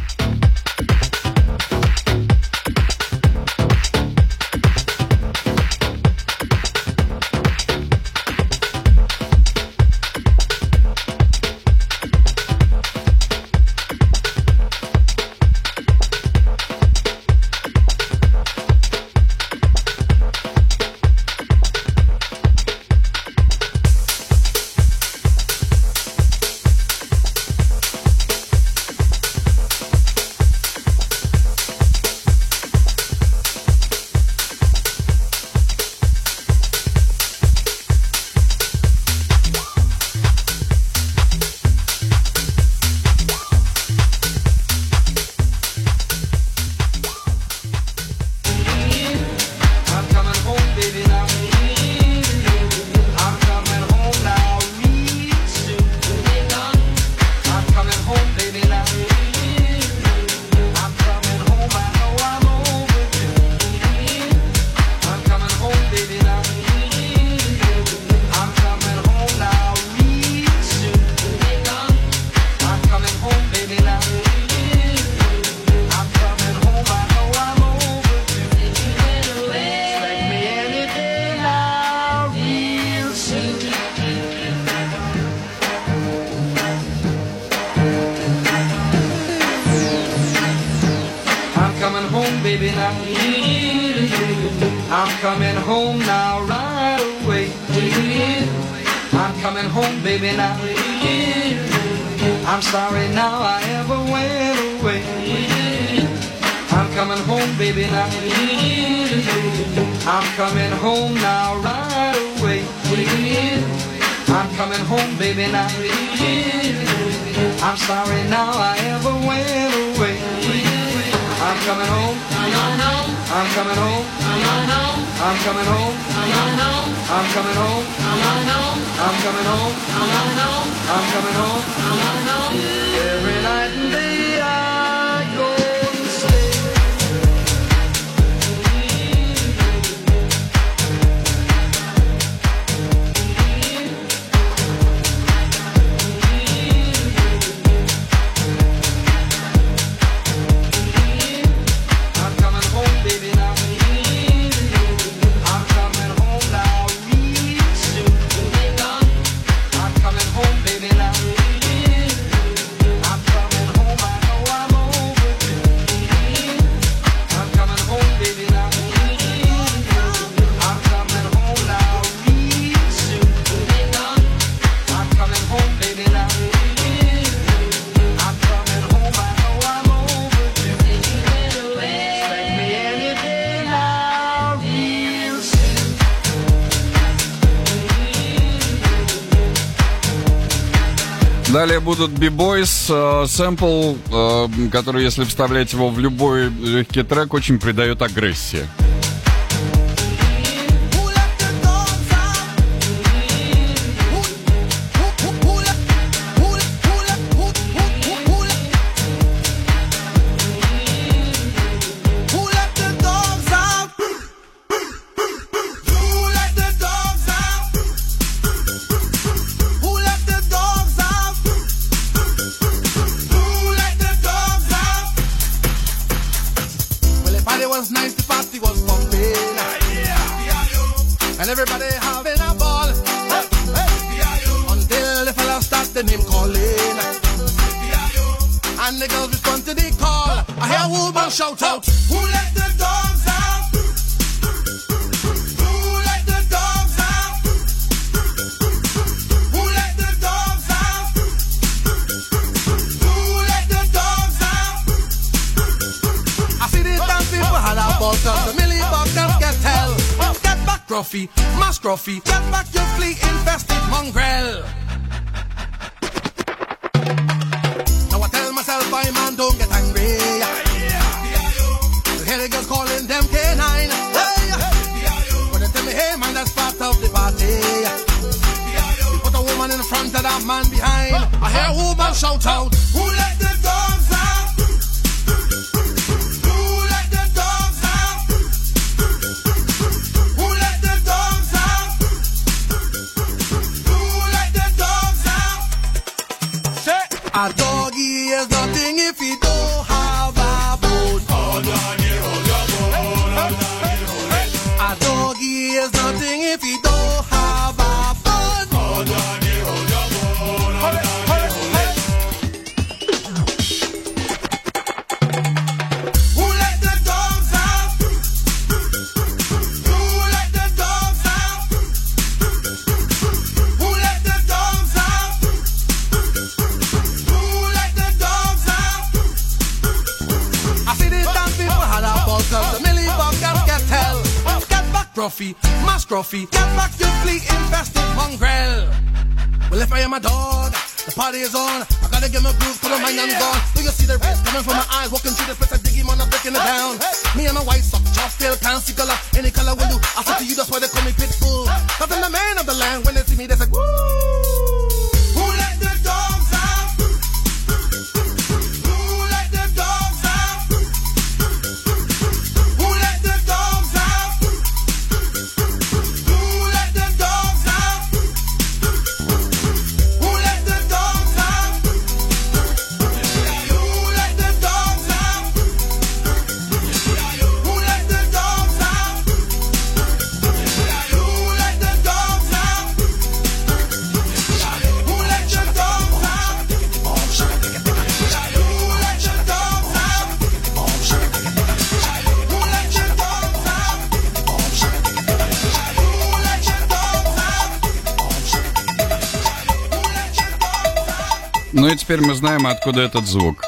I'm coming home now right away. I'm coming home, baby, now. I'm sorry now I ever went away. I'm coming home, baby, now. I'm coming home now right away. I'm coming home, baby, now. I'm sorry now I ever went away. I'm coming home. I'm coming home. I'm coming home. I'm coming home. I'm coming home. I'm coming home. Every night and day I go and stay. I'm coming home, baby, now. I'm coming home now, real soon. I'm coming home, baby, now. I'm coming home, I know I'm overdue. I'm coming home, baby, now. I'm coming home now, real soon. I'm coming home, baby, now. I'm coming home, I know I'm overdue. Expect me any day now, real soon. Далее будут B-Boys, сэмпл, который, если вставлять его в любой легкий трек, очень придает агрессии. Who let the dogs out? Who let the dogs out? Who let the dogs out? Who let the dogs out? Well, the party was nice, the party was pumping, and everybody having a ball. Until the fella start the name calling, and the girls respond to the call. I hear a woman shout out, who let the dogs out? Who let the dogs out? Who let the dogs out? Who let the dogs out? I see the dance people had a ball, cause the Millie Buckers get hell. Get back, Gruffy, Mass Gruffy, get back your flea-infested mongrel. Now I tell myself, I man, don't get angry. You hear the girls calling them K9. Hey, but they tell me, hey man, that's part of the party. You put a woman in front of that man behind. I hear a woman shout out, who let the dogs out? Who let the dogs out? Who let the dogs out? Who let the dogs out? Say, a doggy is nothing if he don't have a bone. A doggy is nothing if he don't have a bone. Who let the dogs out? Who let the dogs out? Who let the dogs out? Who let the dogs out? I see these damn people had a ball, cause the Millie Buckers get hell. Get back, Gruffy, Mass Gruffy, get back your flea-infested mongrel. Well, if I am a dog, the party is on. I gotta get my groove, put on my name gone. Do you see the rays coming from my eyes? Walking through the place, I dig him on, I'm breaking it down. Me and my white sock, chop, tail, fancy color, any color will do. I said to you, that's why they call me Pitbull. Cause I'm the man of the land. When they see me, they say, woo! Who let the dogs out? Who let the dogs out? Who let the dogs out? Who let the dogs out? Who let the dogs out? Who let the dogs out? Who let the dogs out? Who let the dogs out? Ну и теперь мы знаем, откуда этот звук.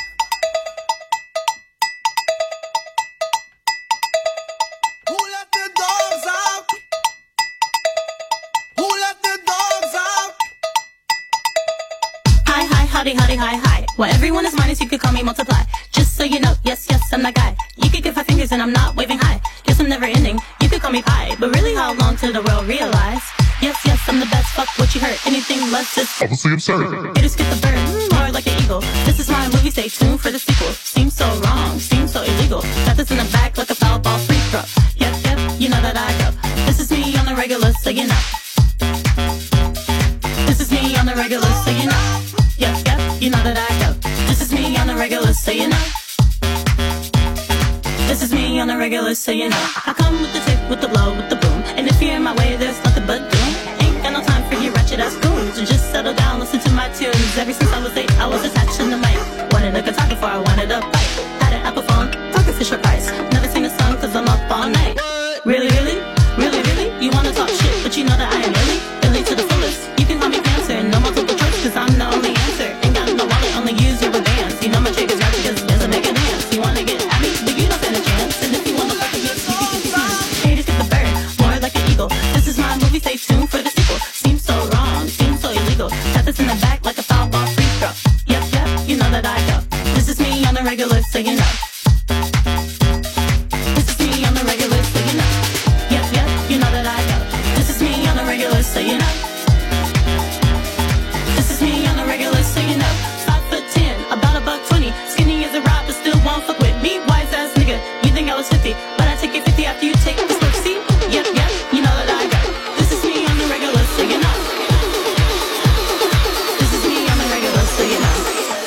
Hi. Well, everyone is minus, you could call me multiply. Just so you know, yes, I'm that guy. You could get 5 fingers and I'm not waving high. Guess I'm never ending, you could call me pie. But really, how long till the world realize? Yes, I'm the best, fuck what you heard. Anything less is obviously absurd. Haters get the bird, more like an eagle. This is my movie, stay tuned for the sequel. Seems so wrong, seems so illegal. Got this in the back like a foul ball free throw. Yep, you know that I go. This is me on the regular, so you know. This is me on the regular, so you know. Yep, you know that I go. This is me on the regular, so you know. This is me on the regular, so you know. I come with the tip, with the blow, with the boom. And if you're in my way, there's nothing but doom. Ain't got no time for you ratchet ass goons. So just settle down, listen to my tunes. Ever since I was 8, I was attached to the mic. Wanted a guitar before I wanted a bike. Had an Apple phone, talking Fisher Price. Never sing a song cause I'm up all night. Really? You wanna talk shit, but you know that I am really to the fullest. You can call me cancer, no multiple choice cause I'm the only answer. Ain't got no wallet, only use your bands. You know my trick is right because there's a mega dance. You wanna get at me, but you don't stand a chance. And if you wanna fuck a good haters get the bird, more like an eagle. This is my movie, stay tuned for the sequel. Seems so wrong, seems so illegal. Got this in the back like a foul ball free throw. Yep, you know that I go. This is me on the regular, so you know. This is me on the regular, so you know. Yep, you know that I go. This is me on the regular, so you know. This is me on the regular, so you know. 5'10", about $120. Skinny as a rock, but still won't fuck with me. Wise ass nigga, you think I was 50, but I take it 50 after you take this look. See? Yep, you know that I go. This is me on the regular, so you know. This is me on the regular, so you know.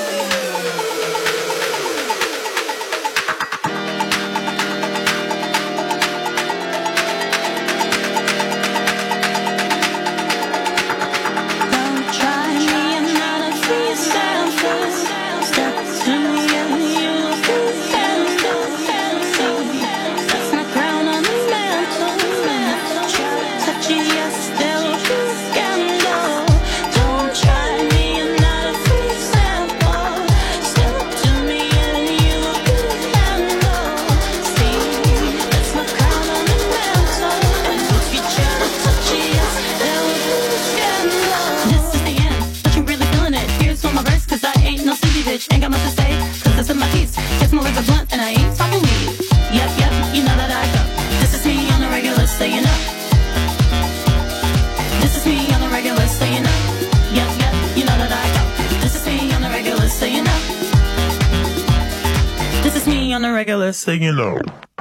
Ain't got much to say, cause this is my piece. Kiss my lips are blunt and I ain't talking weed. Yep, you know that I go. This is me on the regular, so you know. This is me on the regular, so you know. Yep, you know that I go. This is me on the regular, so you know. This is me on the regular, so you know.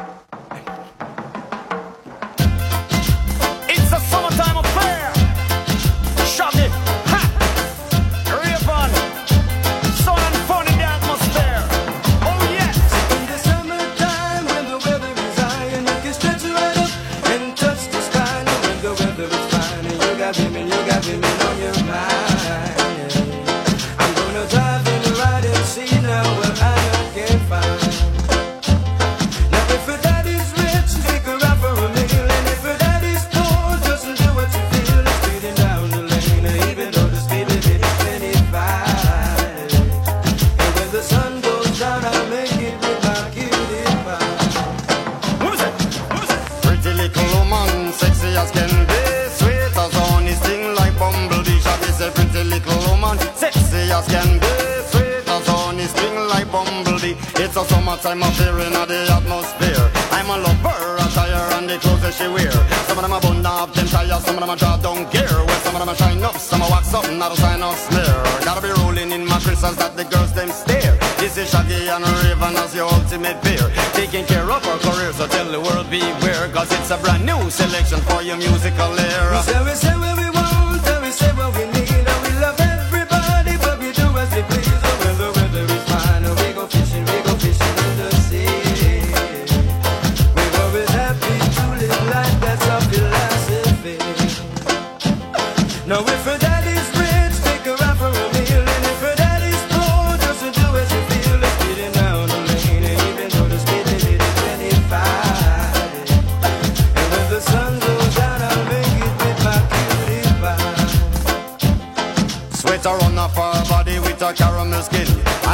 It's a summertime affair. Shove it. Ha! Rave on. Sun and fun in the atmosphere. Oh yes. In the summertime when the weather is high and you can stretch right up and touch the sky. And when the weather is fine and you got women on your mind. I'm gonna drive and ride and see now what I can find. Now if your daddy's rich, take her out for a meal. And if your daddy's poor, just do what you feel. It's speeding down the lane, even though the speed limit is 25. And when the sun goes down, I'll make it with my cutie pie. Who's it? Pretty little woman, sexy as can be, sweet as honey, sting like bumblebee. Shabby said, pretty little woman, sexy as can be, sweet as honey, sting like bumblebee. It's a summertime affair in the atmosphere. I'm a lover, attire and the clothes that she wear. Some of them are bun up, them tires, some of them are draw down gear. Well, some of them are shine up, some are wax up, not a sign of smear. Gotta be rolling in my crystals that the girls them stare. This is Shaggy and Raven as your ultimate pair. Taking care of our career, so tell the world beware. Cause it's a brand new selection for your musical era. We say what we want, and we say what we need. And we love everybody, but we do as we please. And when the weather is fine, and we go fishing in the sea. We're always happy to live life, that's our philosophy. Now if her daddy's rich, take her out for a meal. And if her daddy's poor, just do as you feel. It's speeding down the lane, and even though the speed limit is 25. And when the sun goes down, I'll make it with my cutie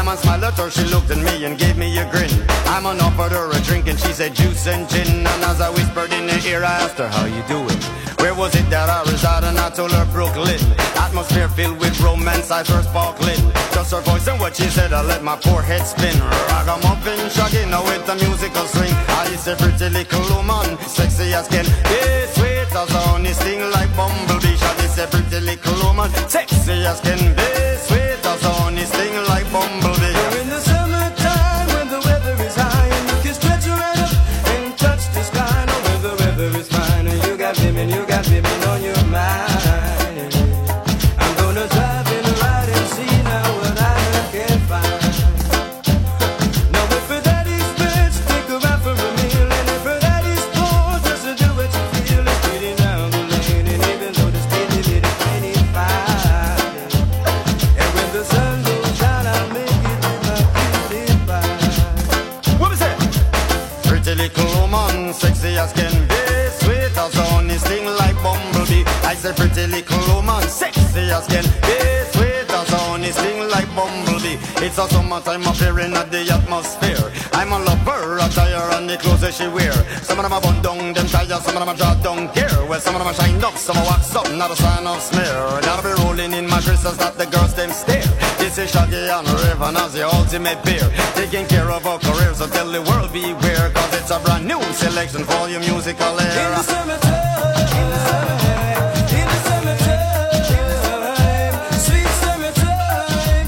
man smiled at her, she looked at me and gave me a grin. I man offered her a drink and she said juice and gin. And as I whispered in her ear, I asked her, how you doing? Where was it that I resided? And I told her Brooklyn. Atmosphere filled with romance, I first sparkling. Just her voice and what she said, I let my poor head spin. Ragamuffin, shagging now with the musical swing. I is a pretty little woman, sexy as can be, sweet as honey, sting like bumblebee. She is a pretty little woman, sexy as can be, sweet as honey, sting like bumblebee. You're in the summertime when the weather is high and you can stretch right up and touch the sky. Now when the weather is fine and you got women on your mind. I'm gonna drive in right and see now what I can find. Now if her daddy's rich, take her out for a meal, and if her daddy's poor, just to do what you feel. It's pretty down the lane, and even though the speed limit is 25, and when the sun goes down, I'll make it with my cutie pie. What was that? Pretty little woman, sexy as can be, sweet as honey, sting like bumblebee. I said pretty little woman, sexy as can be, sweet as honey, sting like bumblebee. It's a summertime appearing at the atmosphere. I'm a lover, attire and the clothes that she wear. Some of them are bun down, them tires, some of them are draw down gear. Well, some of them are shine up, some are wax up, not a sign of smear. Now be rolling in my crystals that the girls them stare. This is Shaggy and Raven as the ultimate beer. Taking care of our careers, so tell the world beware, cause it's a brand new selection for your musical era. In the summertime, in the summertime, in the summertime, sweet summertime.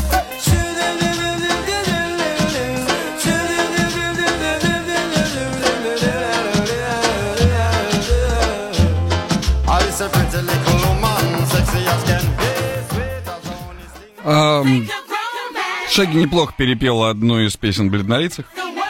I is a pretty little woman, sexy as can be, sweet as honey. Шаги неплохо перепел одну из песен «Бледнолицых».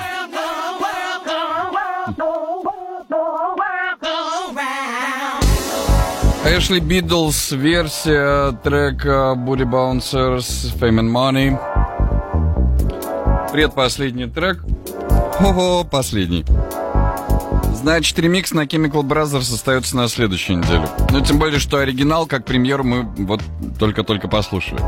Эшли Бидлз, версия трека Booty Bouncers, Fame and Money. Предпоследний трек. Ого, последний. Значит, ремикс на Chemical Brothers остается на следующей неделе. Ну, тем более, что оригинал, как премьеру, мы вот только-только послушали.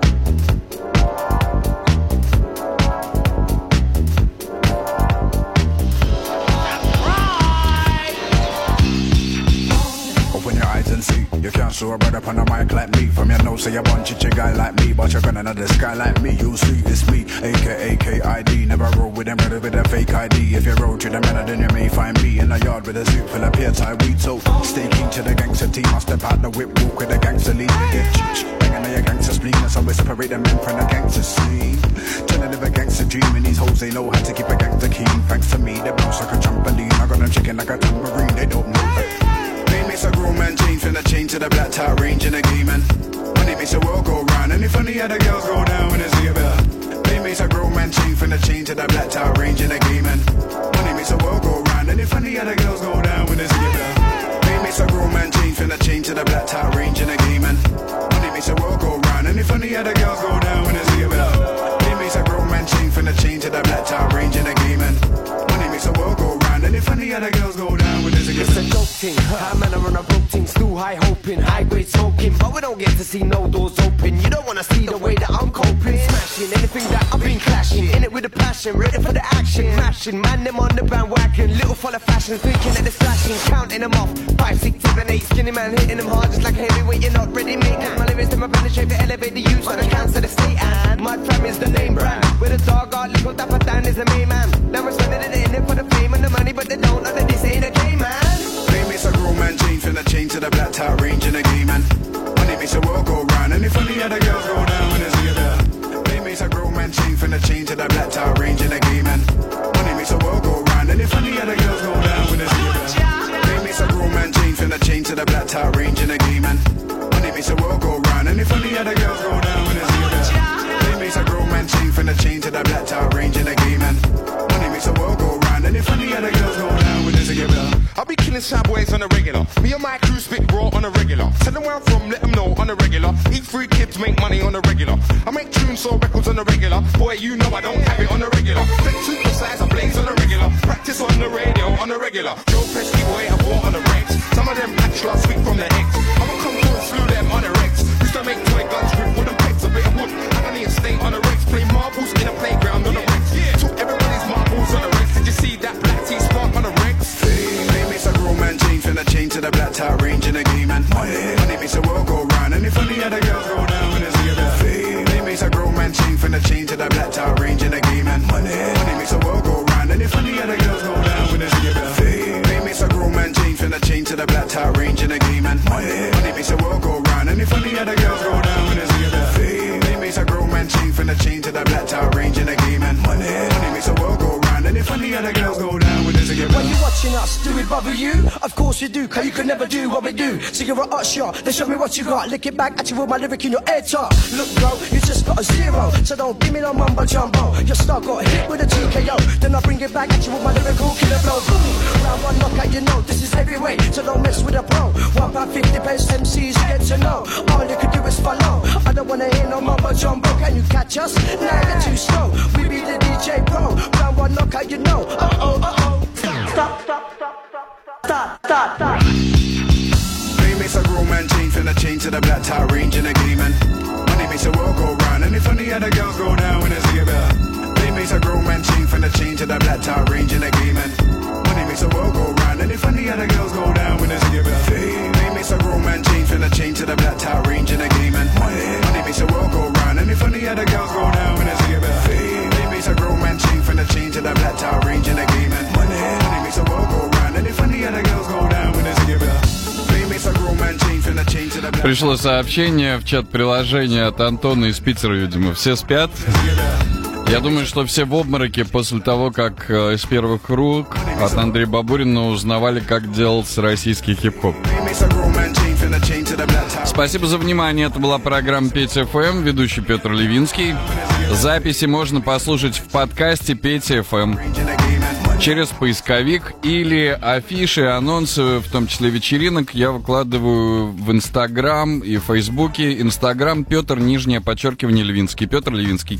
You can't show a brother on a mic like me. From your nose, say you bunch of guy like me, but you're gonna know the sky like me. You'll see it's me, aka KID. Never roll with them brother with a fake ID. If you roll to the man, then you may find me in a yard with a suit full of peer tie weed. So stay keen to the gangster team. I step out the whip, walk with the gangster lead. We get banging on your gangster spleen. That's how we separate the men from the gangster scene. Trying to live a gangster dream, and these hoes they know how to keep a gangster keen. Thanks to me, they bounce like a trampoline. I got them chicken like a tambourine. They don't know that. Makes a grown man change from the chain to the black tie range in the game, and money makes the world go round. And if funny how the girls go down when it's together. They makes a grown man change from the chain to the black tie range in the game, and money makes the world go round. And if funny how the girls go down when it's together. They makes a grown man change from the chain to the black tie range in the game, and money makes the world go round. And if funny how the girls go down when it's together. They makes a grown man change from the chain to the black tie range in the game, and money makes the world go round. And if funny how the girls go down when it's together. It's a dope thing, high man are on a broke thing, still high hoping, high grade smoking, but we don't get to see no doors open. You don't wanna see the way that I'm coping, smashing anything that I've been clashing, in it with a passion, ready for the action, mashing, man them on the bandwagon, little full of fashion, thinking that it's flashing, counting them off, 5, 6, 7, 8, skinny man hitting them hard just like heavyweight, you're not ready, mate. Cause my lyrics to my penetrate to elevate the youth, so the cancer the state, and my fam is the name brand, with a dog art, little dapper Dan is the main man. Now we're spending it in it for the fame and the money, but they don't know that this ain't a game, man. Makes a grown man change from the chain to the black tie range in the game, and money makes the world go round. And if funny how the girls go down when it's together. They makes a grown man change from the chain to the black tie range in the game, and money makes the world go round. And if funny how the girls go down when it's together. They makes a grown man change from the chain to the black tie range in the game, and money makes the world go round. And if funny how the girls go down when it's together. They makes a grown man change from the chain to the black tie range in the game, and money makes the world go round. And if funny how the girls go down when it's together. I'll be killing sad boys on the regular. Me and my crew spit raw on the regular. Tell them where I'm from, let them know on the regular. Eat free kids, make money on the regular. I make tunes, sell records on the regular. Boy, you know I don't have it on the regular. Take supersize, I blaze on the regular. Practice on the radio on the regular. Joe Pesci, boy, I bought on the regs. Some of them hatched last week from the eggs. I'ma come through and slew them on the regs. Used to make toy guns with wooden pegs, a bit of wood. And I need to stay on the regs. Play marbles in a to the black tie range in the game and money makes the world go round. And if any other girls go down when it's give it fame, it makes a grown man change from the chain to the black tie range in the game and money makes the world go round. And if any other girls go down when it's give it fame, it makes a grown man change from the chain to the black tie range in the game and money makes the world go round. And if any other girls go down when it's give it fame, it makes a grown man change from the chain to the black tie range in the game and money makes the world go round. And if any other girls go down when it's give it. When you're watching us, do it bother you? Of course you do, cause you can never do what we do. So you're a hot shot, then show me what you got. Lick it back at you with my lyric in your head top. Look bro, you just got a 0, so don't give me no mumbo jumbo. Your star got hit with a TKO, then I bring it back at you with my lyrical killer blow. Boom, round one knockout, you know this is heavyweight, so don't mess with a pro. £1.50 best MCs get to know. All you can do is follow. I don't wanna hear no mumbo jumbo. Can you catch us? Nah, you're too slow. We be the DJ pro. Round one knockout, you know. Stop. Fame makes a grown man change from the chain to the black tie range in the game and money makes the world go round. And if any other girls go down when it's give it, fame makes a grown man change from the chain to the black tie range in the game and money makes the world go round. And if any other girls go down when it's give it, fame makes a grown man change from the chain to the black tie range in the game and money makes the world go round. And if any other girls go down when it's give it, fame makes a grown man change from the chain to the black tie range in the game and money makes the world go round. And if any other girls go down when it's give it. Пришло сообщение в чат приложения от Антона из Питера, видимо, все спят. Я думаю, что все в обмороке после того, как из первых рук от Андрея Бабурина узнавали, как делался российский хип-хоп. Спасибо за внимание. Это была программа Петя ФМ, ведущий Петр Левинский. Записи можно послушать в подкасте Петя ФМ через поисковик или афиши, анонсы, в том числе вечеринок, я выкладываю в Инстаграм и Фейсбуке. Инстаграм Петр, _ Левинский. Петр Левинский.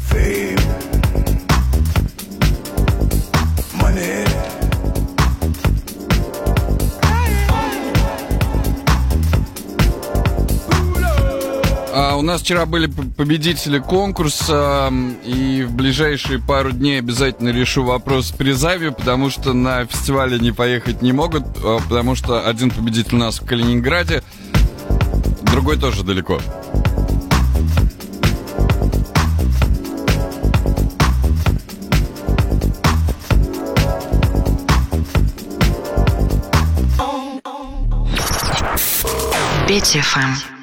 У нас вчера были победители конкурса, и в ближайшие пару дней обязательно решу вопрос с призами, потому что на фестивале не поехать не могут, потому что один победитель у нас в Калининграде, другой тоже далеко. Петя ФМ.